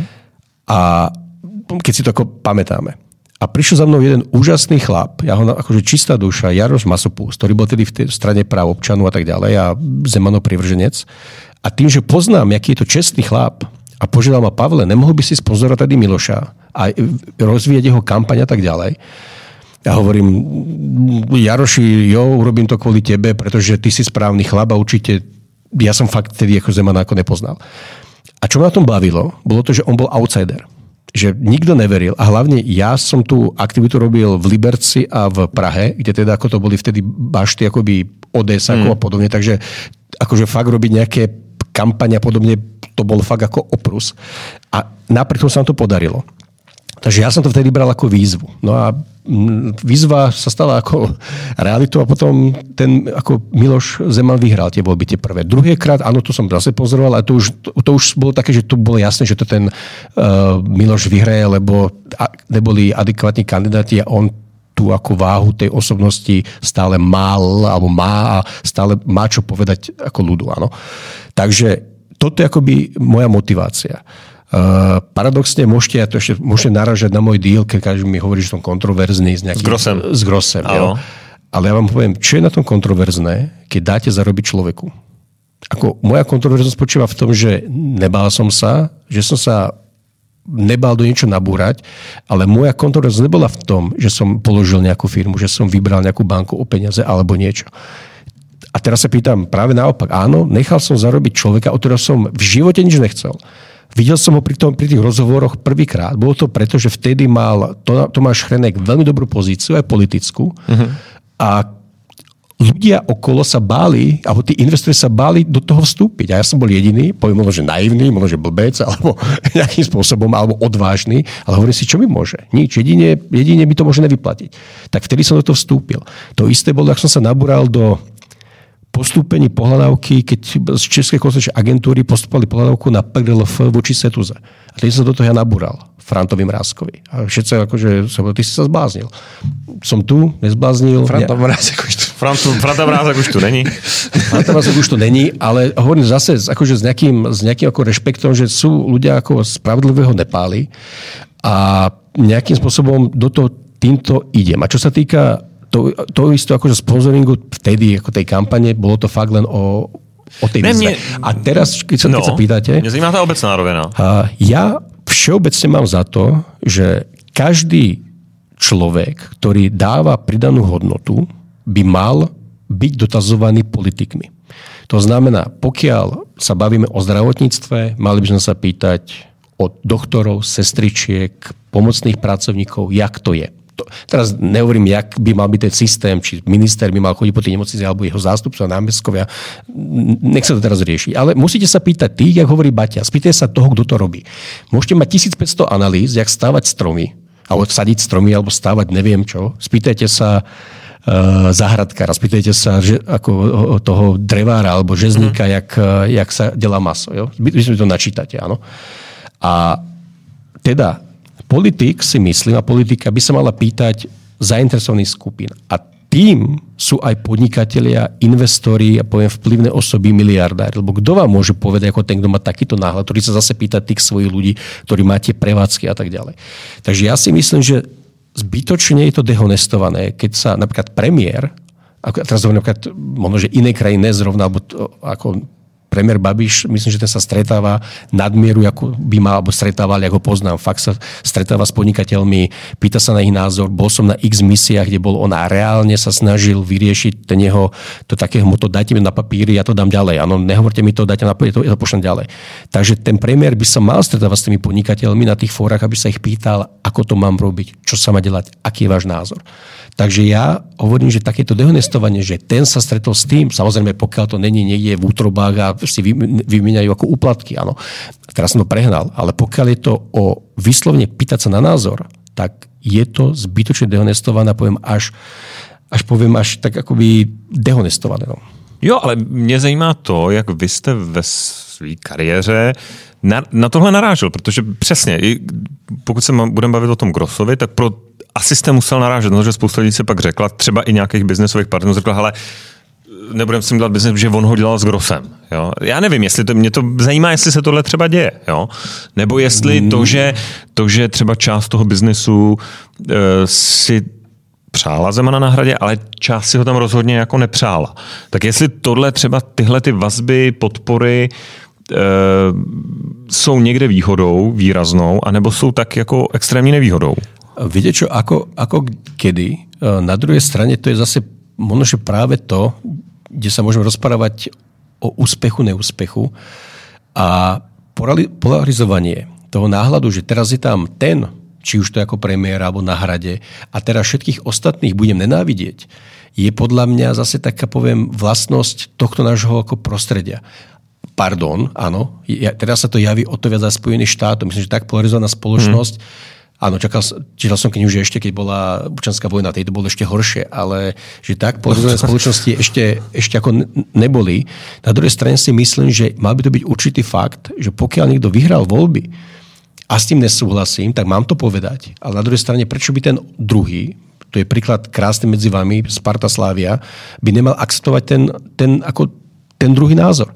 A keď si to ako pamätáme. A prišiel za mnou jeden úžasný chlap, ja ho akože čistá duša, Jaroš Masopust, ktorý bol tedy v tej strane práv občanov a tak ďalej a Zemanov privrženec. A tým, že poznám, aký je to čestný chlap a požiadal ma, Pavle, nemohol by si sponzorovať tady Miloša a rozvíjať jeho kampaň a tak ďalej. Ja hovorím, Jaroši, jo, urobím to kvôli tebe, pretože ty si správny chlap a určite ja som fakt tedy ako Zemana ako nepoznal. A čo ma na tom bavilo, bolo to, že on bol outsider. Že nikto neveril. A hlavne ja som tú aktivitu robil v Liberci a v Prahe, kde teda ako to boli vtedy bašty akoby Odesákov mm. a podobne. Takže akože fakt robiť nejaké kampane a podobne, to bol fakt ako oprus. A napriek tomu sa nám to podarilo. Takže ja som to vtedy bral ako výzvu. No a výzva sa stala ako realitou a potom ten ako Miloš Zeman vyhral tie voľby, tie prvé. Druhýkrát, áno, to som zase pozoroval, ale to už, to, to už bolo také, že to bolo jasné, že to ten uh, Miloš vyhraje, lebo neboli adekvátni kandidáti a on tú ako váhu tej osobnosti stále mal, alebo má a stále má čo povedať ako ľudu, áno. Takže toto je akoby moja motivácia. Uh, paradoxne môžete, ja to ešte môžete naražať na môj deal, keď každý mi hovorí, že som kontroverzný s nejakým... S Grossem. S Grossem, jo. Ale ja vám poviem, čo je na tom kontroverzné, keď dáte zarobiť človeku. Ako moja kontroverznosť spočíva v tom, že nebál som sa, že som sa nebál do niečo nabúrať, ale moja kontroverznosť nebola v tom, že som položil nejakú firmu, že som vybral nejakú banku o peniaze alebo niečo. A teraz sa pýtam, práve naopak, áno, nechal som zarobiť človeka, od ktorého som v živote nič nechcel. Videl som ho pri, tom, pri tých rozhovoroch prvýkrát. Bolo to preto, že vtedy mal Tomáš Chrenek veľmi dobrú pozíciu, aj politickú. Uh-huh. A ľudia okolo sa báli, alebo tí investori sa báli do toho vstúpiť. A ja som bol jediný, poviem možno, že naivný, možno, že blbec, alebo nejakým spôsobom, alebo odvážny. Ale hovorím si, čo mi môže? Nič. Jedine, jedine mi to môže nevyplatiť. Tak vtedy som do toho vstúpil. To isté bolo, ak som sa nabúral do postúpení pohľadávky, keď z Českej konzultačnej agentúry postupovali pohľadávku na pé er el ef voči Setuze. A teď som do toho ja nabúral, Frantovi Mrázkovi. A všetci akože, ty si sa zbláznil. Som tu, nezbláznil. Franta Mrázek už tu. Franta Mrázek už tu není. Franta Mrázek už tu není, ale hovorím zase akože s nejakým, s nejakým ako rešpektom, že sú ľudia ako spravodlivého nepáli a nejakým spôsobom do toho týmto idem. A čo sa týka To, to isto akože sponzoringu vtedy, ako tej kampane, bolo to fakt len o o tej výzve. A teraz, keď sa, no, keď sa pýtate... Mňa zajímá tá obecná rovina. Ja všeobecne mám za to, že každý človek, ktorý dáva pridanú hodnotu, by mal byť dotazovaný politikmi. To znamená, pokiaľ sa bavíme o zdravotníctve, mali by sme sa pýtať od doktorov, sestričiek, pomocných pracovníkov, jak to je. To, teraz nehovorím, jak by mal byť ten systém, či minister by mal chodiť po tej nemocnici, alebo jeho zástupcovia, námestkovia. Nech sa to teraz rieši. Ale musíte sa pýtať tých, jak hovorí Baťa. Spýtajte sa toho, kto to robí. Môžete mať tisícpäťsto analýz, jak stávať stromy, alebo sadiť stromy, alebo stávať neviem čo. Spýtajte sa uh, záhradkára, spýtajte sa že, ako, toho drevára, alebo žezníka, mm. jak, jak sa delá maso. Jo? Vy si to načítate, áno. A teda politik si myslím, a politika by sa mala pýtať zainteresovaných skupín. A tým sú aj podnikatelia, investori a poviem vplyvné osoby, miliardári. Lebo kto vám môže povedať, ako ten, kto má takýto náhľad, ktorý sa zase pýta tých svojich ľudí, ktorí máte prevádzky a tak ďalej. Takže ja si myslím, že zbytočne je to dehonestované, keď sa napríklad premiér, ako teraz hovorím napríklad možno, že inej krajine zrovna, alebo to, ako premiér Babiš, myslím, že ten sa stretáva nadmieru, ako by mal, alebo stretával, ako ho poznám. Fakt sa stretáva s podnikateľmi, pýta sa na ich názor. Bol som na X misiách, kde bol on a reálne sa snažil vyriešiť ten jeho, to takého moto, dajte mi na papíry, ja to dám ďalej. Áno, nehovorte mi to, dajte na papíry, ja to pošlem ďalej. Takže ten premiér by sa mal stretávať s tými podnikateľmi na tých fórach, aby sa ich pýtal, ako to mám robiť, čo sa má delať, aký je váš názor. Takže ja hovorím, že takéto dehonestovanie, že ten sa stretol s tým, samozrejme, pokiaľ to není niekde v útrobách a si vymieňajú ako úplatky, áno. Teraz som to prehnal, ale pokiaľ je to o vyslovne pýtať sa na názor, tak je to zbytočne dehonestované, poviem až, až poviem až tak akoby dehonestované. No. Jo, ale mě zajímá to, jak vy jste ve své kariéře na, na tohle narážel, protože přesně, pokud se budeme bavit o tom Grossovi, tak pro asi jste musel narážet, no, že spousta lidí se pak řekla, třeba i nějakých biznesových partnerů, řekla, hele, nebudeme s tím dělat biznes, že on ho dělal s Grossem. Jo? Já nevím, jestli to, mě to zajímá, jestli se tohle třeba děje. Jo? Nebo jestli to, že, to, že třeba část toho biznesu e, si přála Zemana na Hradě, ale část si ho tam rozhodně jako nepřála. Tak jestli tohle třeba tyhle ty vazby, podpory e, jsou někde výhodou výraznou, anebo jsou tak jako extrémní nevýhodou. Viete čo, ako, ako kedy? Na druhej strane to je zase možno, že práve to, kde sa môžeme rozprávať o úspechu, neúspechu a polarizovanie toho náhľadu, že teraz je tam ten, či už to ako premiér alebo na Hrade a teraz všetkých ostatných budem nenávidieť, je podľa mňa zase taká, poviem, vlastnosť tohto nášho ako prostredia. Pardon, áno, ja, teraz sa to javí o to viac za Spojených štátov. Myslím, že tak polarizovaná spoločnosť hmm. Áno, čakal, čítal som knihu, že ešte keď bola občianská vojna, tej to bolo ešte horšie, ale že tak polarizované spoločnosti ešte, ešte ako neboli. Na druhej strane si myslím, že mal by to byť určitý fakt, že pokiaľ niekto vyhral voľby a s tým nesúhlasím, tak mám to povedať. Ale na druhej strane, prečo by ten druhý, to je príklad krásny medzi vami, Sparta Slavia, by nemal akceptovať ten, ten, ako, ten druhý názor.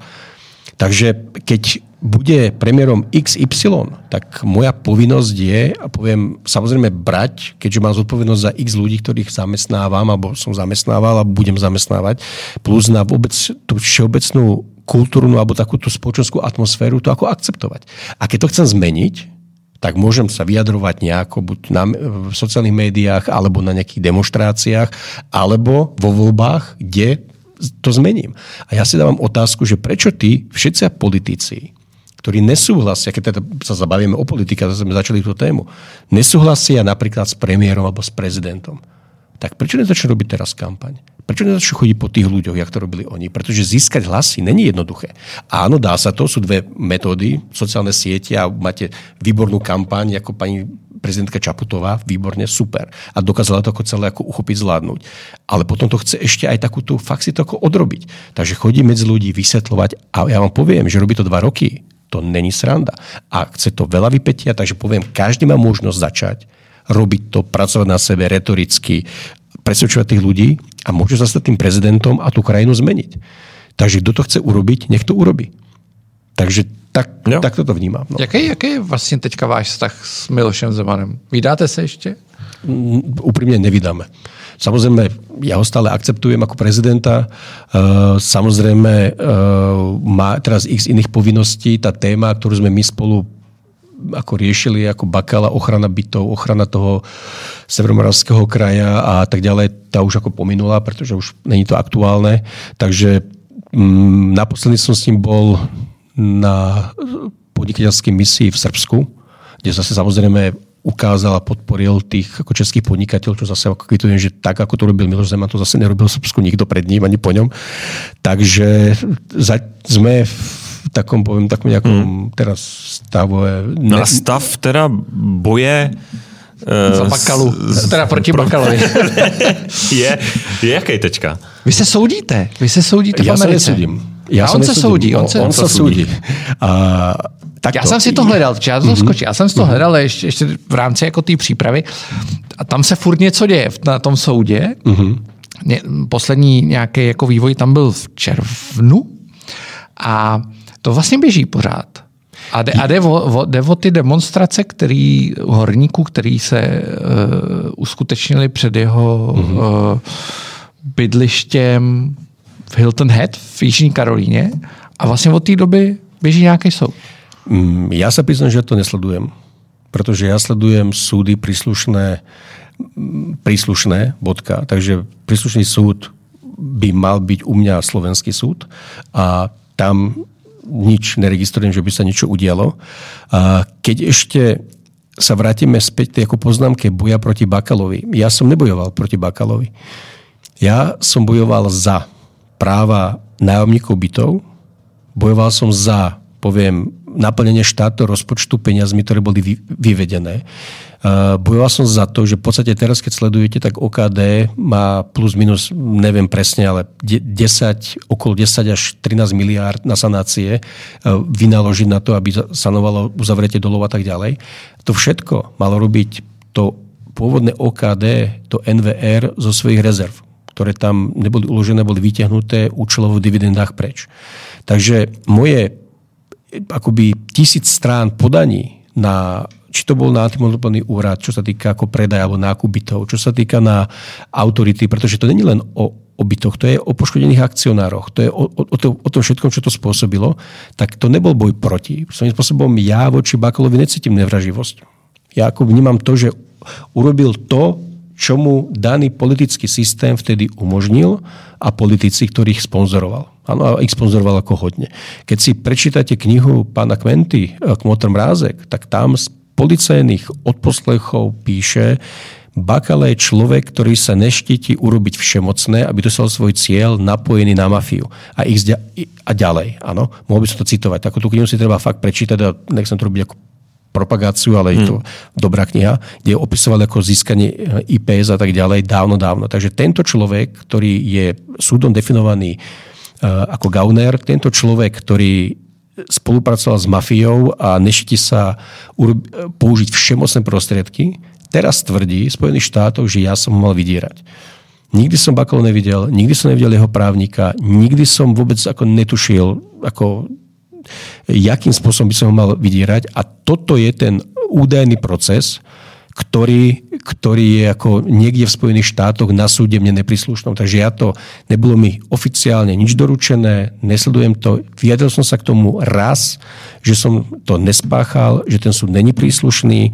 Takže keď bude premiérom iks ypsilon, tak moja povinnosť je, a poviem, samozrejme brať, keďže mám zodpovednosť za x ľudí, ktorých zamestnávam, alebo som zamestnával a budem zamestnávať, plus na vôbec tú všeobecnú kultúrnu alebo takúto spoločenskú atmosféru, to ako akceptovať. A keď to chcem zmeniť, tak môžem sa vyjadrovať nejako buď na, v sociálnych médiách, alebo na nejakých demonštráciách, alebo vo voľbách, kde to zmením. A ja si dávam otázku, že prečo tí všetci politici, ktorí nesúhlasia, keď teda sa zabavíme o politike, zase sme začali tú tému, nesúhlasia napríklad s premiérom alebo s prezidentom, tak prečo nezačnú robiť teraz kampaň? Prečo nezačnú chodiť po tých ľuďoch, jak to robili oni? Pretože získať hlasy není jednoduché. Áno, dá sa to, sú dve metódy, sociálne siete a máte výbornú kampaň, ako pani prezidentka Čaputová, výborne, super. A dokázala to ako celé ako uchopiť, zvládnuť. Ale potom to chce ešte aj takúto, fakt si to ako odrobiť. Takže chodí medzi ľudí, vysvetľovať a ja vám poviem, že robí to dva roky. To není sranda. A chce to veľa vypätia, takže poviem, každý má možnosť začať robiť to, pracovať na sebe retoricky, presvedčovať tých ľudí a môže sa stať tým prezidentom a tú krajinu zmeniť. Takže kto to chce urobiť, nech to urobí. Takže tak, tak toto vnímám. No. Jaký, jaký je vlastně teďka váš vztah s Milošem Zemanem? Vídáte se ještě? úprimne nevydáme. Samozrejme, ja ho stále akceptujem ako prezidenta. Samozrejme, má teraz x iných povinností. Tá téma, ktorú sme my spolu ako riešili, ako Bakala, ochrana bytov, ochrana toho Severomoravského kraja a tak ďalej, tá už ako pominula, pretože už není to aktuálne. Takže naposledy som s ním bol na podnikateľskej misii v Srbsku, kde zase samozrejme ukázal a podporil tých ako českých podnikateľov, čo zase ako kvitujem, že tak, ako to robil Miloš Zeman, to zase nerobil v Srbsku nikto pred ním, ani po ňom. Takže za, sme v takom, poviem, takom nejakom hmm. teraz stave... Ne... No a stav teda boje... Uh, za Bakalu. S... Teda proti Bakalovi. je, je jaký teďka? Vy se soudíte. Vy se soudíte ja v Americe. Ja sa nesúdim. Ja a on se soudí. On, on, on sa súdi. A tak já jsem si to hledal, já to mm-hmm. skočil, já jsem si to hledal ještě, ještě v rámci jako té přípravy a tam se furt něco děje na tom soudě. Mm-hmm. Poslední nějaký jako vývoj tam byl v červnu a to vlastně běží pořád. A jde, a jde, o, jde o ty demonstrace, který horníků, který se uh, uskutečnili před jeho mm-hmm. uh, bydlištěm v Hilton Head v Jižní Karolíně a vlastně od té doby běží nějaký soud. Ja sa priznám, že to nesledujem, pretože ja sledujem súdy príslušné, príslušné, bodka, takže príslušný súd by mal byť u mňa slovenský súd a tam nič neregistrujem, že by sa niečo udialo. A keď ešte sa vrátime späť tej ako poznámke boja proti Bakalovi, ja som nebojoval proti Bakalovi. Ja som bojoval za práva nájomníkov bytov, bojoval som za, poviem, naplnenie štátneho rozpočtu peniazmi, ktoré boli vyvedené. Bojoval som za to, že v podstate teraz, keď sledujete, tak ó ká dé má plus minus, neviem presne, ale desať, okolo desať až trinásť miliárd na sanácie vynaložiť na to, aby sanovalo uzavretie dolov a tak ďalej. To všetko malo robiť to pôvodné ó ká dé, to en vé er zo svojich rezerv, ktoré tam neboli uložené, boli vyťahnuté účelovo v dividendách preč. Takže moje akoby tisíc strán podaní na, či to bol na antimonopolný úrad, čo sa týka ako predaj alebo nákup bytov, čo sa týka na autority, pretože to nie je len o, o bytoch, to je o poškodených akcionároch, to je o, o, o, to, o tom všetkom, čo to spôsobilo, tak to nebol boj proti. Svojím spôsobom ja voči Bakalovi necítim nevraživosť. Ja ako vnímam to, že urobil to, čo mu daný politický systém vtedy umožnil a politici, ktorých sponzoroval. Áno, a ich sponzoroval ako hodne. Keď si prečítate knihu pána Kmenty Kmotr Mrázek, tak tam z policajných odposlechov píše, Bakala je človek, ktorý sa neštíti urobiť všemocné, aby dosiahol svoj cieľ napojený na mafiu. A, ich zďa, a ďalej. Áno, mohol by som to citovať. Takú tú knihu si treba fakt prečítať a nechcem to robiť ako propagáciu, ale je to hmm. dobrá kniha, kde opisoval ako získanie í pé es a tak ďalej dávno, dávno. Takže tento človek, ktorý je súdom definovaný uh, ako gauner, tento človek, ktorý spolupracoval s mafiou a neštíti sa urob- použiť všemocné prostriedky, teraz tvrdí v Spojených štátoch, že ja som ho mal vydierať. Nikdy som Bakalu nevidel, nikdy som nevidel jeho právnika, nikdy som vôbec ako netušil, ako jakým spôsobom by som ho mal vydierať. A toto je ten údajný proces, ktorý, ktorý je ako niekde v Spojených štátoch na súde mne nepríslušnom. Takže ja to, nebolo mi oficiálne nič doručené, nesledujem to. Vyjadril som sa k tomu raz, že som to nespáchal, že ten súd není príslušný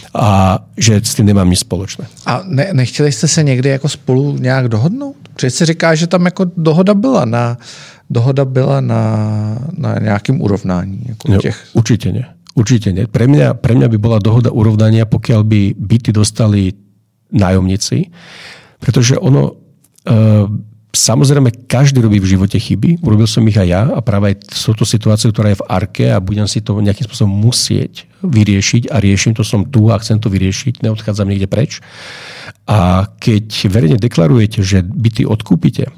a že s tím nemám nic společné. A ne, nechtěli jste se někdy jako spolu nějak dohodnout? Protože se říká, že tam jako dohoda byla na, dohoda byla na, na nějakým urovnání. Jako těch... no, určitě ne. Určite nie. Pre mňa, pre mňa by bola dohoda urovnania, pokiaľ by byty dostali nájomníci, pretože ono, e, samozrejme, každý robí v živote chyby, urobil som ich aj ja a práve aj sú to situácie, ktorá je v Arke a budem si to nejakým spôsobom musieť vyriešiť a riešim to, som tu a chcem to vyriešiť, neodchádzam niekde preč. A keď verejne deklarujete, že byty odkúpite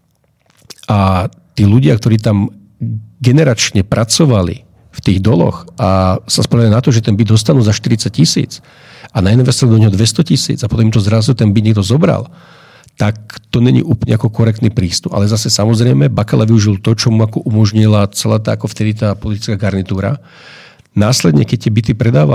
a tí ľudia, ktorí tam generačne pracovali v tých doloch a sa spoliehajú na to, že ten byt dostanú za štyridsať tisíc a nainvestujú do neho dvesto tisíc a potom im to zrazu ten byt niekto zobral, tak to není úplne ako korektný prístup. Ale zase samozrejme Bakala využil to, čo mu ako umožnila celá tá ako vtedy tá politická garnitúra. Následne, keď tie byty predával,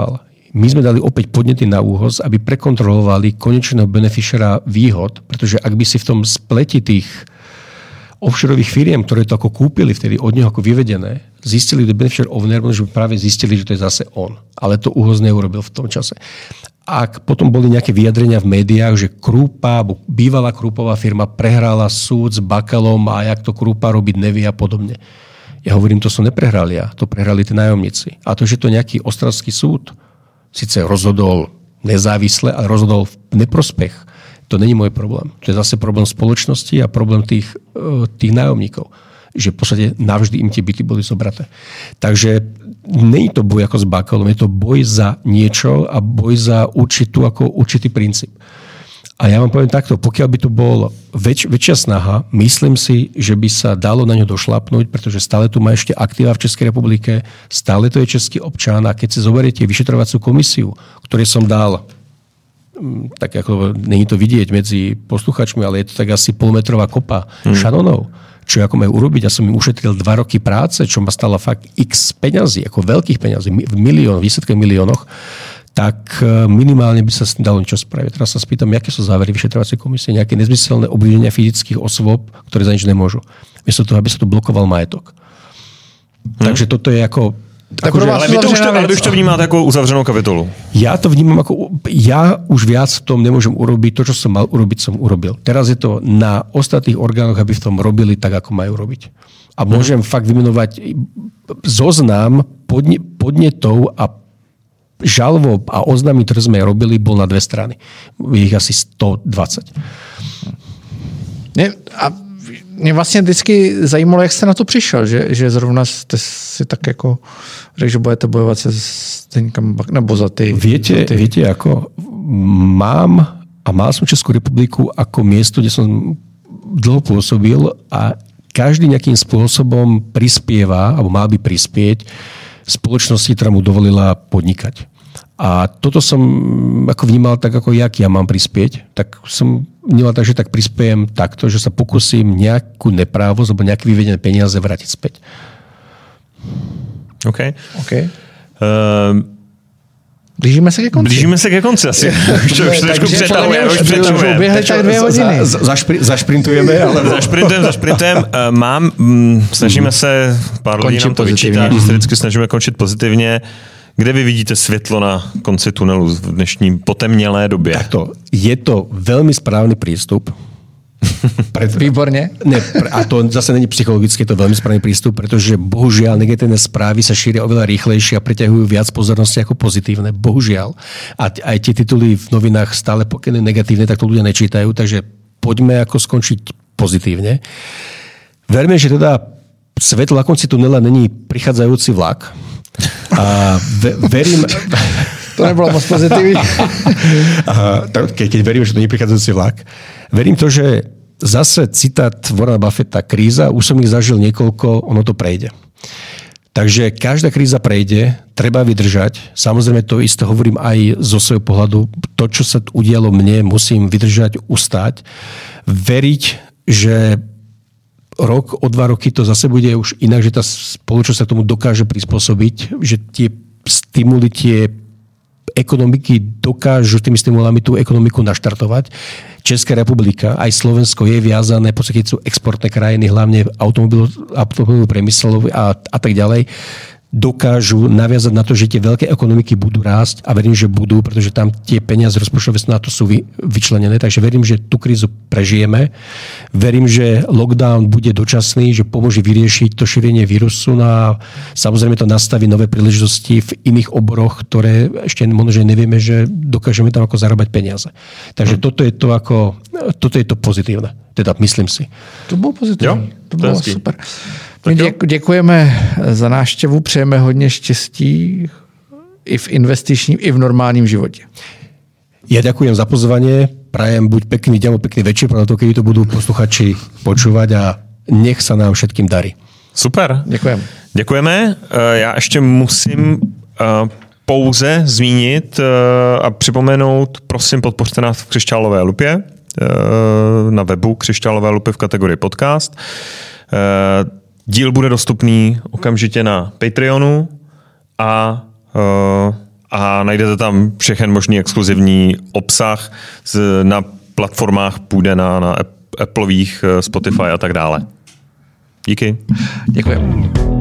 My sme dali opäť podnety na úhoz, aby prekontrolovali konečného beneficiara výhod, pretože ak by si v tom spleti tých offshoreových firiem, ktoré to ako kúpili vtedy od neho ako vyvedené, zistili, že beneficiary owner, že práve zistili, že to je zase on. Ale to úhoz neurobil v tom čase. Ak potom boli nejaké vyjadrenia v médiách, že Krúpa, bývalá Krúpová firma prehrala súd s Bakalom a jak to Krúpa robiť nevie a podobne. Ja hovorím, to som neprehrali ja, to prehrali tí nájomníci. A to, že to nejaký ostravský súd síce rozhodol nezávisle, ale rozhodol v neprospech, to není môj problém. To je zase problém spoločnosti a problém tých, tých nájomníkov. Že v podstate navždy im tie byty boli zobraté. Takže nie je to boj ako s Bakalom, je to boj za niečo a boj za určitú, ako určitý princíp. A ja vám poviem takto, pokiaľ by to bol väč, väčšia snaha, myslím si, že by sa dalo na ňo došlapnúť, pretože stále tu má ešte aktíva v Českej republike, stále to je český občan a keď si zoberiete vyšetrovaciu komisiu, ktoré som dal, tak ako není to vidieť medzi posluchačmi, ale je to tak asi polmetrová kopa hmm. šanonov, čo ako majú urobiť. Ja som im ušetril dva roky práce, čo ma stalo fakt x peňazí, ako veľkých peňazí, v miliónoch, výsledke miliónoch, tak minimálne by sa dalo niečo spraviť. Teraz sa spýtam, aké sú závery vyšetrovacej komisie, nejaké nezmyselné obvinenia fyzických osôb, ktoré za nič nemôžu. Miesto toho, aby sa tu blokoval majetok. Hmm. Takže toto je ako... Tak akože, ale, vy to už to, ale vy už to vnímáte ako uzavřenou kapitolu. Ja to vnímam ako... Ja už viac v tom nemôžem urobiť. To, čo som mal urobiť, som urobil. Teraz je to na ostatných orgánoch, aby v tom robili tak, ako majú robiť. A môžem hmm. fakt vymenovať zoznam podne, podnetov a žalob a oznámy, ktoré sme robili, bol na dve strany. Je ich asi sto dvadsať. Ne, a mě vlastně vždycky zajímalo, jak jste na to přišel, že, že zrovna jste si tak jako řekl, že budete bojovat se Zdeňkem Bak, nebo za ty... Viete, za ty... viete ako mám a mal som Českú republiku ako miesto, kde som dlho pôsobil a každý nejakým spôsobom prispieva, alebo mal by prispieť spoločnosti, ktorá mu dovolila podnikať. A toto som ako vnímal tak, ako jak ja mám prispieť, tak som vnímal tak, že tak prispiejem takto, že sa pokúsim nejakú neprávosť alebo nejaké vyvedené peniaze vrátiť späť. OK. okay. Uh, blížíme se ke konci. Blížíme se ke konci asi. Už to trošku přetahuje. Už přetahuje. Uběhly tak dvě hodiny. Za, za, zašprintujeme. Ale... Zašprintujeme, zašprintujeme. Mám, mm, snažíme se, pár lidí nám to vyčítá, že se vždycky snažíme končit pozitivně. Kde vy vidíte světlo na konci tunelu v dnešní potemnělé době? Takto, je to veľmi správny prístup. Pred... Výborne. Ne, a to zase není psychologicky, to veľmi správny prístup, pretože bohužiaľ negatívne správy sa šíria oveľa rýchlejšie a preťahujú viac pozornosti ako pozitívne. Bohužiaľ. A aj tie tituly v novinách stále pokiaľ negatívne, tak to ľudia nečítajú, takže poďme ako skončiť pozitívne. Verme, že teda svetlo na konci tunela není prichádzajúci vlak. A ve, verím... To nebolo moc pozitívne. Keď, keď verím, že to nie je prichádzajúci vlak. Verím to, že zase citát Warrena Buffetta, kríza, už som ich zažil niekoľko, ono to prejde. Takže každá kríza prejde, treba vydržať. Samozrejme to isté hovorím aj zo svojho pohľadu. To, čo sa udialo mne, musím vydržať, ustáť. Veriť, že rok, o dva roky to zase bude už inak, že tá spoločnosť sa tomu dokáže prispôsobiť, že tie stimuly, tie ekonomiky dokážu tými stimulami tú ekonomiku naštartovať. Česká republika, aj Slovensko je viazané, v podstate sú exportné krajiny, hlavne automobilový priemysel a, a tak ďalej, dokážu naviazať na to, že tie veľké ekonomiky budú rásť a verím, že budú, pretože tam tie peniaze rozpočtové na to sú vy, vyčlenené. Takže verím, že tú krízu prežijeme. Verím, že lockdown bude dočasný, že pomôže vyriešiť to šírenie vírusu a samozrejme to nastaví nové príležitosti v iných oboroch, ktoré ešte možno, že nevieme, že dokážeme tam ako zarábať peniaze. Takže hmm. toto je to ako, toto je to pozitívne. Teda myslím si. To bolo pozitívne. To bolo super. My děkujeme za návštěvu, přejeme hodně štěstí i v investičním, i v normálním životě. Ja ďakujem za pozvanie, prajem buď pekný deň, pekný večer, preto keď to budú posluchači počúvať a nech sa nám všetkým darí. Super. Děkujeme. Děkujeme. Já ještě musím pouze zmínit a připomenout, prosím, podpořte nás v Křišťálové lupě, na webu Křišťálové lupy v kategorii podcast. Díl bude dostupný okamžitě na Patreonu a, a najdete tam všechen možný exkluzivní obsah z, na platformách, půjde na, na Appleových, Spotify a tak dále. Díky. Děkuji.